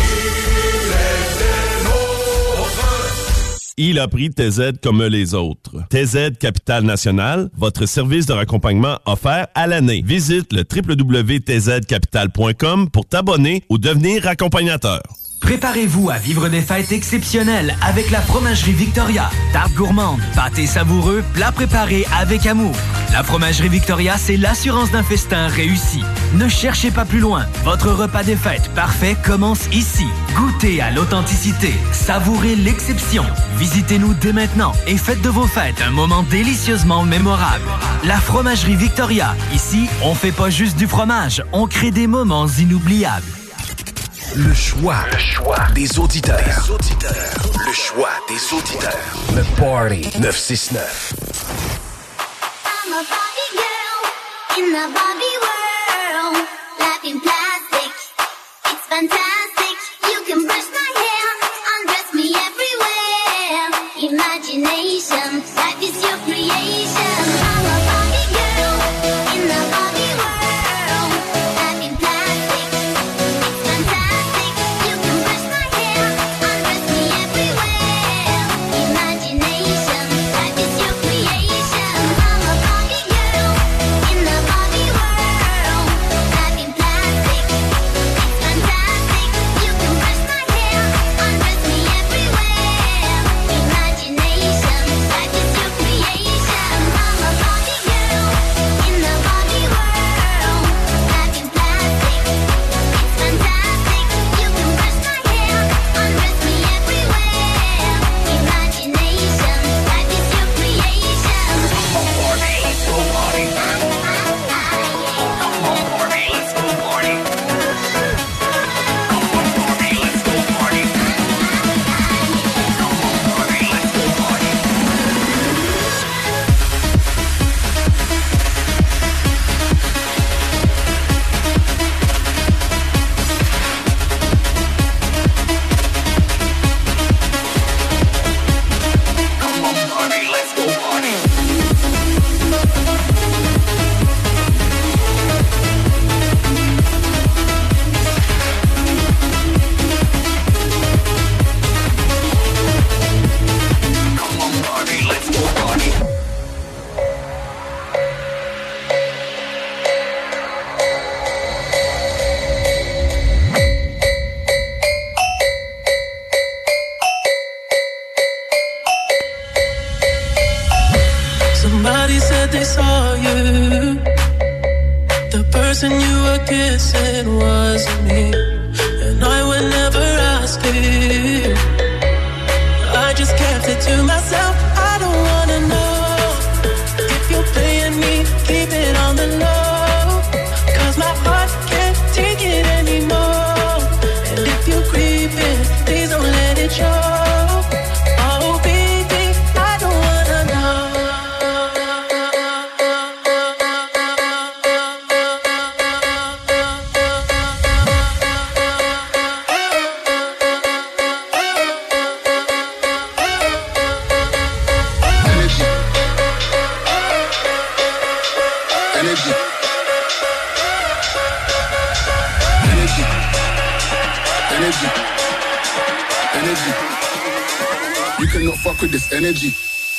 Il a pris TZ comme les autres. TZ Capital National, votre service de raccompagnement offert à l'année. Visite le www.tzcapital.com pour t'abonner ou devenir accompagnateur. Préparez-vous à vivre des fêtes exceptionnelles avec la Fromagerie Victoria. Tarte gourmande, pâté savoureux, plats préparés avec amour. La Fromagerie Victoria, c'est l'assurance d'un festin réussi. Ne cherchez pas plus loin. Votre repas des fêtes parfait commence ici. Goûtez à l'authenticité. Savourez l'exception. Visitez-nous dès maintenant et faites de vos fêtes un moment délicieusement mémorable. La Fromagerie Victoria. Ici, on fait pas juste du fromage, on crée des moments inoubliables. Le choix des auditeurs. Le choix des auditeurs. Le Party 969. I'm a Barbie girl in the Barbie world. Life in plastic, it's fantastic. You can brush my hair, undress me everywhere. Imagination, life is your creation. I'm a Barbie girl in the Barbie world. Life in plastic, it's fantastic. You can brush my hair, undress me everywhere. Imagination, life is your creation. I'm a Barbie girl in the Barbie world. Life in plastic, it's fantastic. You can brush my hair, undress me everywhere. Imagination, life is your creation. I'm a Barbie girl in the Barbie world. Life in plastic, it's fantastic. You can brush my hair, undress me everywhere. Imagination, life is your creation. Come on, Barbie, let's go party. Come on, Barbie, let's go party. Come on, Barbie, let's go party. Come on, Barbie, let's go party. Come on, Barbie, let's go party. Come on, Barbie, let's go party. Somebody said they saw you. The person you were kissing wasn't me, and I would never ask you. I just kept it to myself. I don't wanna know if you're playing me. Keep it on the low, 'cause my heart can't take it anymore. And if you're creeping, please don't let it show. Oh baby, I don't wanna know. Energy. Energy. You cannot fuck with this energy.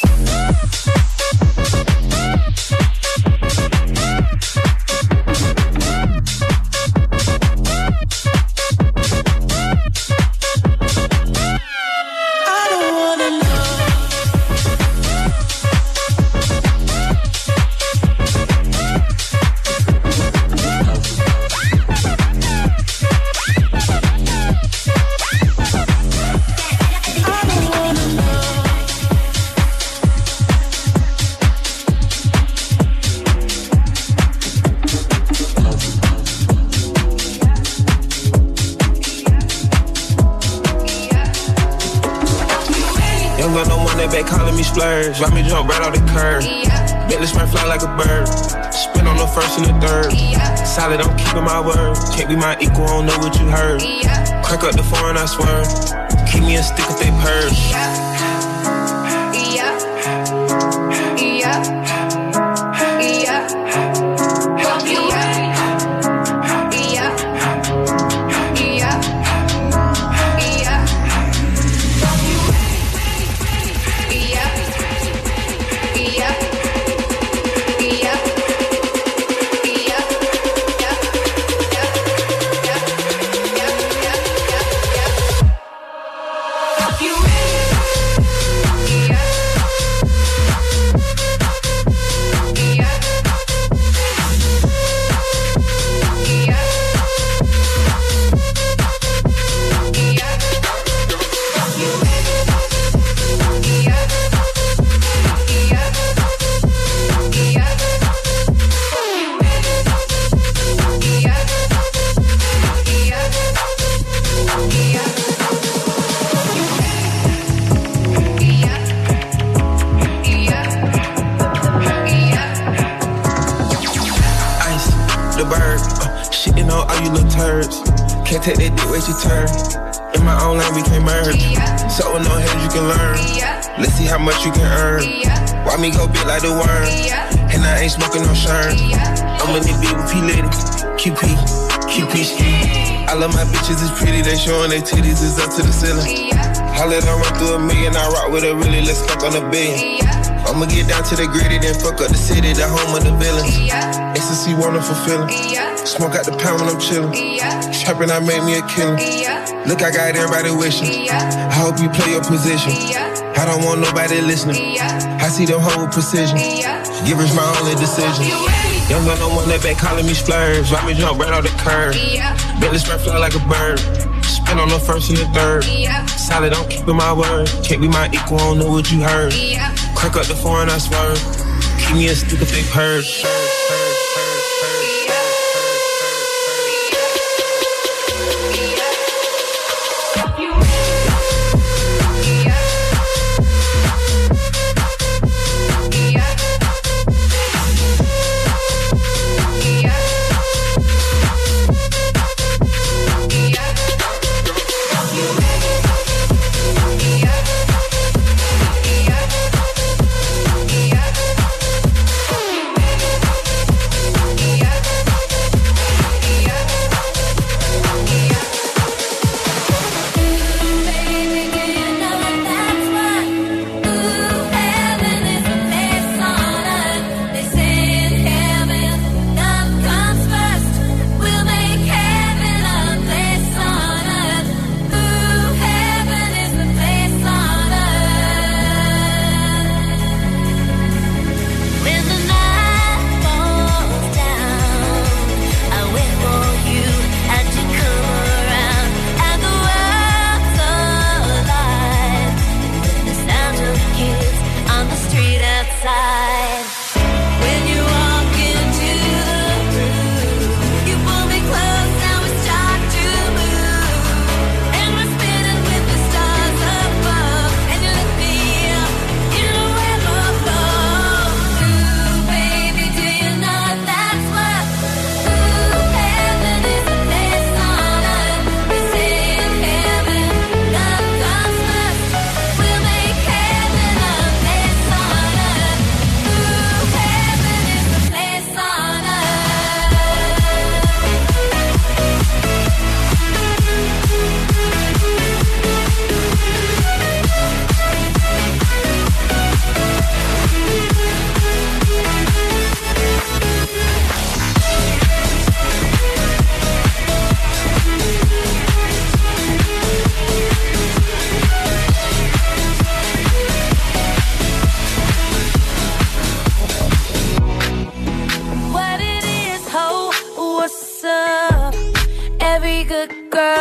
Splurge, why me jump right off the curb? Yeah. Bentley spray fly like a bird. Spin on the first and the third. Yeah. Solid, I'm keeping my word. Can't be my equal, I don't know what you heard. Yeah. Crack up the foreign, I swear. Keep me a stick if they purge. Yeah. Yeah. Yeah. Can't take that dick, wait your turn. In my own lane, we can't merge. So with no hands, you can learn. Let's see how much you can earn. Why me go big like the worm? And I ain't smoking no shirt. I'm in the beat with P-Lady. QP street. I love my bitches, it's pretty. They showing their titties, it's up to the ceiling. I let her run through a million. I rock with her, really, let's fuck on a billion. I'ma get down to the gritty, then fuck up the city, the home of the villains. Ecstasy, wonderful feeling. Smoke out the pound when I'm chillin'. Trappin', I make me a killer. Look, I got everybody wishing. I hope you play your position. I don't want nobody listening. I see them whole precision. Givers my only decision. Young gun, no one that back calling me splurge. Why me jump right off the curb? Bentley spray fly like a bird. Spin on the first and the third. Solid, I'm keeping my word. Can't be my equal, I don't know what you heard. Crack up the foreign, I swerve. Keep me a stick if they purge.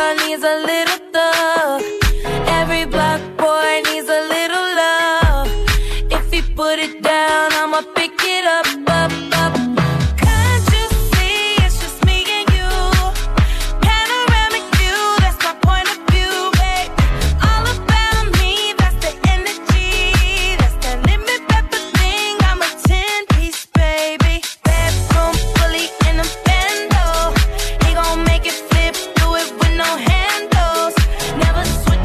girl needs a little thug. Every black boy needs a little love. If he put it down, I'ma pick it up, up, up. Can't you see it's just me and you? Panoramic view, that's my point of view, babe. All about me, that's the energy. That's that lemon pepper thing, I'm a 10-piece, baby. Bedroom fully in a bando. He gon' make it flip, do it with no handles. Never switch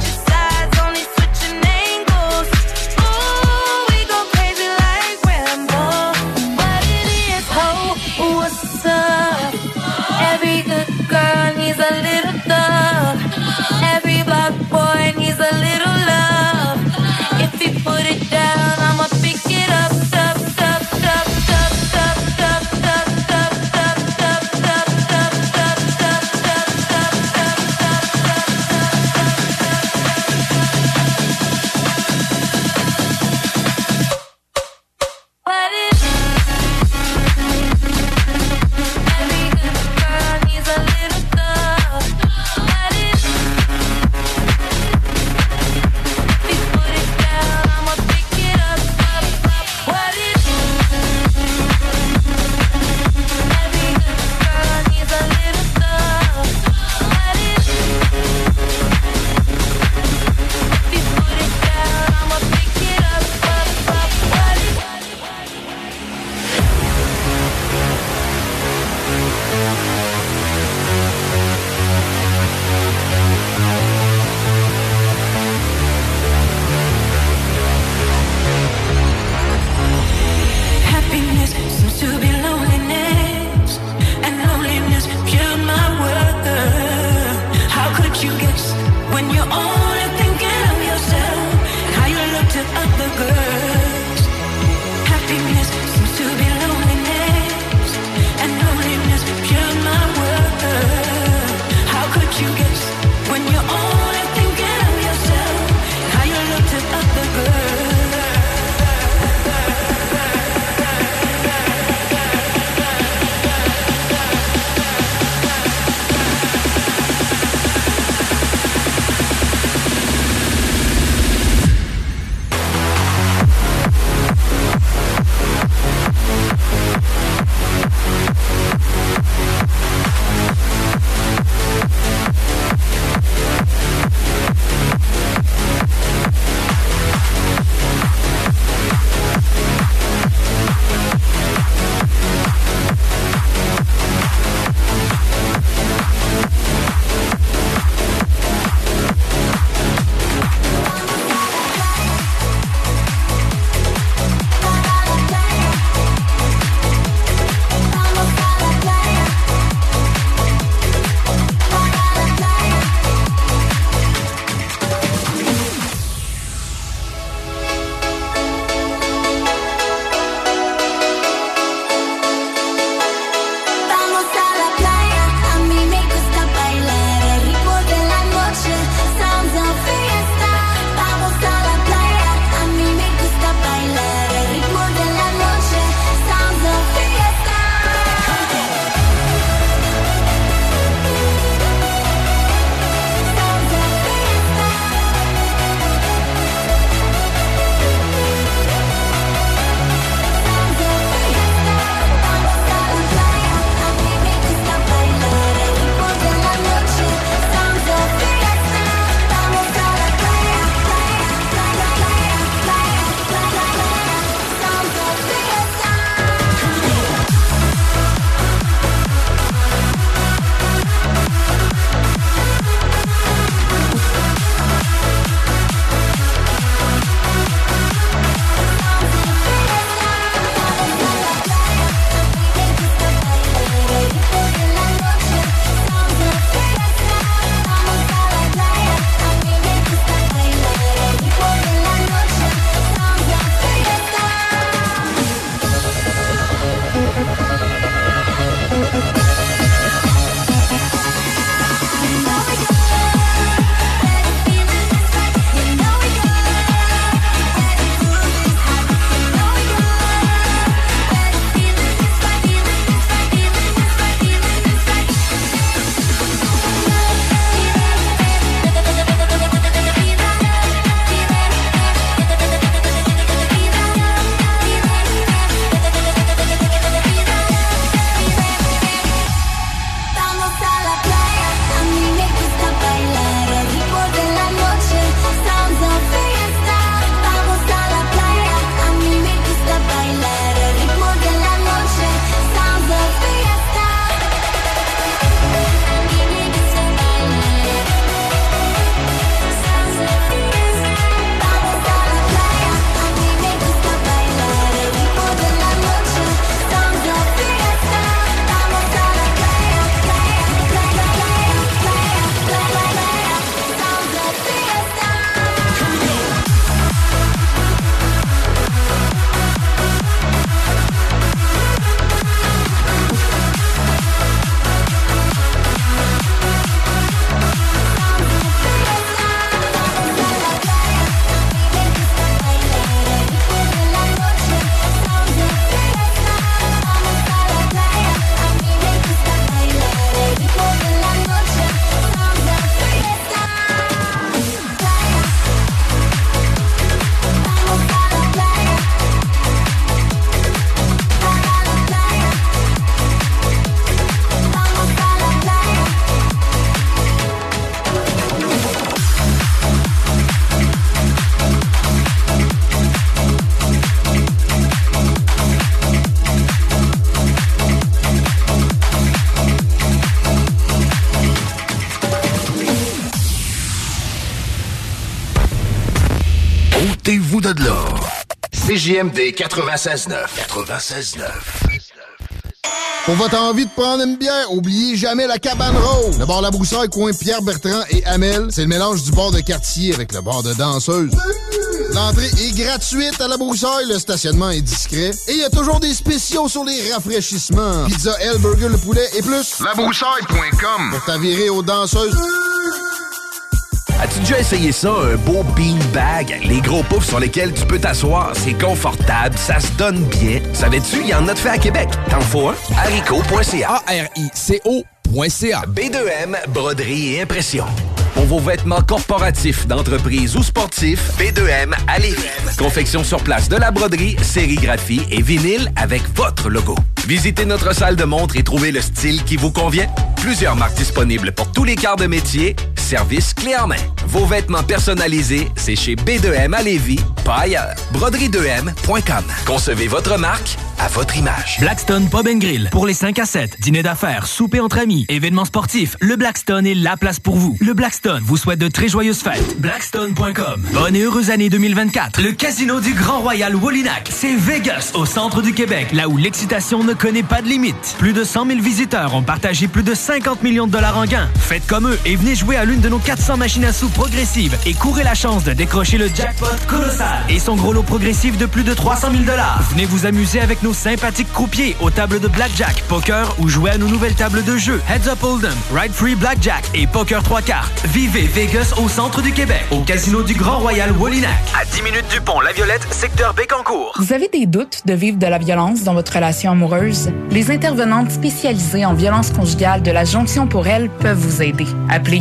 Sortez-vous de là. CJMD 96.9. 96.9. Pour votre envie de prendre une bière, oubliez jamais la Cabane Rose. Le bar La Broussaille, coin Pierre-Bertrand et Hamel, c'est le mélange du bar de quartier avec le bar de danseuse. L'entrée est gratuite à La Broussaille, le stationnement est discret et il y a toujours des spéciaux sur les rafraîchissements. Pizza, L, burger, le poulet et plus. Labroussaille.com pour t'avirer aux danseuses. As-tu déjà essayé ça, un beau beanbag? Les gros poufs sur lesquels tu peux t'asseoir, c'est confortable, ça se donne bien. Savais-tu, il y en a de fait à Québec. T'en faut un? Haricot.ca. ARICO.ca. B2M, broderie et impression. Pour vos vêtements corporatifs, d'entreprise ou sportifs, B2M à Lévis. Confection sur place de la broderie, sérigraphie et vinyle avec votre logo. Visitez notre salle de montre et trouvez le style qui vous convient. Plusieurs marques disponibles pour tous les quarts de métier. Service clé en main. Vos vêtements personnalisés, c'est chez B2M à Lévis, pas ailleurs. Broderie2M.com. Concevez votre marque à votre image. Blackstone Pub & Grill. Pour les 5 à 7, dîner d'affaires, souper entre amis, événements sportifs, le Blackstone est la place pour vous. Le Blackstone vous souhaite de très joyeuses fêtes. Blackstone.com. Bonne et heureuse année 2024. Le casino du Grand Royal Wallinac, c'est Vegas, au centre du Québec, là où l'excitation ne connaît pas de limite. Plus de 100 000 visiteurs ont partagé plus de 50 millions de dollars en gains. Faites comme eux et venez jouer à l'une de nos 400 machines à sous progressives et courez la chance de décrocher le jackpot colossal et son gros lot progressif de plus de 300 000 dollars. Venez vous amuser avec nos sympathiques croupiers aux tables de blackjack, poker ou jouer à nos nouvelles tables de jeu Heads Up Hold'em, Ride Free Blackjack et Poker 3 cartes. Vivez Vegas au centre du Québec, au casino du Grand Royal Wallinac. À 10 minutes du pont La Violette, secteur Bécancour. Vous avez des doutes de vivre de la violence dans votre relation amoureuse? Les intervenantes spécialisées en violence conjugale de la Jonction pour elle peuvent vous aider. Appelez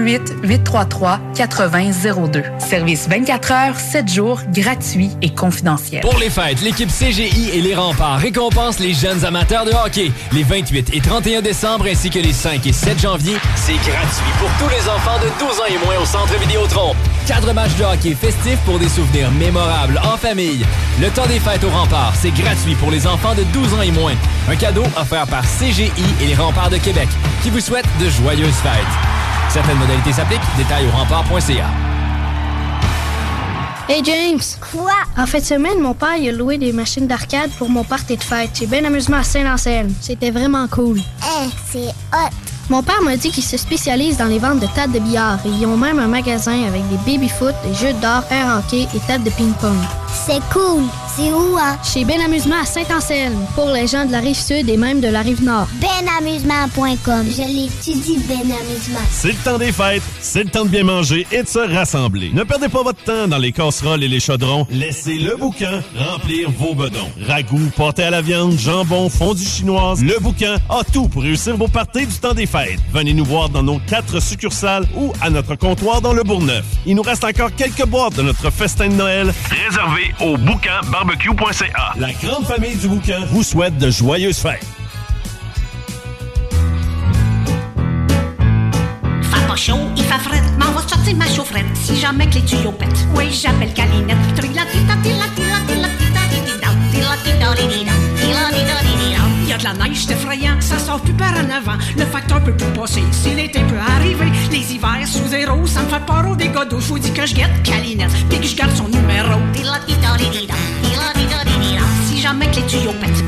418-833-8002. Service 24 heures, 7 jours, gratuit et confidentiel. Pour les fêtes, l'équipe CGI et les Remparts récompense les jeunes amateurs de hockey. Les 28 et 31 décembre ainsi que les 5 et 7 janvier, c'est gratuit pour tous les enfants de 12 ans et moins au Centre Vidéotron. 4 matchs de hockey festifs pour des souvenirs mémorables en famille. Le temps des fêtes aux Remparts, c'est gratuit pour les enfants de 12 ans et moins. Un cadeau offert par CGI et les Remparts de Québec qui vous souhaitent de joyeuses fêtes. Certaines modalités s'appliquent. Détails au rempart.ca. Hey James! Quoi? En fin de semaine, mon père il a loué des machines d'arcade pour mon party de fête. J'ai bien amusement à Saint-Anselme. C'était vraiment cool. C'est hot! Mon père m'a dit qu'il se spécialise dans les ventes de tables de billard et ils ont même un magasin avec des baby-foot, des jeux d'or, air hockey et tables de ping-pong. C'est cool! C'est où, hein? Chez Ben Amusement à Saint-Anselme, pour les gens de la Rive-Sud et même de la Rive-Nord. Benamusement.com. Je l'étudie, Ben Amusement. C'est le temps des fêtes, c'est le temps de bien manger et de se rassembler. Ne perdez pas votre temps dans les casseroles et les chaudrons. Laissez le boucan remplir vos bedons. Ragoût, pâté à la viande, jambon, fondue chinoise, le boucan a tout pour réussir vos parties du temps des fêtes. Venez nous voir dans nos 4 succursales ou à notre comptoir dans le Bourgneuf. Il nous reste encore quelques boîtes de notre festin de Noël réservé au boucanbarbecue.ca. La grande famille du boucan vous souhaite de joyeuses fêtes. Fait pas chaud, il fait fret, m'en va sortir ma chaufferette si jamais que les tuyaux pètent. Oui, j'appelle Calinette. Il y a de la neige, c'est effrayant, ça sort plus par en avant. Le facteur peut plus passer, si l'été peut arriver. Les hivers sous zéro, ça me fait peur au dégâts d'eau. Faut dire que je guette Calinette, puis que je garde son numéro. Si jamais que les tuyaux pètent.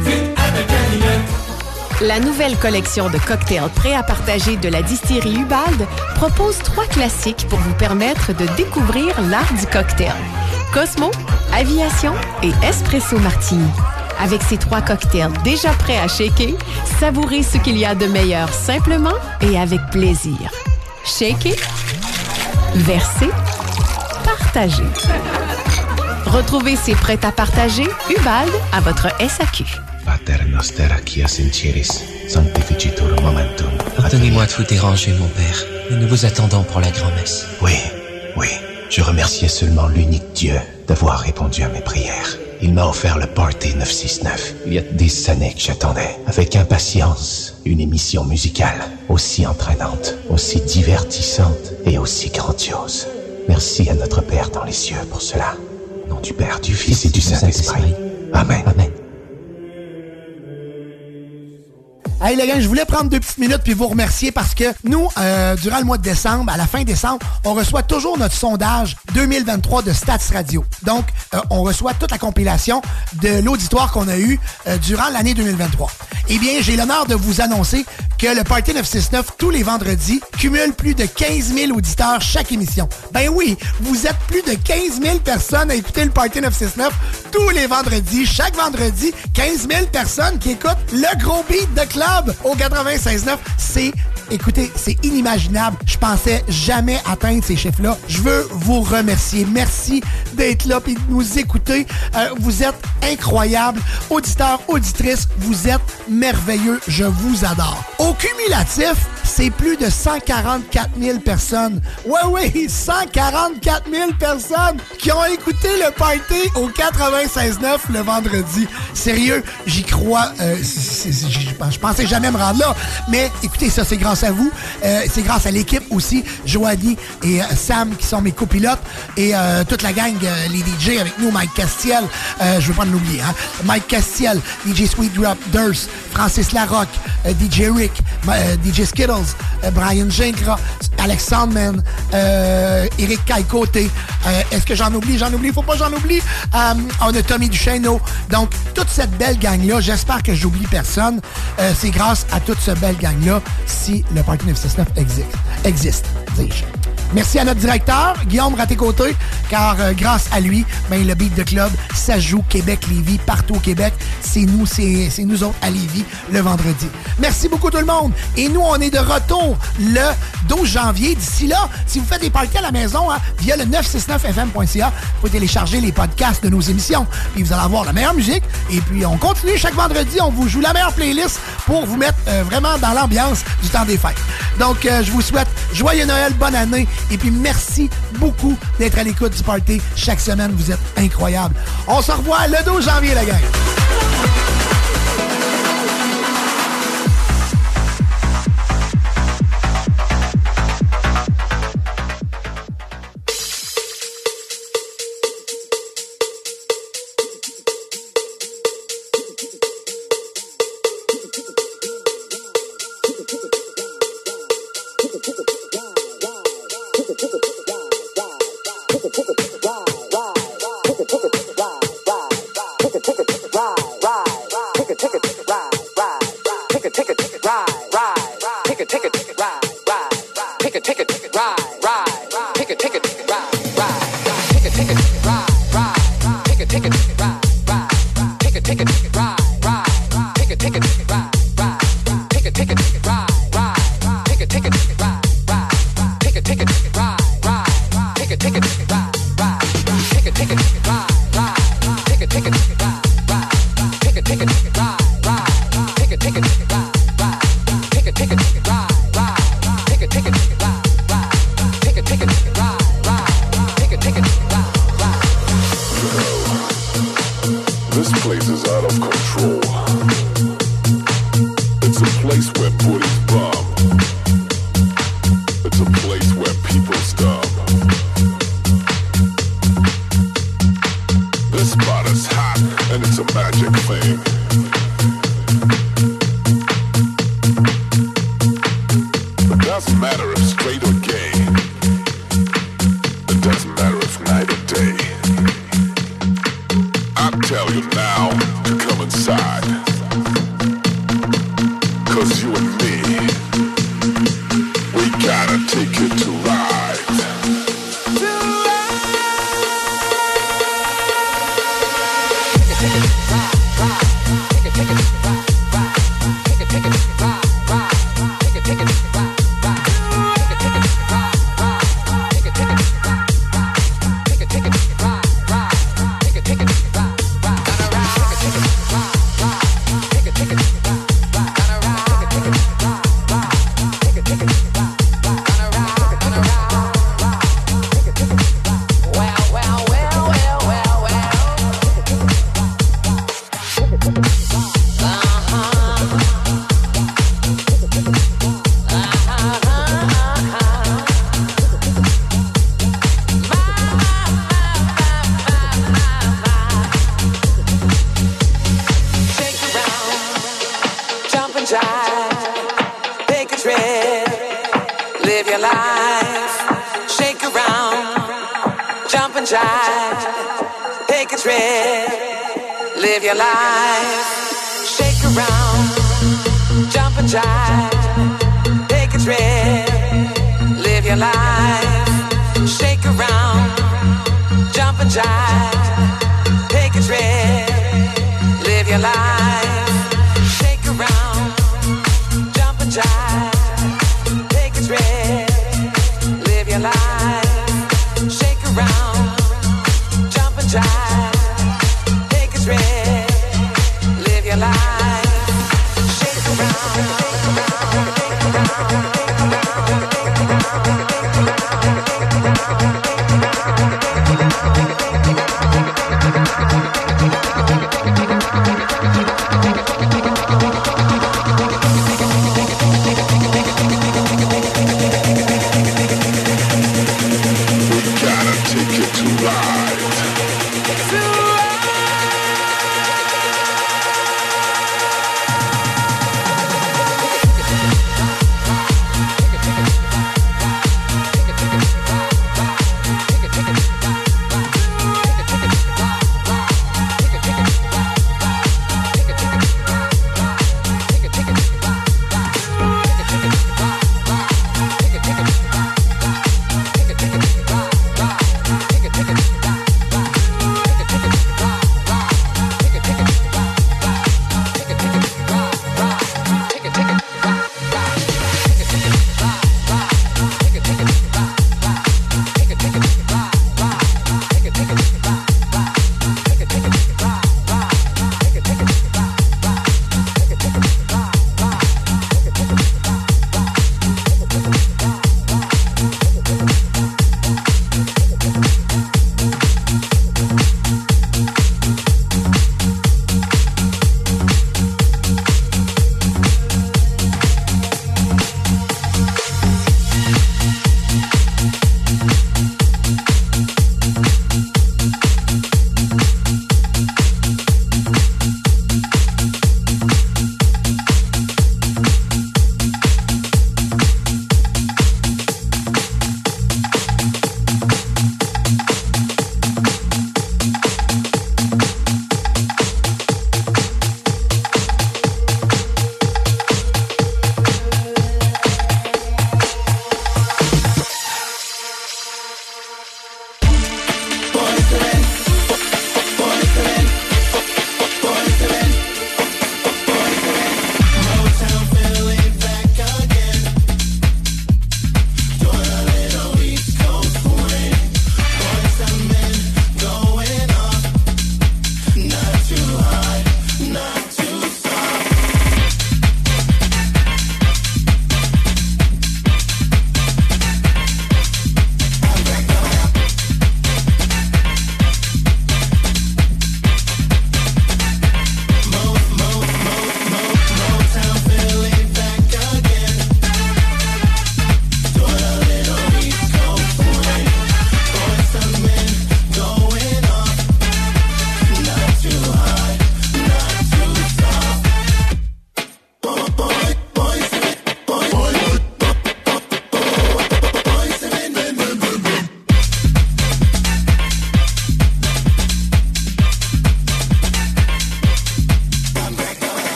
La nouvelle collection de cocktails prêts à partager de la distillerie Ubald propose 3 classiques pour vous permettre de découvrir l'art du cocktail. Cosmo, Aviation et Espresso Martini. Avec ces 3 cocktails déjà prêts à shaker, savourez ce qu'il y a de meilleur simplement et avec plaisir. Shaker, verser, partager. Retrouvez ces prêts à partager Ubald à votre SAQ. Pater noster qui sincieris, sanctificitur momentum. Pardonnez-moi de vous déranger, mon père, mais nous vous attendons pour la grand-messe. Oui, je remerciais seulement l'unique Dieu d'avoir répondu à mes prières. Il m'a offert le Party 969. Il y a 10 années que j'attendais, avec impatience, une émission musicale aussi entraînante, aussi divertissante et aussi grandiose. Merci à notre Père dans les cieux pour cela. Au nom du Père, du Fils et du Saint-Esprit. Amen. Hey les gars, je voulais prendre 2 petites minutes puis vous remercier parce que nous, durant le mois de décembre, à la fin décembre, on reçoit toujours notre sondage 2023 de Stats Radio. Donc, on reçoit toute la compilation de l'auditoire qu'on a eu durant l'année 2023. Eh bien, j'ai l'honneur de vous annoncer que le Party 969, tous les vendredis, cumule plus de 15 000 auditeurs chaque émission. Ben oui, vous êtes plus de 15 000 personnes à écouter le Party 969 tous les vendredis. Chaque vendredi, 15 000 personnes qui écoutent le gros beat de club au 96.9. Écoutez, c'est inimaginable. Je pensais jamais atteindre ces chiffres-là. Je veux vous remercier. Merci d'être là et de nous écouter. Vous êtes incroyables. Auditeurs, auditrices, vous êtes merveilleux. Je vous adore. Au cumulatif, c'est plus de 144 000 personnes. Oui, 144 000 personnes qui ont écouté le party au 96.9 le vendredi. Sérieux, j'y crois. Je pensais jamais me rendre là. Mais écoutez, ça, c'est grâce à vous. C'est grâce à l'équipe aussi, Joanie et Sam qui sont mes copilotes et toute la gang, les DJ avec nous, Mike Castiel, je veux pas l'oublier, hein? Mike Castiel, DJ Sweet Drop, Durst, Francis Larocque, DJ Rick, DJ Skittles, Brian Gincra, Alex Sandman, Eric Caille-Côté. Est-ce que j'en oublie? Faut pas que j'en oublie. On a Tommy Duchesneau. Donc, toute cette belle gang-là, j'espère que j'oublie personne. C'est grâce à toute cette belle gang-là si le Party 969 existe, dis-je. Merci à notre directeur, Guillaume Raté-Côté, car grâce à lui, le beat de club, ça joue Québec-Lévis, partout au Québec. C'est nous autres à Lévis, le vendredi. Merci beaucoup tout le monde. Et nous, on est de retour le 12 janvier. D'ici là, si vous faites des parties à la maison, via le 969fm.ca, vous pouvez télécharger les podcasts de nos émissions. Puis vous allez avoir la meilleure musique. Et puis, on continue chaque vendredi. On vous joue la meilleure playlist pour vous mettre vraiment dans l'ambiance du temps des fêtes. Donc, je vous souhaite joyeux Noël, bonne année. Et puis, merci beaucoup d'être à l'écoute du party chaque semaine. Vous êtes incroyables. On se revoit le 12 janvier, la gang. Tell you now to come inside. jump and jive, take a trip, live your life, shake around, jump and jive, take a trip, live your life, shake around, jump and jive, take a trip, live your life, shake around, jump and jive, take a trip, live your life, shake around, jump and jive, take a trip, live your life, shake around, shake around, shake around, shake around, shake around, shake around.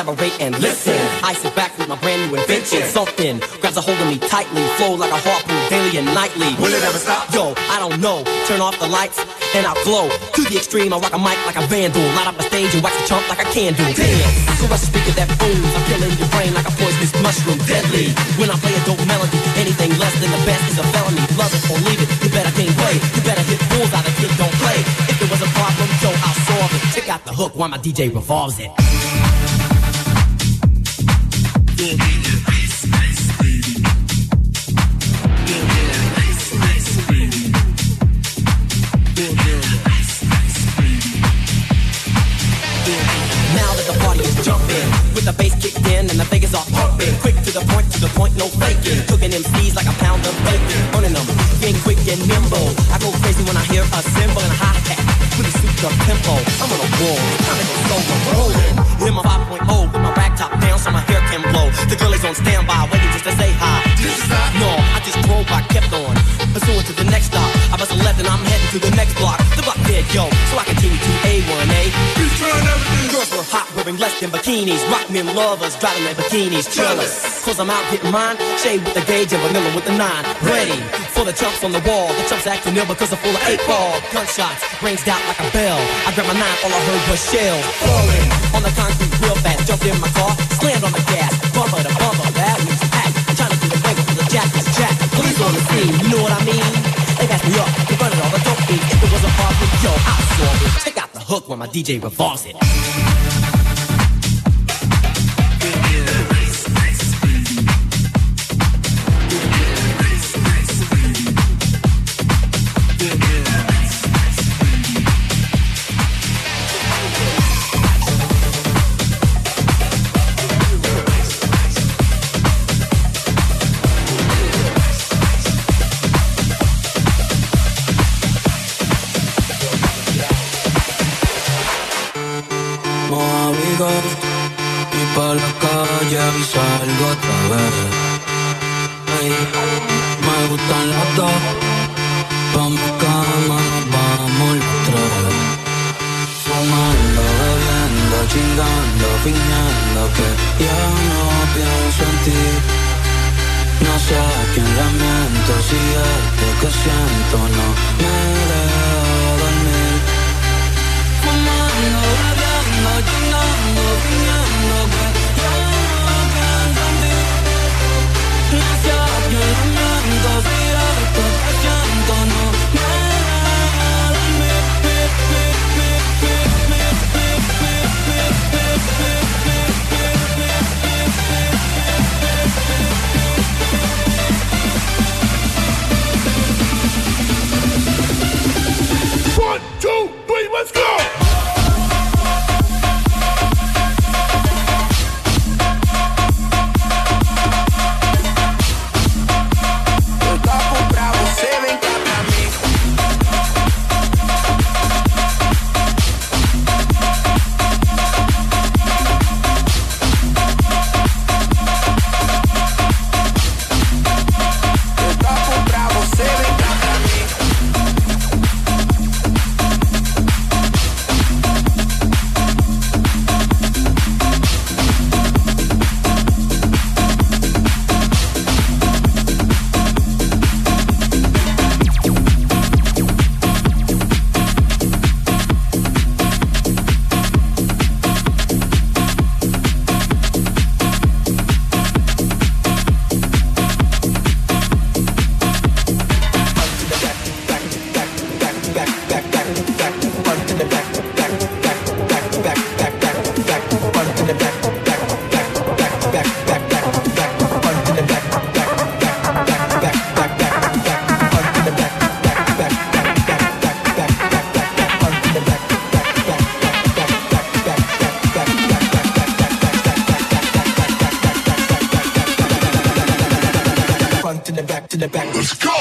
collaborate and listen. I sit back with my brand new invention. Something grabs a hold of me tightly, flow like a harpoon daily and nightly. Will it ever stop? Yo, I don't know. Turn off the lights and I'll glow. To the extreme, I rock a mic like a vandal. Light up a stage and wax a chump like a candle. Dance, caress a speaker that booms. I'm killing your brain like a poisonous mushroom. Deadly, when I play a dope melody, anything less than the best is a felony. Love it or leave it, you better gain weight. You better hit fools out of kid, don't play. If there was a problem, yo, I'll solve it. Check out the hook while my DJ revolves it. With the bass kicked in and the figures are pumping. Quick to the point, no faking. Cooking MCs like a pound of bacon. Running them, being quick and nimble. I go crazy when I hear a cymbal and a hi-hat with a souped up tempo. I'm on a roll, time to go slow, I'm rolling. Hit my 5.0 with my rag top down so my hair can blow. The girl is on standby, waiting just to say hi. Did you stop? No, I just drove, I kept on. Pursuing to the next stop. I bust a left and I'm heading to the next block. The block dead, yo, so I continue to A1A. He's trying everything. Girls were hot, wearing less than bikinis. Rock men lovers, driving their bikinis. Jealous, cause I'm out getting mine. Shade with the gauge and vanilla with the 9. Ready for the chumps on the wall. The chumps acting ill because they're full of 8-ball. Gunshots, rings out like a bell. I grabbed my 9, all I heard was shells. Falling on the concrete real fast. Jumped in my car, slammed on the gas. Bumper to bumper, that was packed. I'm trying to do the wiggle for the jack is jack. Police on the scene, you know what I mean? They passed me up, they running all the dope beats. If there was a problem, yo, I'll solve it. Check out the hook when my DJ revolves it. Y pa' la calle y salgo otra vez. Ey, me gustan las dos. Pa' mi cama nos vamos los tres. Fumando, bebiendo, chingando, fingiendo que ya no pienso en ti. No sé a quién le miento, si esto que siento no me deja dormir. Fumando, bebiendo, chingando, fingiendo que ya no pienso en ti. No sé a quién le miento, si esto que siento no me deja dormir. 1, 2, 3, let's go! the back. Let's go!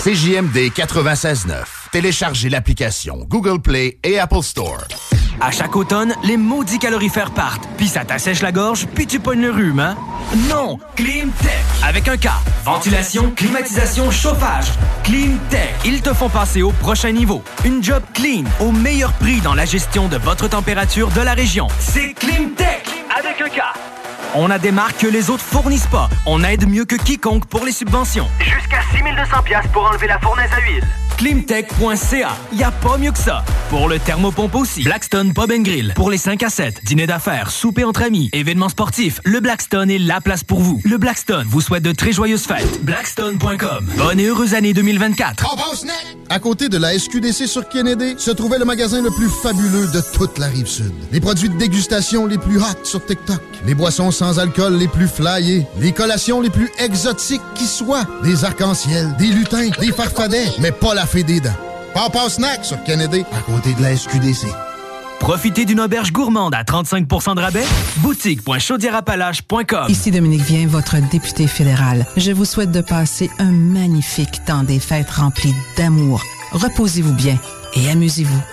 CJMD 96.9. Téléchargez l'application Google Play et Apple Store. À chaque automne, les maudits calorifères partent, puis ça t'assèche la gorge, puis tu pognes le rhume, hein? Non! Climtech! Avec un K. Ventilation, climatisation, chauffage. Climtech. Ils te font passer au prochain niveau. Une job clean, au meilleur prix dans la gestion de votre température de la région. C'est Climtech! Avec un K. On a des marques que les autres fournissent pas. On aide mieux que quiconque pour les subventions. Jusqu'à 6 200$ pour enlever la fournaise à huile. Climtech.ca. Y a pas mieux que ça. Pour le thermopompe aussi. Blackstone Pub & Grill. Pour les 5 à 7. Dîner d'affaires, souper entre amis, événements sportifs. Le Blackstone est la place pour vous. Le Blackstone vous souhaite de très joyeuses fêtes. Blackstone.com. Bonne et heureuse année 2024. À côté de la SQDC sur Kennedy, se trouvait le magasin le plus fabuleux de toute la Rive-Sud. Les produits de dégustation les plus hot sur TikTok. Les boissons sans alcool les plus flyées. Les collations les plus exotiques qui soient. Des arcs-en-ciel, des lutins, des farfadets, mais pas la fée des dents. Papa Snack sur Kennedy, à côté de la SQDC. Profitez d'une auberge gourmande à 35% de rabais. Boutique.chaudièreappalaches.com. Ici Dominique Vien, votre député fédéral. Je vous souhaite de passer un magnifique temps des fêtes rempli d'amour. Reposez-vous bien et amusez-vous.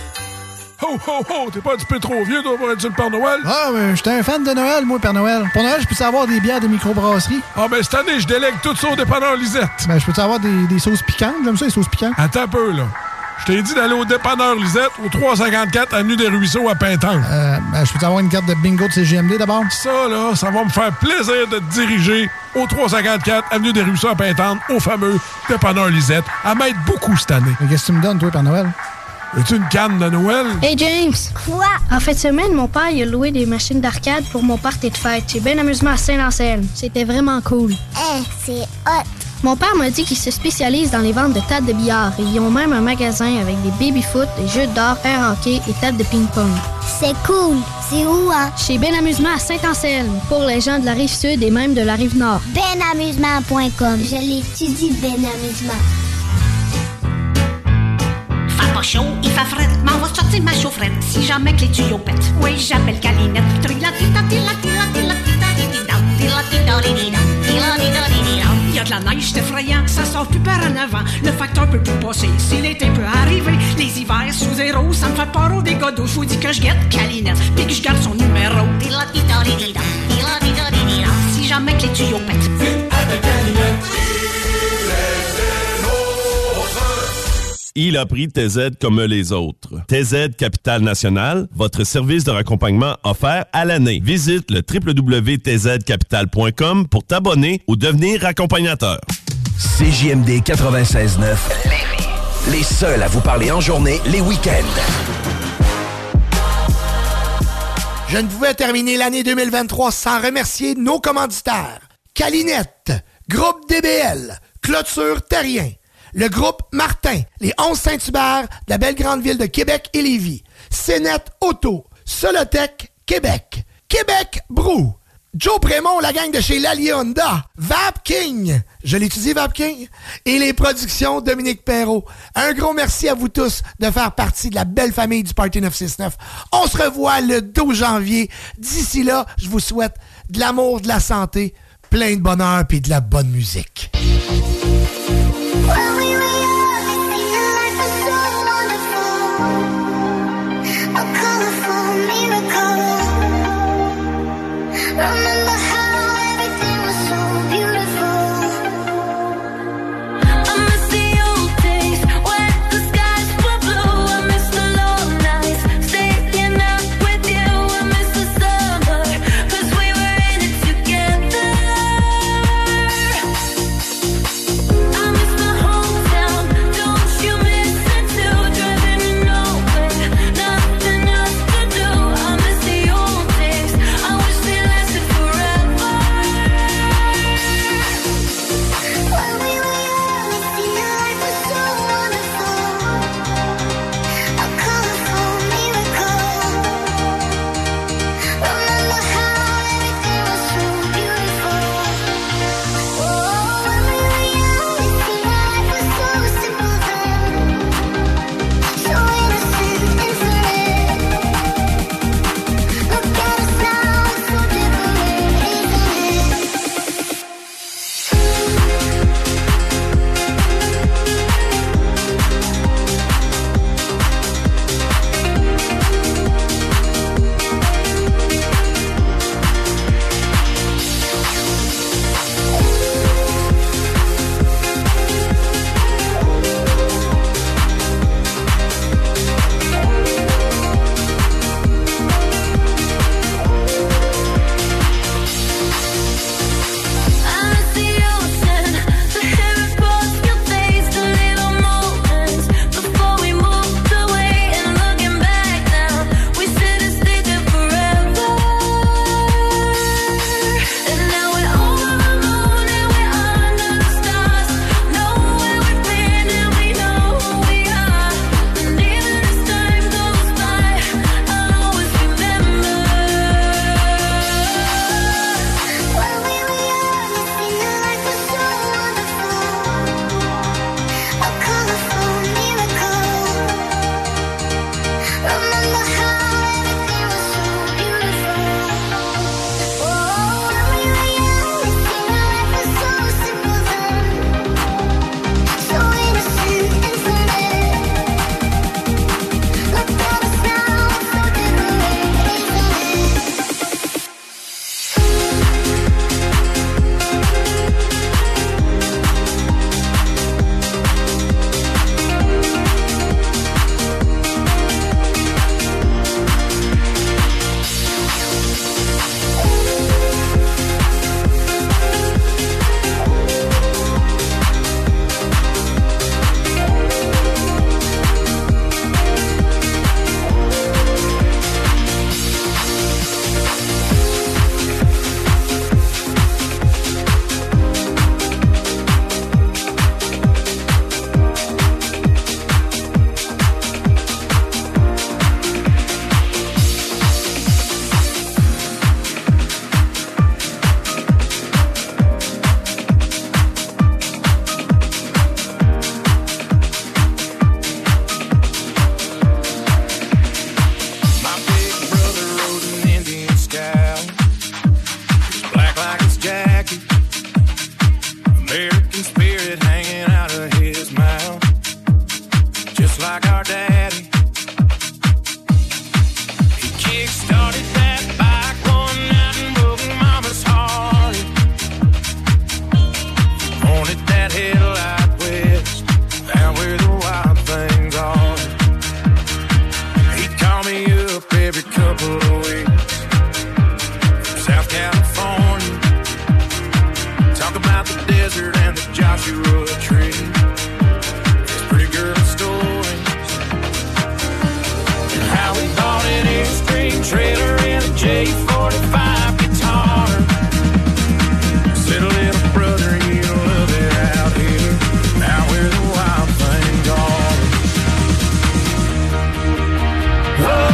Ho, ho, ho! T'es pas un petit peu trop vieux, toi, pour être sur le Père Noël? Ah, mais j'étais un fan de Noël, moi, Père Noël. Pour Noël, je peux avoir des bières de microbrasserie? Ah, ben cette année, je délègue tout ça au dépanneur Lisette. Ben, je peux avoir des sauces piquantes? J'aime ça, les sauces piquantes. Attends un peu, là. Je t'ai dit d'aller au dépanneur Lisette, au 354 Avenue des Ruisseaux à Pintanque. Ben, je peux avoir une carte de bingo de CGMD d'abord? Ça, là, ça va me faire plaisir de te diriger au 354 Avenue des Ruisseaux à Pintanque, au fameux dépanneur Lisette, à m'aider beaucoup cette année. Mais qu'est-ce que tu me donnes, toi, Père Noël? As-tu une canne de Noël? Hey James! Quoi? En fin de semaine, mon père il a loué des machines d'arcade pour mon party de fête. J'ai bien amusement à Saint-Anselme. C'était vraiment cool. C'est hot! Mon père m'a dit qu'il se spécialise dans les ventes de tables de billard et ils ont même un magasin avec des baby-foot, des jeux d'or, air hockey et tables de ping-pong. C'est cool! C'est où, hein? Chez Ben Amusement à Saint-Anselme, pour les gens de la Rive-Sud et même de la Rive-Nord. Benamusement.com. Je l'étudie, Ben Amusement. Pas chaud, il fait frais, m'en va sortir ma chaufferette si jamais que les tuyaux pètent. Oui, j'appelle Calinette. Il y a de la neige, c'est effrayant, ça sort plus par en avant. Le facteur peut plus passer, si l'été peut arriver. Les hivers sous zéro, ça me fait peur au dégâts d'eau. Je vous dis que je guette Calinette, puis que je garde son numéro. Si jamais que les tuyaux pètent. Avec Calinette. Il a pris TZ comme les autres. TZ Capital National, votre service de raccompagnement offert à l'année. Visite le www.tzcapital.com pour t'abonner ou devenir accompagnateur. CJMD 96.9. Les seuls à vous parler en journée, les week-ends. Je ne pouvais terminer l'année 2023 sans remercier nos commanditaires. Calinette, Groupe DBL, Clôture Terrien, le groupe Martin, les 11 Saint-Hubert de la belle grande ville de Québec et Lévis, Cénet Auto, Solotech Québec, Québec Brou, Joe Prémont, la gang de chez Lalier Honda, Vapking, je l'étudie Vapking, et les productions Dominique Perrault. Un gros merci à vous tous de faire partie de la belle famille du Party 969. On se revoit le 12 janvier. D'ici là, je vous souhaite de l'amour, de la santé, plein de bonheur et de la bonne musique. Remember how everything was so beautiful. I miss the old days when the skies were blue. I miss the long nights staying up with you. I miss the summer 'cause we were in it together. I miss the hometown, don't you miss it too? Driving in nowhere, nothing else to do. I miss the old days, I wish they lasted forever. desert and the Joshua tree. It's pretty girl stories. And how we bought an Airstream trailer and a J45 guitar. Said, little brother, you love it out here, out where the wild things are. Oh,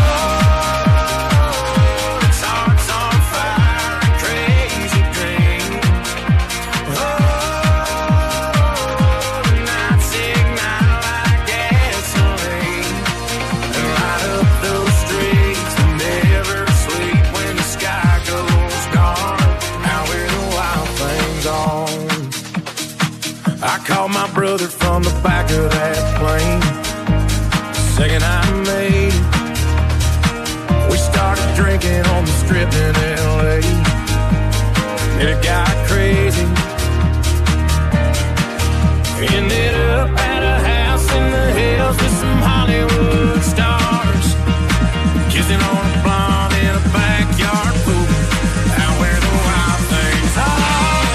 called my brother from the back of that plane. Second I made it, we started drinking on the strip in L.A. And it got crazy. Ended up at a house in the hills with some Hollywood stars, kissing on a blonde in a backyard pool, out where the wild things are.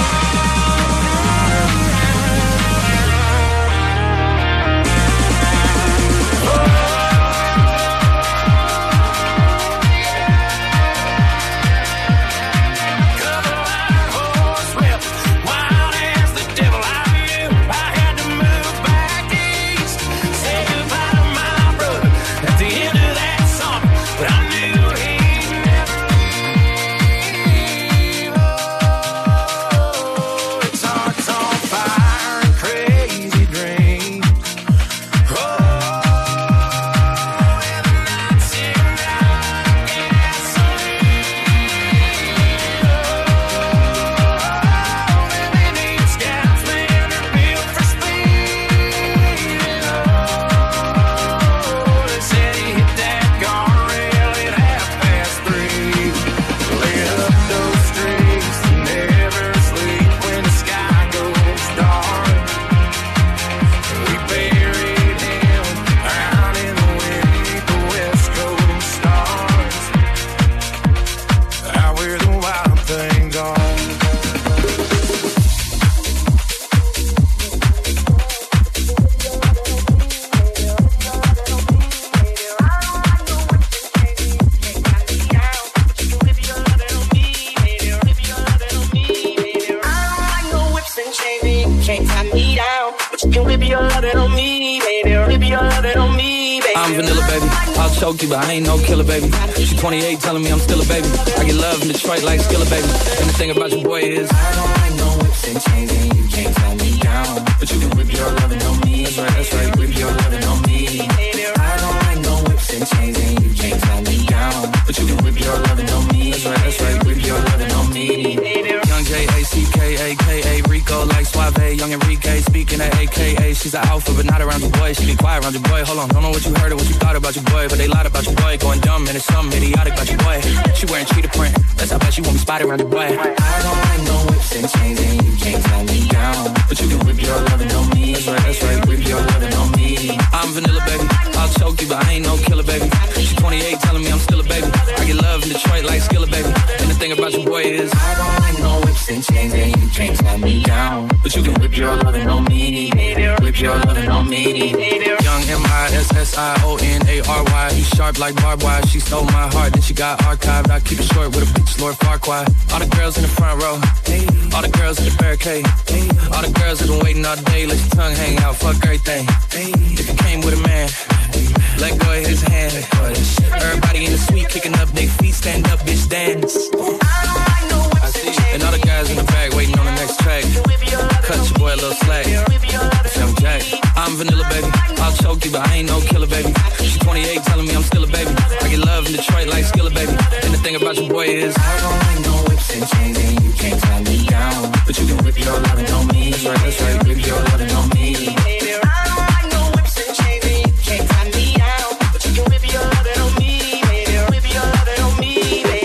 But I ain't no killer, baby. She 28, telling me I'm still a baby. I get love in Detroit like Skilla, baby. And the thing about your boy is I don't like no whips and chains, and you can't tie me down. But you can whip your lovin' on me. That's right, whip your lovin' on me. I don't like no whips and chains, and you can't tie me down. But you can whip your lovin' on me. That's right, whip your lovin' on me. Young J-A-C-K-A-K-A, Rico like Suave, young Enrique, speaking at AKA. She's an alpha, but not around your boy. She be quiet around your boy. Hold on, don't know what you heard or what you thought about your boy, but they lied about your boy. Going dumb, and it's something idiotic about your boy. She wearing cheetah print, that's how bad she want me spotted around your boy. I don't like no whips and chains, and you can't tie me down. But you can whip your lovin' on me. That's right, whip your lovin' on me. I'm vanilla, baby. I'll choke you, but I ain't no killer, baby. She 28, telling me I'm still a baby. I get love in Detroit like Skilla, baby. And the thing about your boy is I don't like no whips and chains, and you can't tie me down. But you can whip your lovin' on me. Whip your lovin' on me. Young M-I-S-S-I-O-N-A-R-Y. He's sharp like barbed wire. She stole my heart, then she got archived. I keep it short with a bitch, Lord Farquaad. All the girls in the front row, all the girls in the barricade, all the girls that been waiting all day. Let your tongue hang out, fuck everything. If you came with a man, let go of his hand. Everybody in the suite kicking up their feet, stand up, bitch, dance. I see. And all the guys in the back waiting on the next track. Cut your boy a little slack. Young Jack, I'm vanilla, baby. I'll choke you, but I ain't no killer, baby. She 28, telling me I'm still a baby. I get love in Detroit like Skilla, baby. And the thing about your boy is I don't like no whips and chains, and you can't tie me down. But you can whip your lovin' on me. That's right, whip your lovin' on me. I don't like no whips and chains, and you can't tie me down. But you can whip your lovin' on me. Whip your lovin' on me, baby.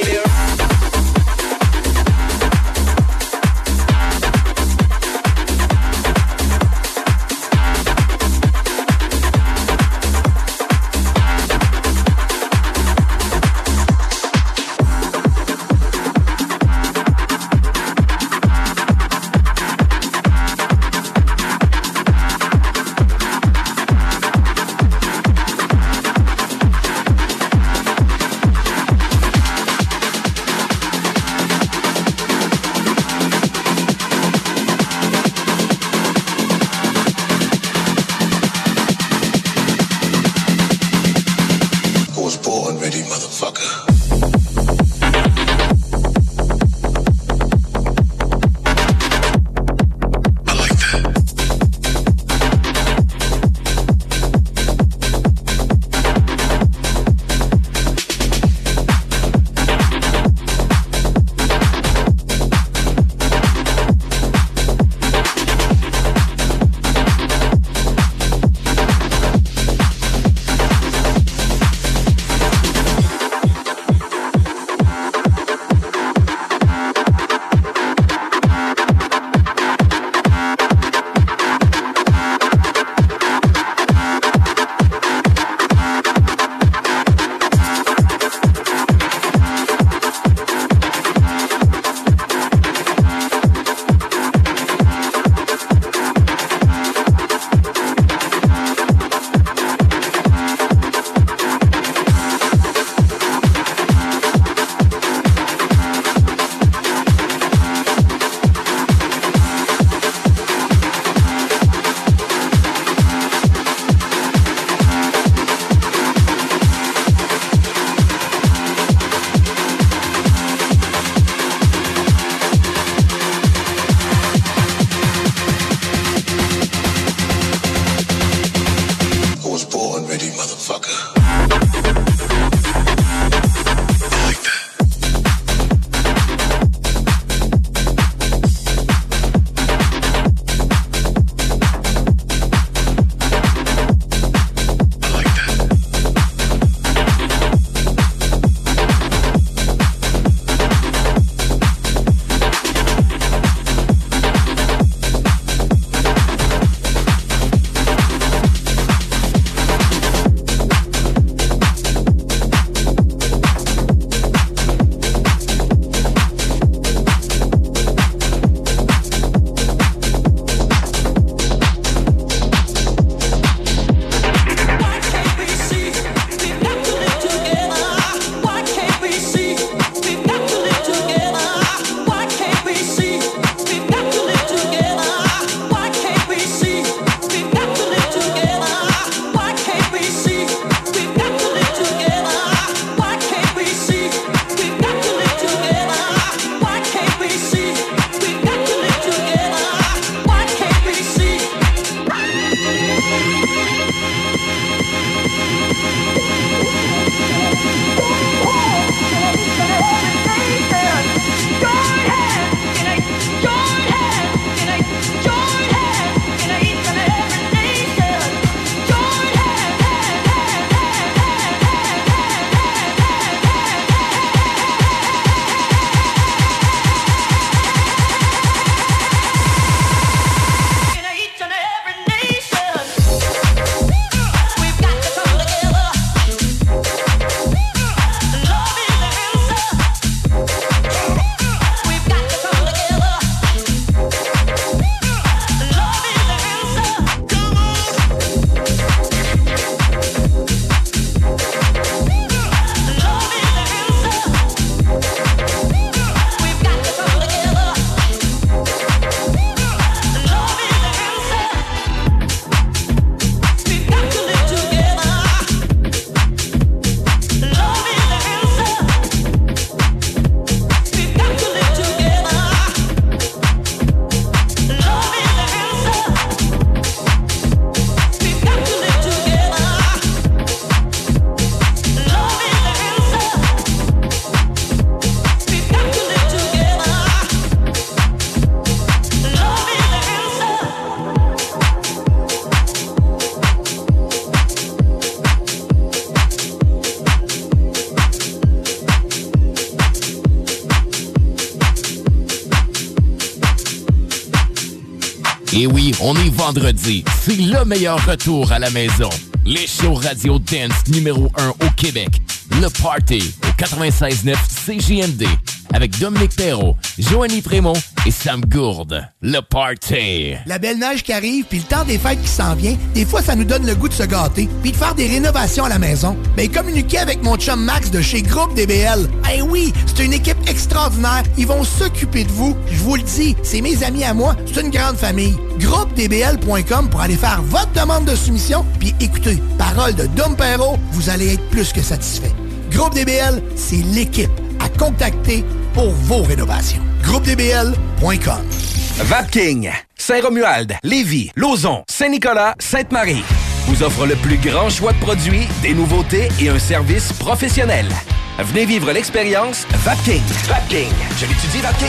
Et oui, on est vendredi. C'est le meilleur retour à la maison. Les shows radio dance numéro 1 au Québec. Le Party au 96.9 CJMD. Avec Dominique Perrault, Joanie Frémont et Sam Gourde. Le Party. La belle neige qui arrive, puis le temps des fêtes qui s'en vient, des fois, ça nous donne le goût de se gâter, puis de faire des rénovations à la maison. Ben, communiquez avec mon chum Max de chez Groupe DBL. Eh oui, c'est une équipe extraordinaire. Ils vont s'occuper de vous. Je vous le dis, c'est mes amis à moi. C'est une grande famille. GroupeDBL.com pour aller faire votre demande de soumission, puis écoutez, parole de Dom Perrault, vous allez être plus que satisfait. Groupe DBL, c'est l'équipe à contacter pour vos rénovations. GroupeDBL.com. Vapking, Saint-Romuald, Lévis, Lauson, Saint-Nicolas, Sainte-Marie vous offre le plus grand choix de produits, des nouveautés et un service professionnel. Venez vivre l'expérience Vapking. Vapking. Je l'étudie, Vapking.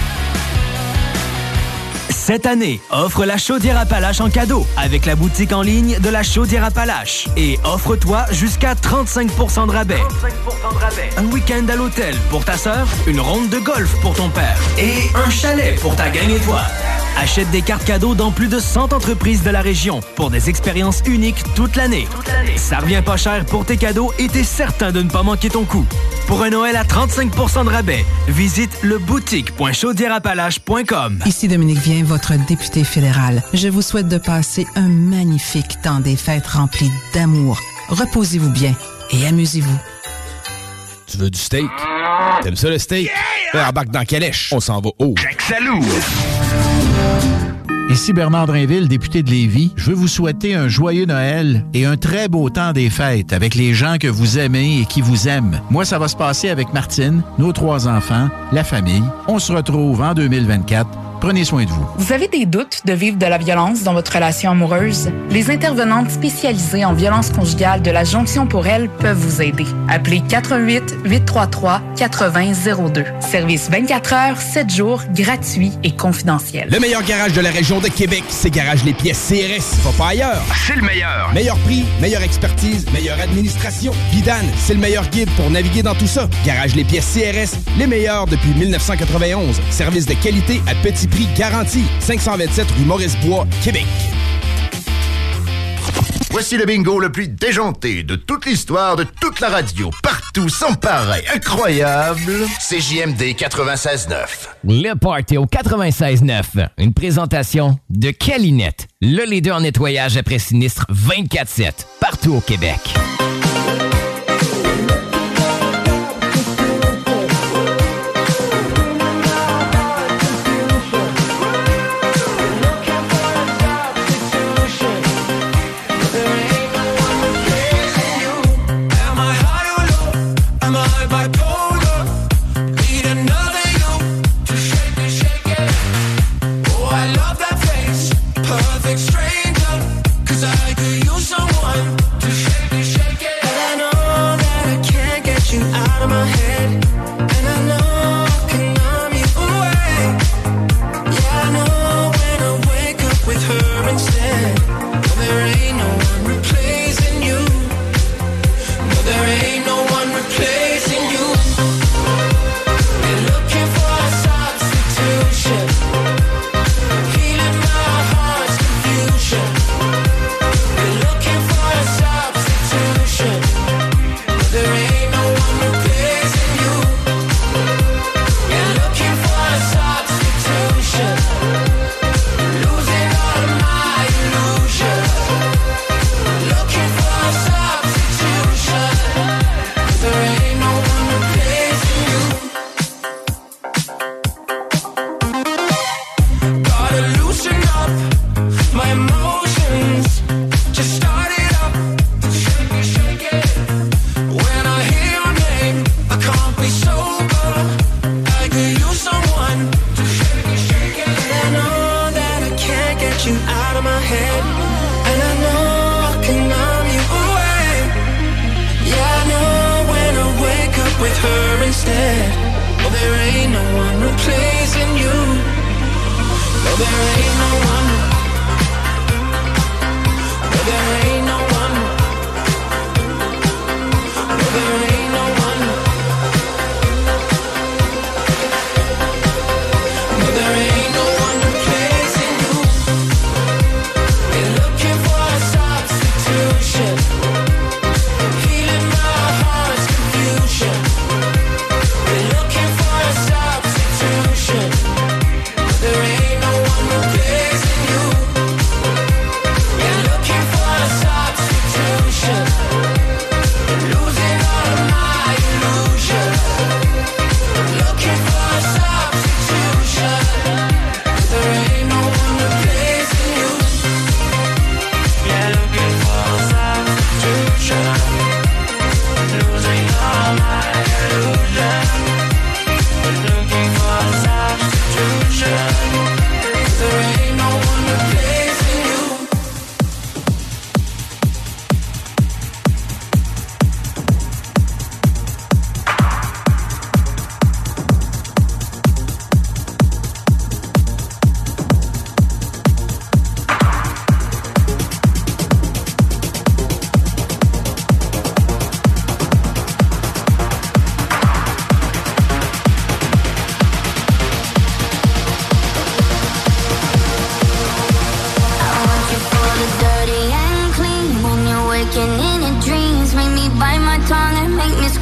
Cette année, offre la chaudière Appalaches en cadeau avec la boutique en ligne de la chaudière Appalaches. Et offre-toi jusqu'à 35% de rabais. Un week-end à l'hôtel pour ta sœur, une ronde de golf pour ton père et un chalet pour ta gang étoile. Achète des cartes cadeaux dans plus de 100 entreprises de la région pour des expériences uniques toute l'année. Ça revient pas cher pour tes cadeaux et t'es certain de ne pas manquer ton coup. Pour un Noël à 35% de rabais, visite leboutique.chaudiereappalaches.com. Ici Dominique Vien, votre député fédéral. Je vous souhaite de passer un magnifique temps des fêtes rempli d'amour. Reposez-vous bien et amusez-vous. Tu veux du steak? T'aimes ça le steak? Yeah! Embarque dans Calèche. On s'en va haut. Jacques Salou. Ici Bernard Drainville, député de Lévis. Je veux vous souhaiter un joyeux Noël et un très beau temps des fêtes avec les gens que vous aimez et qui vous aiment. Moi, ça va se passer avec Martine, nos 3 enfants, la famille. On se retrouve en 2024. Prenez soin de vous. Vous avez des doutes de vivre de la violence dans votre relation amoureuse? Les intervenantes spécialisées en violence conjugale de la Jonction pour elle peuvent vous aider. Appelez 418-833-8002. Service 24 heures, 7 jours, gratuit et confidentiel. Le meilleur garage de la région de Québec, c'est Garage Les Pièces CRS. Va pas ailleurs. C'est le meilleur. Meilleur prix, meilleure expertise, meilleure administration. Vidane, c'est le meilleur guide pour naviguer dans tout ça. Garage Les Pièces CRS, les meilleurs depuis 1991. Service de qualité à petit prix garanti. 527 rue Maurice-Bois, Québec. Voici le bingo le plus déjanté de toute l'histoire de toute la radio. Partout, sans pareil, incroyable. CJMD 96.9. Le Party au 96.9. Une présentation de Calinette, le leader en nettoyage après sinistre 24/7, partout au Québec.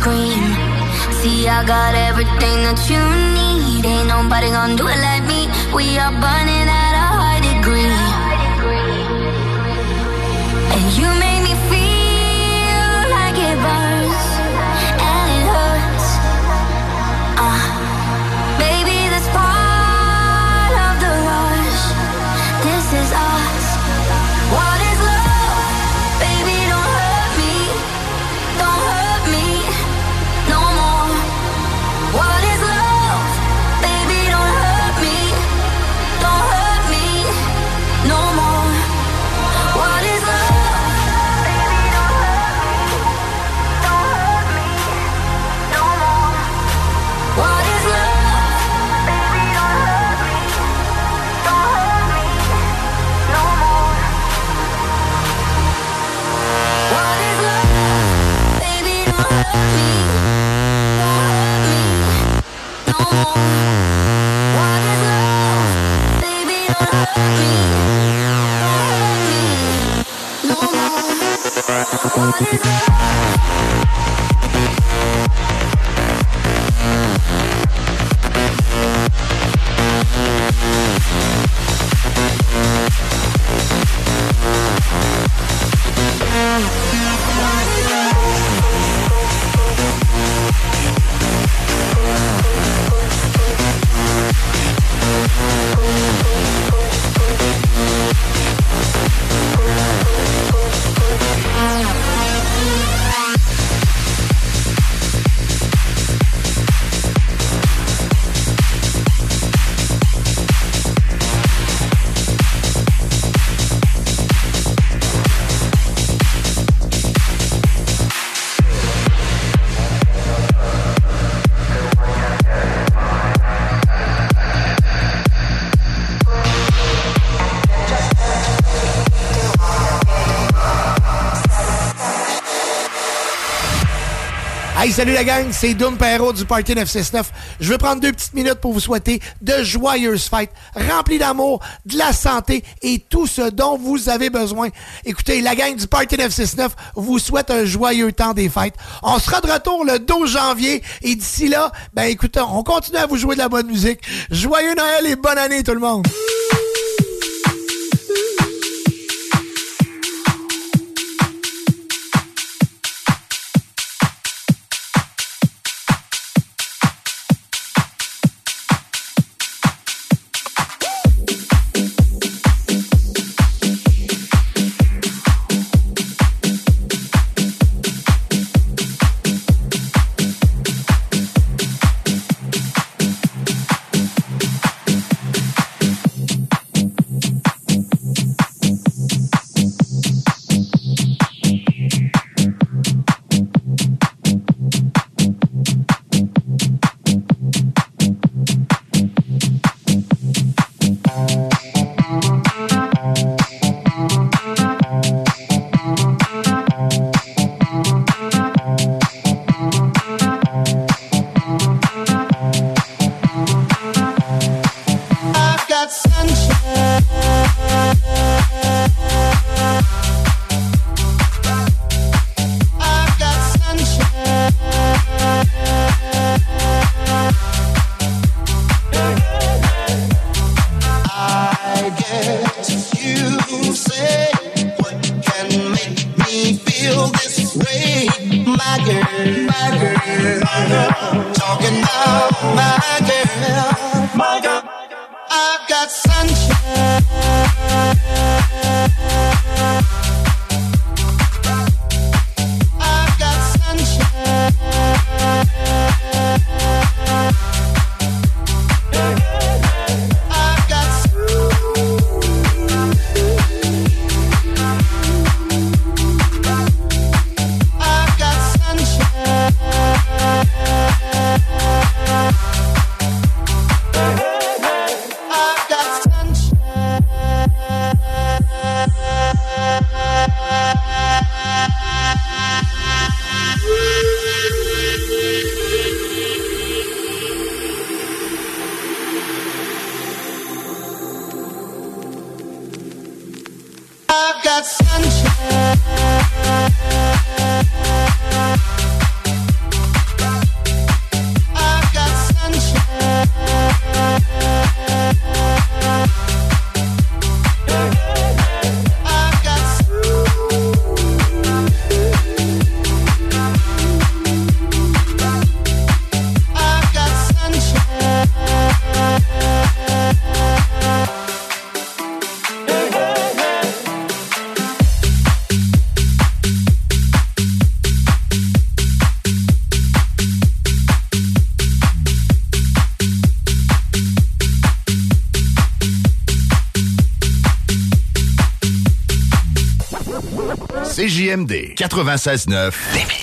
cream. See, I got everything that you need. Ain't nobody gonna do it like me. We are burning at a high degree. And you make me feel like it burns and it hurts. Baby, this part of the rush. This is us. What is love? Baby, don't hurt me. Don't hurt me no more. What is love? Baby, don't hurt me. Don't hurt me no more. What is love? Baby, don't hurt me. Don't hurt me no more. What is love? Baby, don't hurt me. Don't hurt me no more. What is love? Baby, don't hurt me. Don't hurt me no more. What is love? Baby, don't hurt me. Don't hurt me no more. What is love? Hey, salut la gang, c'est Doom Perrault du Party 969. Je vais prendre 2 petites minutes pour vous souhaiter de joyeuses fêtes, remplies d'amour, de la santé et tout ce dont vous avez besoin. Écoutez, la gang du Party 969 vous souhaite un joyeux temps des fêtes. On sera de retour le 12 janvier et d'ici là, ben écoutez, on continue à vous jouer de la bonne musique. Joyeux Noël et bonne année tout le monde! got sunshine. CJMD 96.9 Lévis.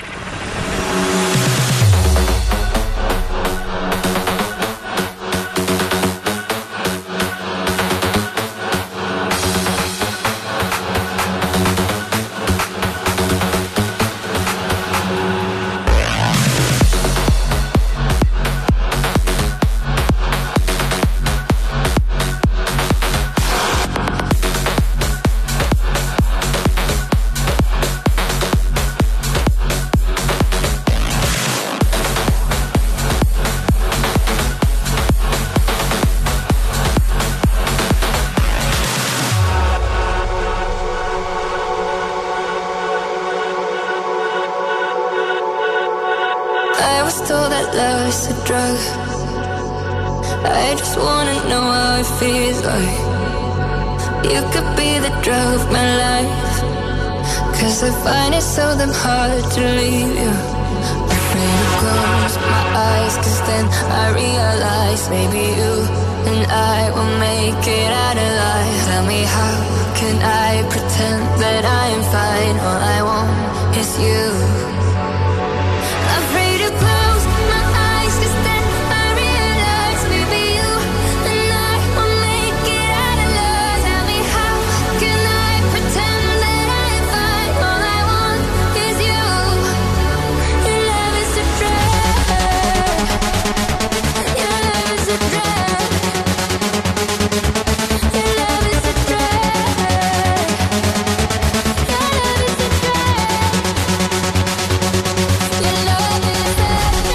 I just wanna know how it feels like. You could be the drug of my life, 'cause I find it so damn hard to leave you. Afraid to close my eyes, 'cause then I realize maybe you and I will make it out alive. Tell me, how can I pretend that I am fine? All I want is you. Afraid to close my eyes, 'cause then I realize maybe you and I will make it out alive. Tell me, how can I pretend that I am fine? All I want is you. Your love is a drug. Your love is a drug. Your love is a drug. Your love is a drug. Your love is a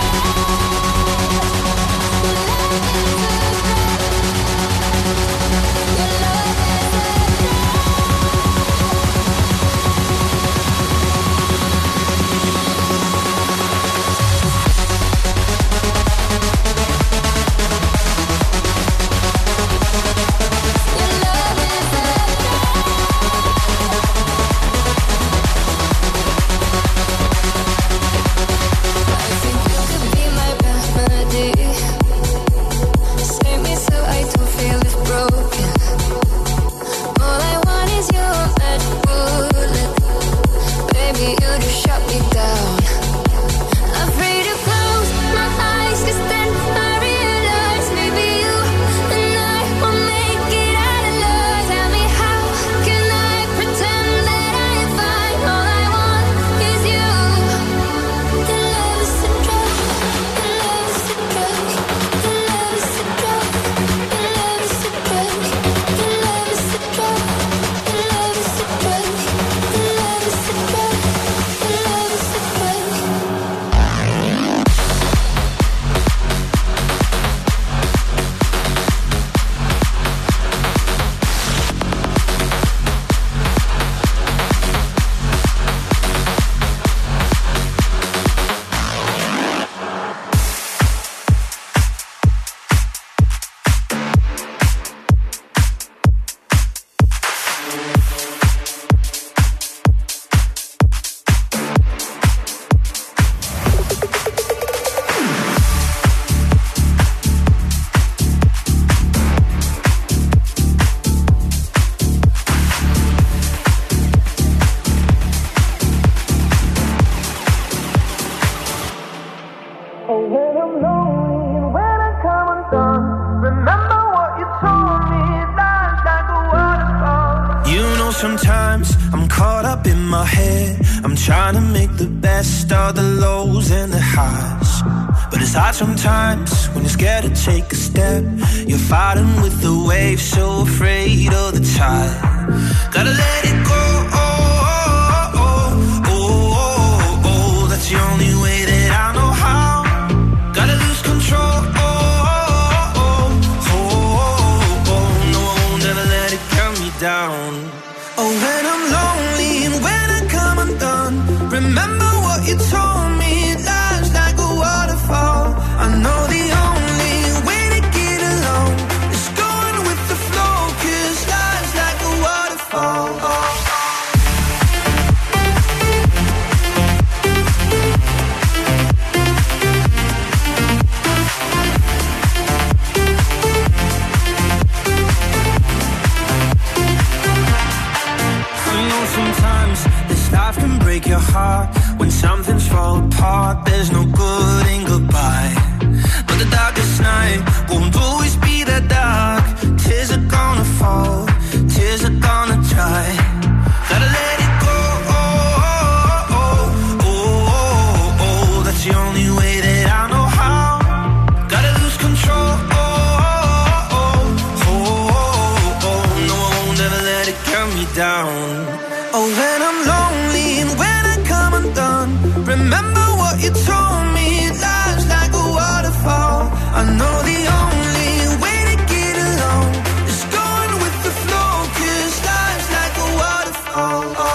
Sometimes I'm caught up in my head. I'm trying to make the best of the lows and the highs. But it's hard sometimes when you're scared to take a step. You're fighting with the waves, so afraid of the tide. Gotta let it go. That's the only way that I know how. Gotta lose control. No, I won't ever let it cut me down. Oh, when I'm lonely and when I come undone, remember what you told me, life's like a waterfall. I know the only way to get along is going with the flow, 'cause life's like a waterfall. apart, there's no good in goodbye. But the darkest night won't always be that dark. Tears are gonna fall, tears are gonna dry. Gotta let it go, that's the only way that I know how. Gotta lose control, no, I won't ever let it get me down. Oh, when I'm lonely and when I come undone, remember what you told me, life's like a waterfall. I know the only way to get along is going with the flow, 'cause life's like a waterfall.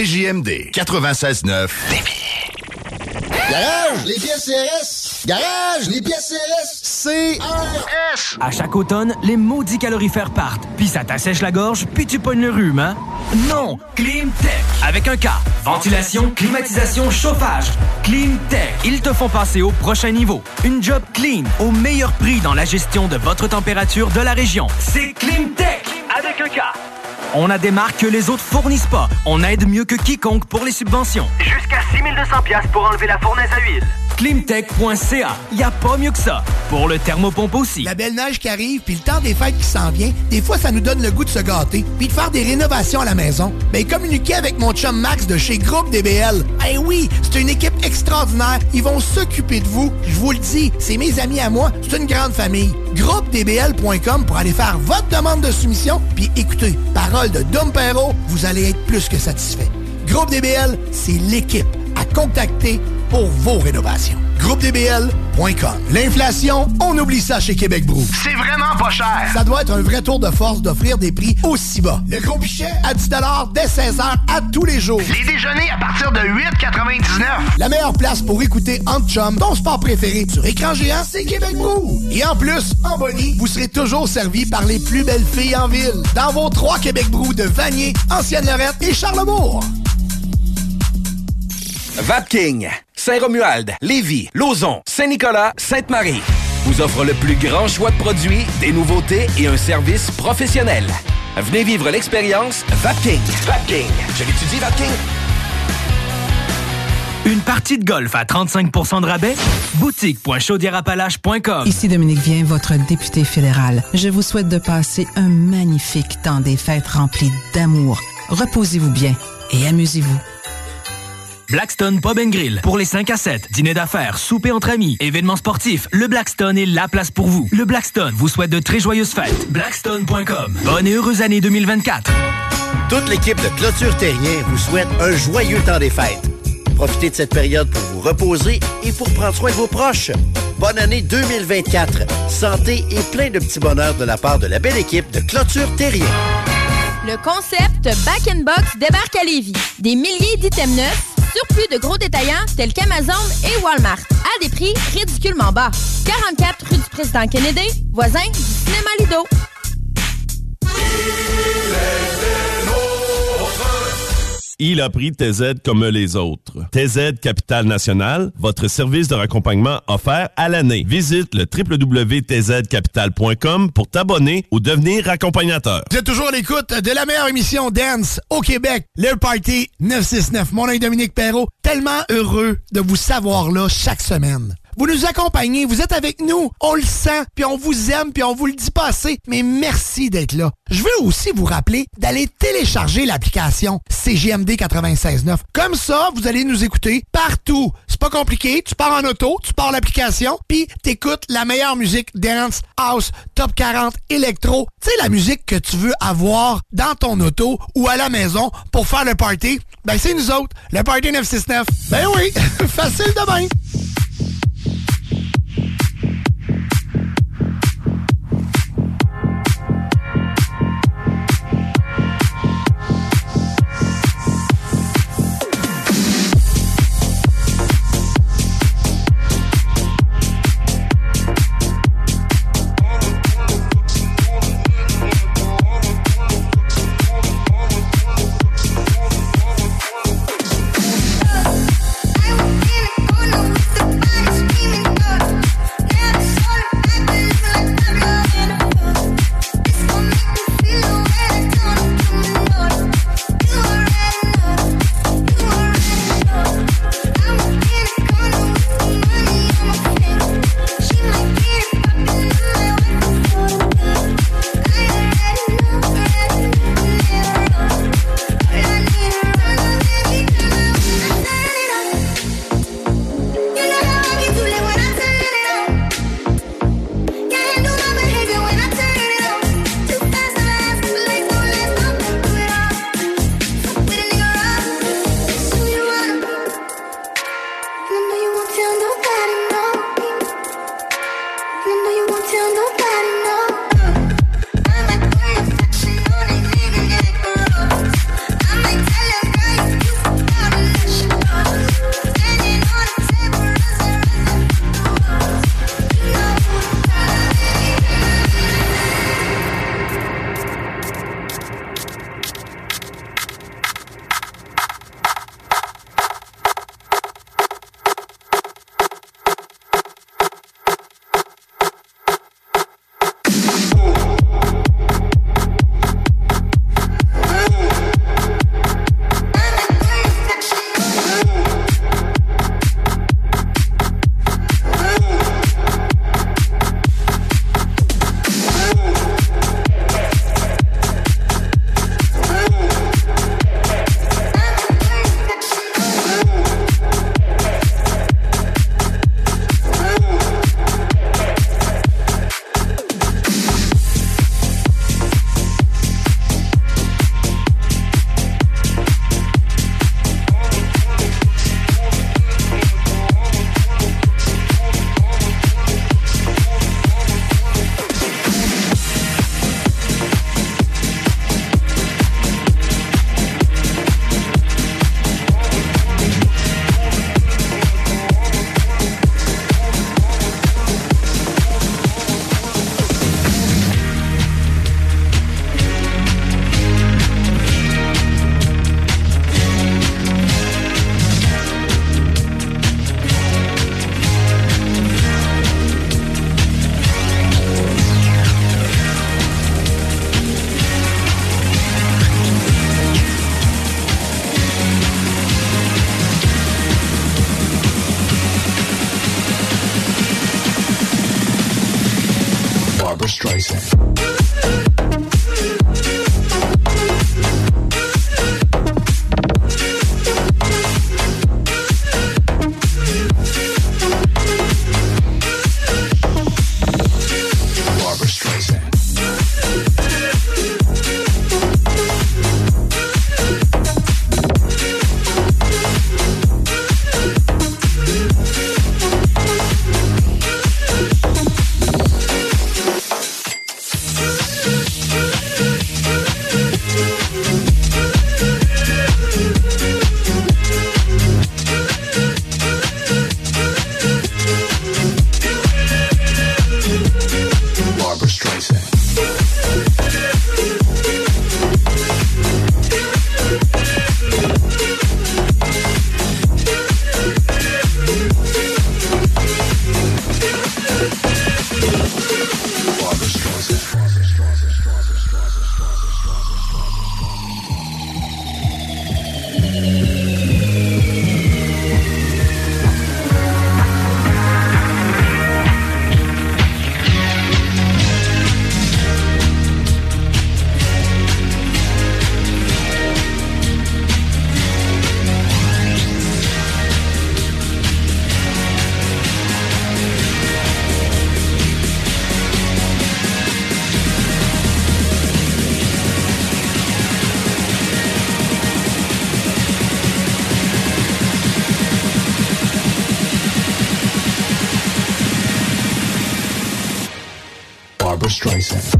CJMD 96.9 Lévis. Garage, les pièces CRS! Garage, les pièces CRS! CRS! À chaque automne, les maudits calorifères partent. Puis ça t'assèche la gorge, puis tu pognes le rhume, hein? Non! Climtech! Avec un K. Ventilation, climatisation, chauffage. Climtech. Ils te font passer au prochain niveau. Une job clean, au meilleur prix dans la gestion de votre température de la région. C'est Climtech! Avec un K. On a des marques que les autres fournissent pas. On aide mieux que quiconque pour les subventions. Jusqu'à 6 200$ pour enlever la fournaise à huile. Climtech.ca. Y a pas mieux que ça. Pour le thermopompe aussi. La belle neige qui arrive, puis le temps des fêtes qui s'en vient, des fois, ça nous donne le goût de se gâter, puis de faire des rénovations à la maison. Ben, communiquez avec mon chum Max de chez Groupe DBL. Eh oui, c'est une équipe extraordinaire. Ils vont s'occuper de vous. Je vous le dis, c'est mes amis à moi. C'est une grande famille. GroupeDBL.com pour aller faire votre demande de soumission, puis écoutez, parole de Dom Perrault, vous allez être plus que satisfait. Groupe DBL, c'est l'équipe à contacter pour vos rénovations. GroupeDBL.com. L'inflation, on oublie ça chez Québec Brou. C'est vraiment pas cher. Ça doit être un vrai tour de force d'offrir des prix aussi bas. Le gros pichet à 10$ dès 16h à tous les jours. Les déjeuners à partir de 8,99. La meilleure place pour écouter Entre Chum, ton sport préféré sur écran géant, c'est Québec Brou. Et en plus, en bonnie, vous serez toujours servi par les plus belles filles en ville. Dans vos 3 Québec Brou de Vanier, Ancienne-Lorette et Charlebourg. Vapking, Saint-Romuald, Lévis, Lauson, Saint-Nicolas, Sainte-Marie vous offre le plus grand choix de produits, des nouveautés et un service professionnel. Venez vivre l'expérience Vapking. Vapking. Je l'étudie, Vapking. Une partie de golf à 35% de rabais? Boutique.chaudièreappalaches.com. Ici Dominique Vien, votre député fédéral. Je vous souhaite de passer un magnifique temps des fêtes rempli d'amour. Reposez-vous bien et amusez-vous. Blackstone Pub & Grill. Pour les 5 à 7, dîner d'affaires, souper entre amis, événements sportifs, le Blackstone est la place pour vous. Le Blackstone vous souhaite de très joyeuses fêtes. Blackstone.com. Bonne et heureuse année 2024. Toute l'équipe de Clôture Terrien vous souhaite un joyeux temps des fêtes. Profitez de cette période pour vous reposer et pour prendre soin de vos proches. Bonne année 2024. Santé et plein de petits bonheurs de la part de la belle équipe de Clôture Terrien. Le concept Back & Box débarque à Lévis. Des milliers d'items neufs, surplus de gros détaillants tels qu'Amazon et Walmart, à des prix ridiculement bas. 44 rue du Président Kennedy, voisin du cinéma Lido. Il a pris TZ comme les autres. TZ Capital National, votre service de raccompagnement offert à l'année. Visite le www.tzcapital.com pour t'abonner ou devenir accompagnateur. Vous êtes toujours à l'écoute de la meilleure émission dance au Québec, le Party 969. Mon nom est Dominique Perrault. Tellement heureux de vous savoir là chaque semaine. Vous nous accompagnez, vous êtes avec nous, on le sent, puis on vous aime, puis on vous le dit pas assez, mais merci d'être là. Je veux aussi vous rappeler d'aller télécharger l'application CJMD 96.9. Comme ça, vous allez nous écouter partout. C'est pas compliqué, tu pars en auto, tu pars l'application, puis t'écoutes la meilleure musique dance, house, top 40, électro. Tu sais, la musique que tu veux avoir dans ton auto ou à la maison pour faire le party, ben c'est nous autres, le Party 969. Ben oui, facile de même. Barbra Streisand. Barbra Streisand.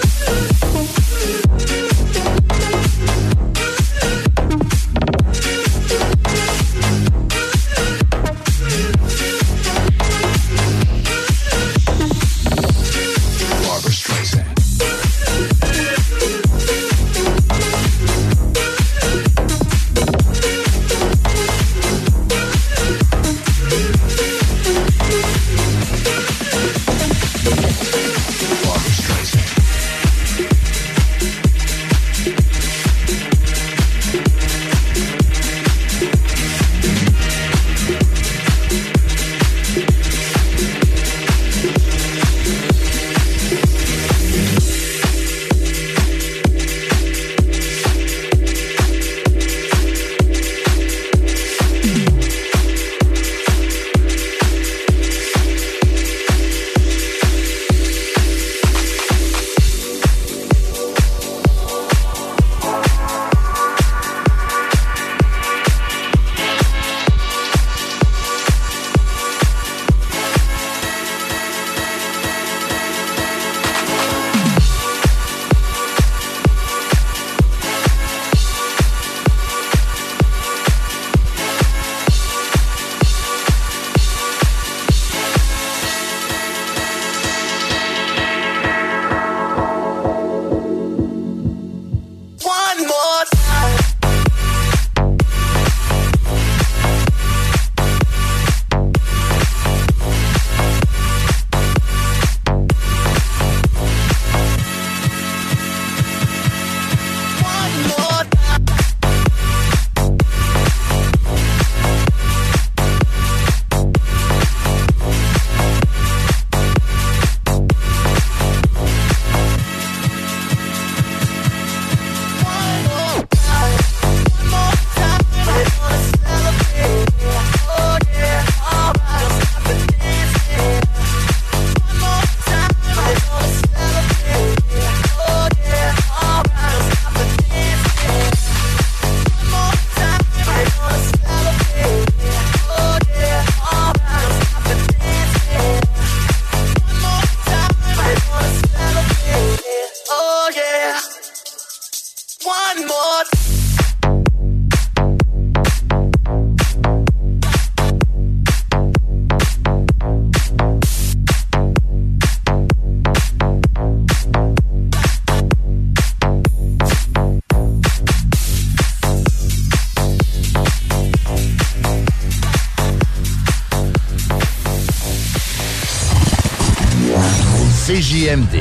CJMD.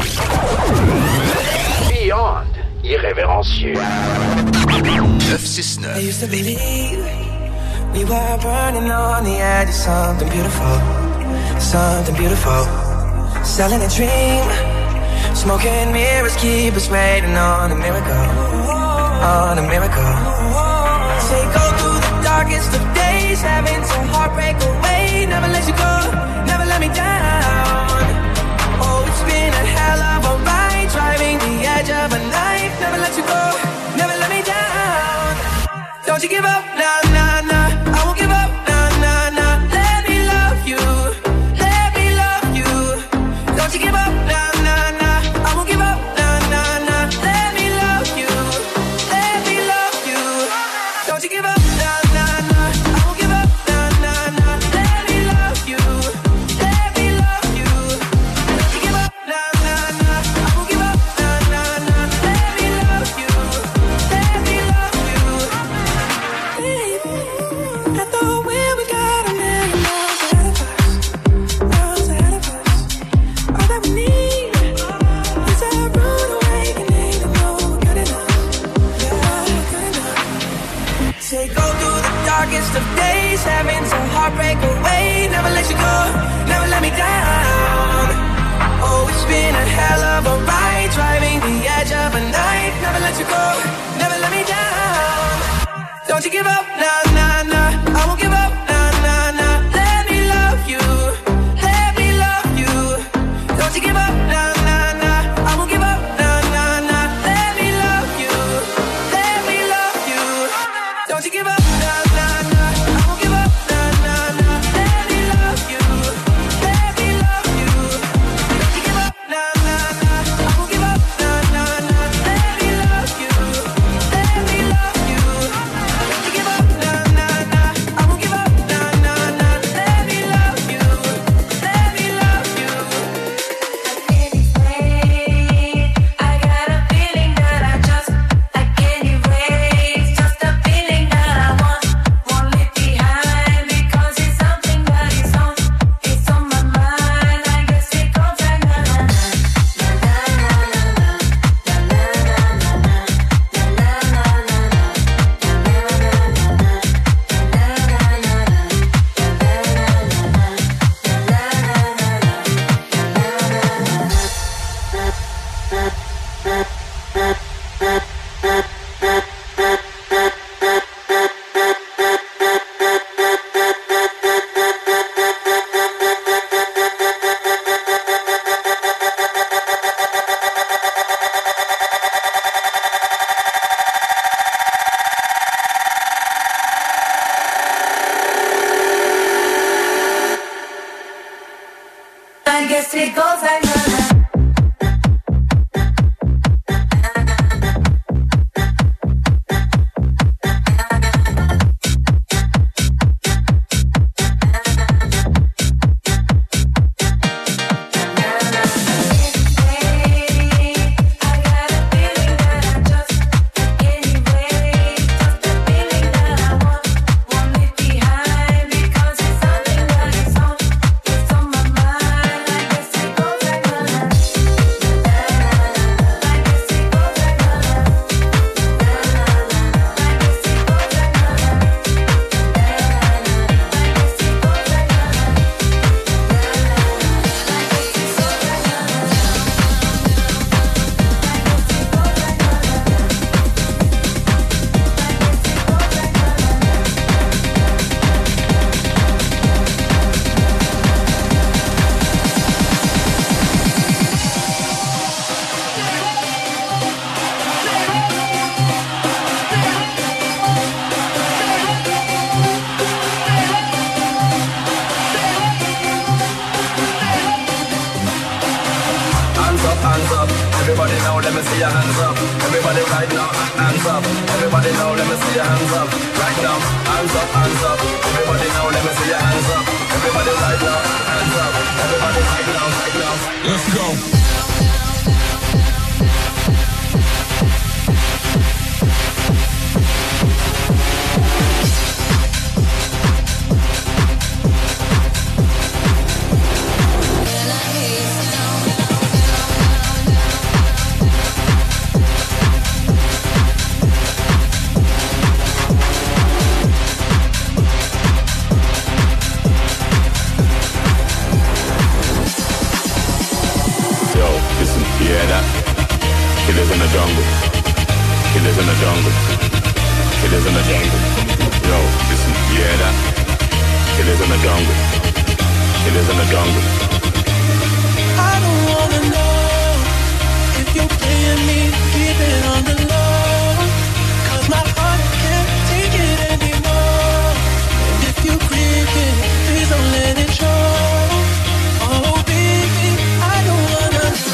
Beyond irrévérencieux. 969. I used to believe we were burning on the edge of something beautiful, something beautiful. Selling a dream, Smoke and mirrors keep us waiting on a miracle, on a miracle. Say go through the darkest of days, having some heartbreak away. Never let you go, never let me down. Oh, it's been a hell of a ride, driving the edge of a knife. Never let you go, never let me down. Don't you give up, nah, nah, nah. I won't give up, nah, nah, nah. Let me love you, let me love you. Don't you give up, nah, nah, nah. I won't give up, nah, nah, nah. Let me love you, let me love you. Don't you give up, nah, nah, nah. I won't give up, nah, nah, nah. Let me love you, let me love you. Don't you give up, nah, nah, nah. I won't give up, nah, nah, nah. Let me love you, let me love you. Baby, I thought when we got a million miles ahead of us, all that we need is a rude awakening to know we're good enough, yeah, good enough. Say go through the darkest of days, having some heartbreak away. Never let you go, never let me down. Oh, it's been a hell of a ride, driving the edge of a knife. Never let you go, never let me down. Don't you give up, nah, nah, nah. I won't give up, nah, nah, nah. Let me love you, let me love you. Don't you give up, nah, nah, nah. I won't give up, nah, nah, nah. Let me love you, let me love you. Don't you give up, nah, nah, nah. I won't give up, nah, nah, nah. Let me love you, let me love you. Don't you give up, nah, nah, nah. I won't give up, nah, nah, nah. Let me love you, let me love you. Don't you give up, nah, nah, nah. I won't give up, nah, nah, nah. Let me love you, let me love you. I got a feeling that I can't erase. Just a feeling that I won't leave behind, because it's something that it's on my mind. I guess it goes like na na na I guess it goes like na na. Hands up, everybody now, let me see your hands up. Everybody right now, hands up. Everybody now, let me see your hands up. Right now, hands up, hands up. Everybody now, let me see your hands up. Everybody right now, hands up. Everybody right now, right now. Let's go. Killers in the jungle. Killers in the jungle. Killers in the jungle. Yo, listen, you hear that? Killers in the jungle. Killers in the jungle. I don't wanna know if you're playing me, keep it on the low. 'Cause my heart can't take it anymore. And if you creeping, please don't let it show. Oh baby, I don't wanna know.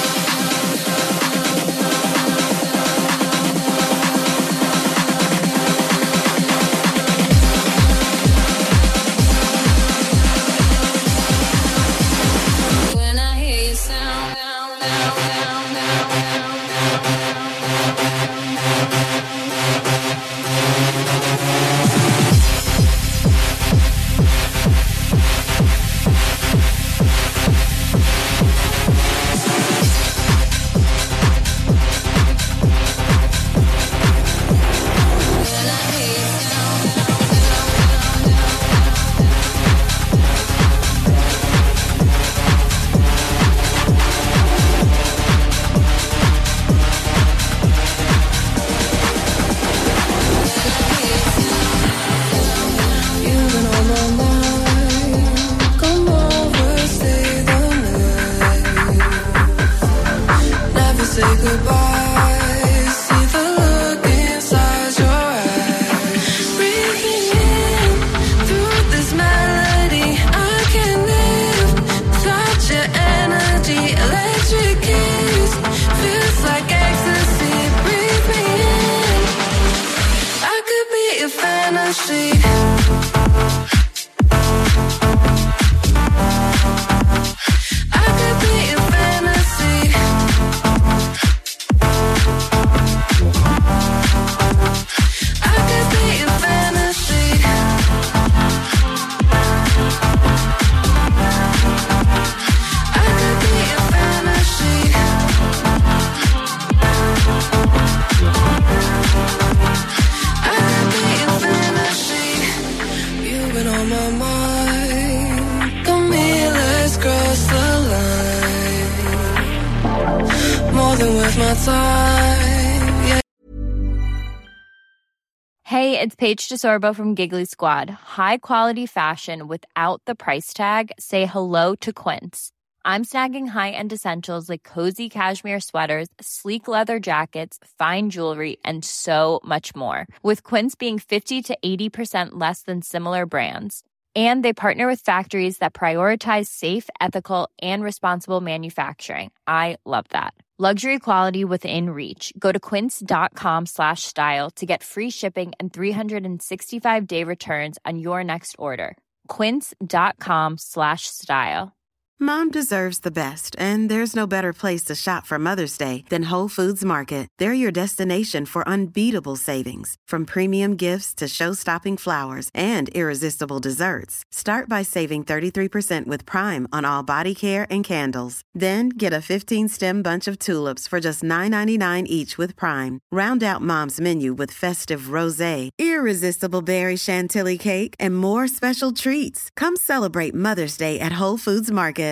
Hey, it's Paige DeSorbo from Giggly Squad. High quality fashion without the price tag. Say hello to Quince. I'm snagging high-end essentials like cozy cashmere sweaters, sleek leather jackets, fine jewelry, and so much more. With Quince being 50 to 80% less than similar brands. And they partner with factories that prioritize safe, ethical, and responsible manufacturing. I love that. Luxury quality within reach. Go to quince.com/style to get free shipping and 365-day returns on your next order. Quince.com/style. Mom deserves the best, and there's no better place to shop for Mother's Day than Whole Foods Market. They're your destination for unbeatable savings, from premium gifts to show-stopping flowers and irresistible desserts. Start by saving 33% with Prime on all body care and candles. Then get a 15-stem bunch of tulips for just $9.99 each with Prime. Round out Mom's menu with festive rosé, irresistible berry chantilly cake, and more special treats. Come celebrate Mother's Day at Whole Foods Market.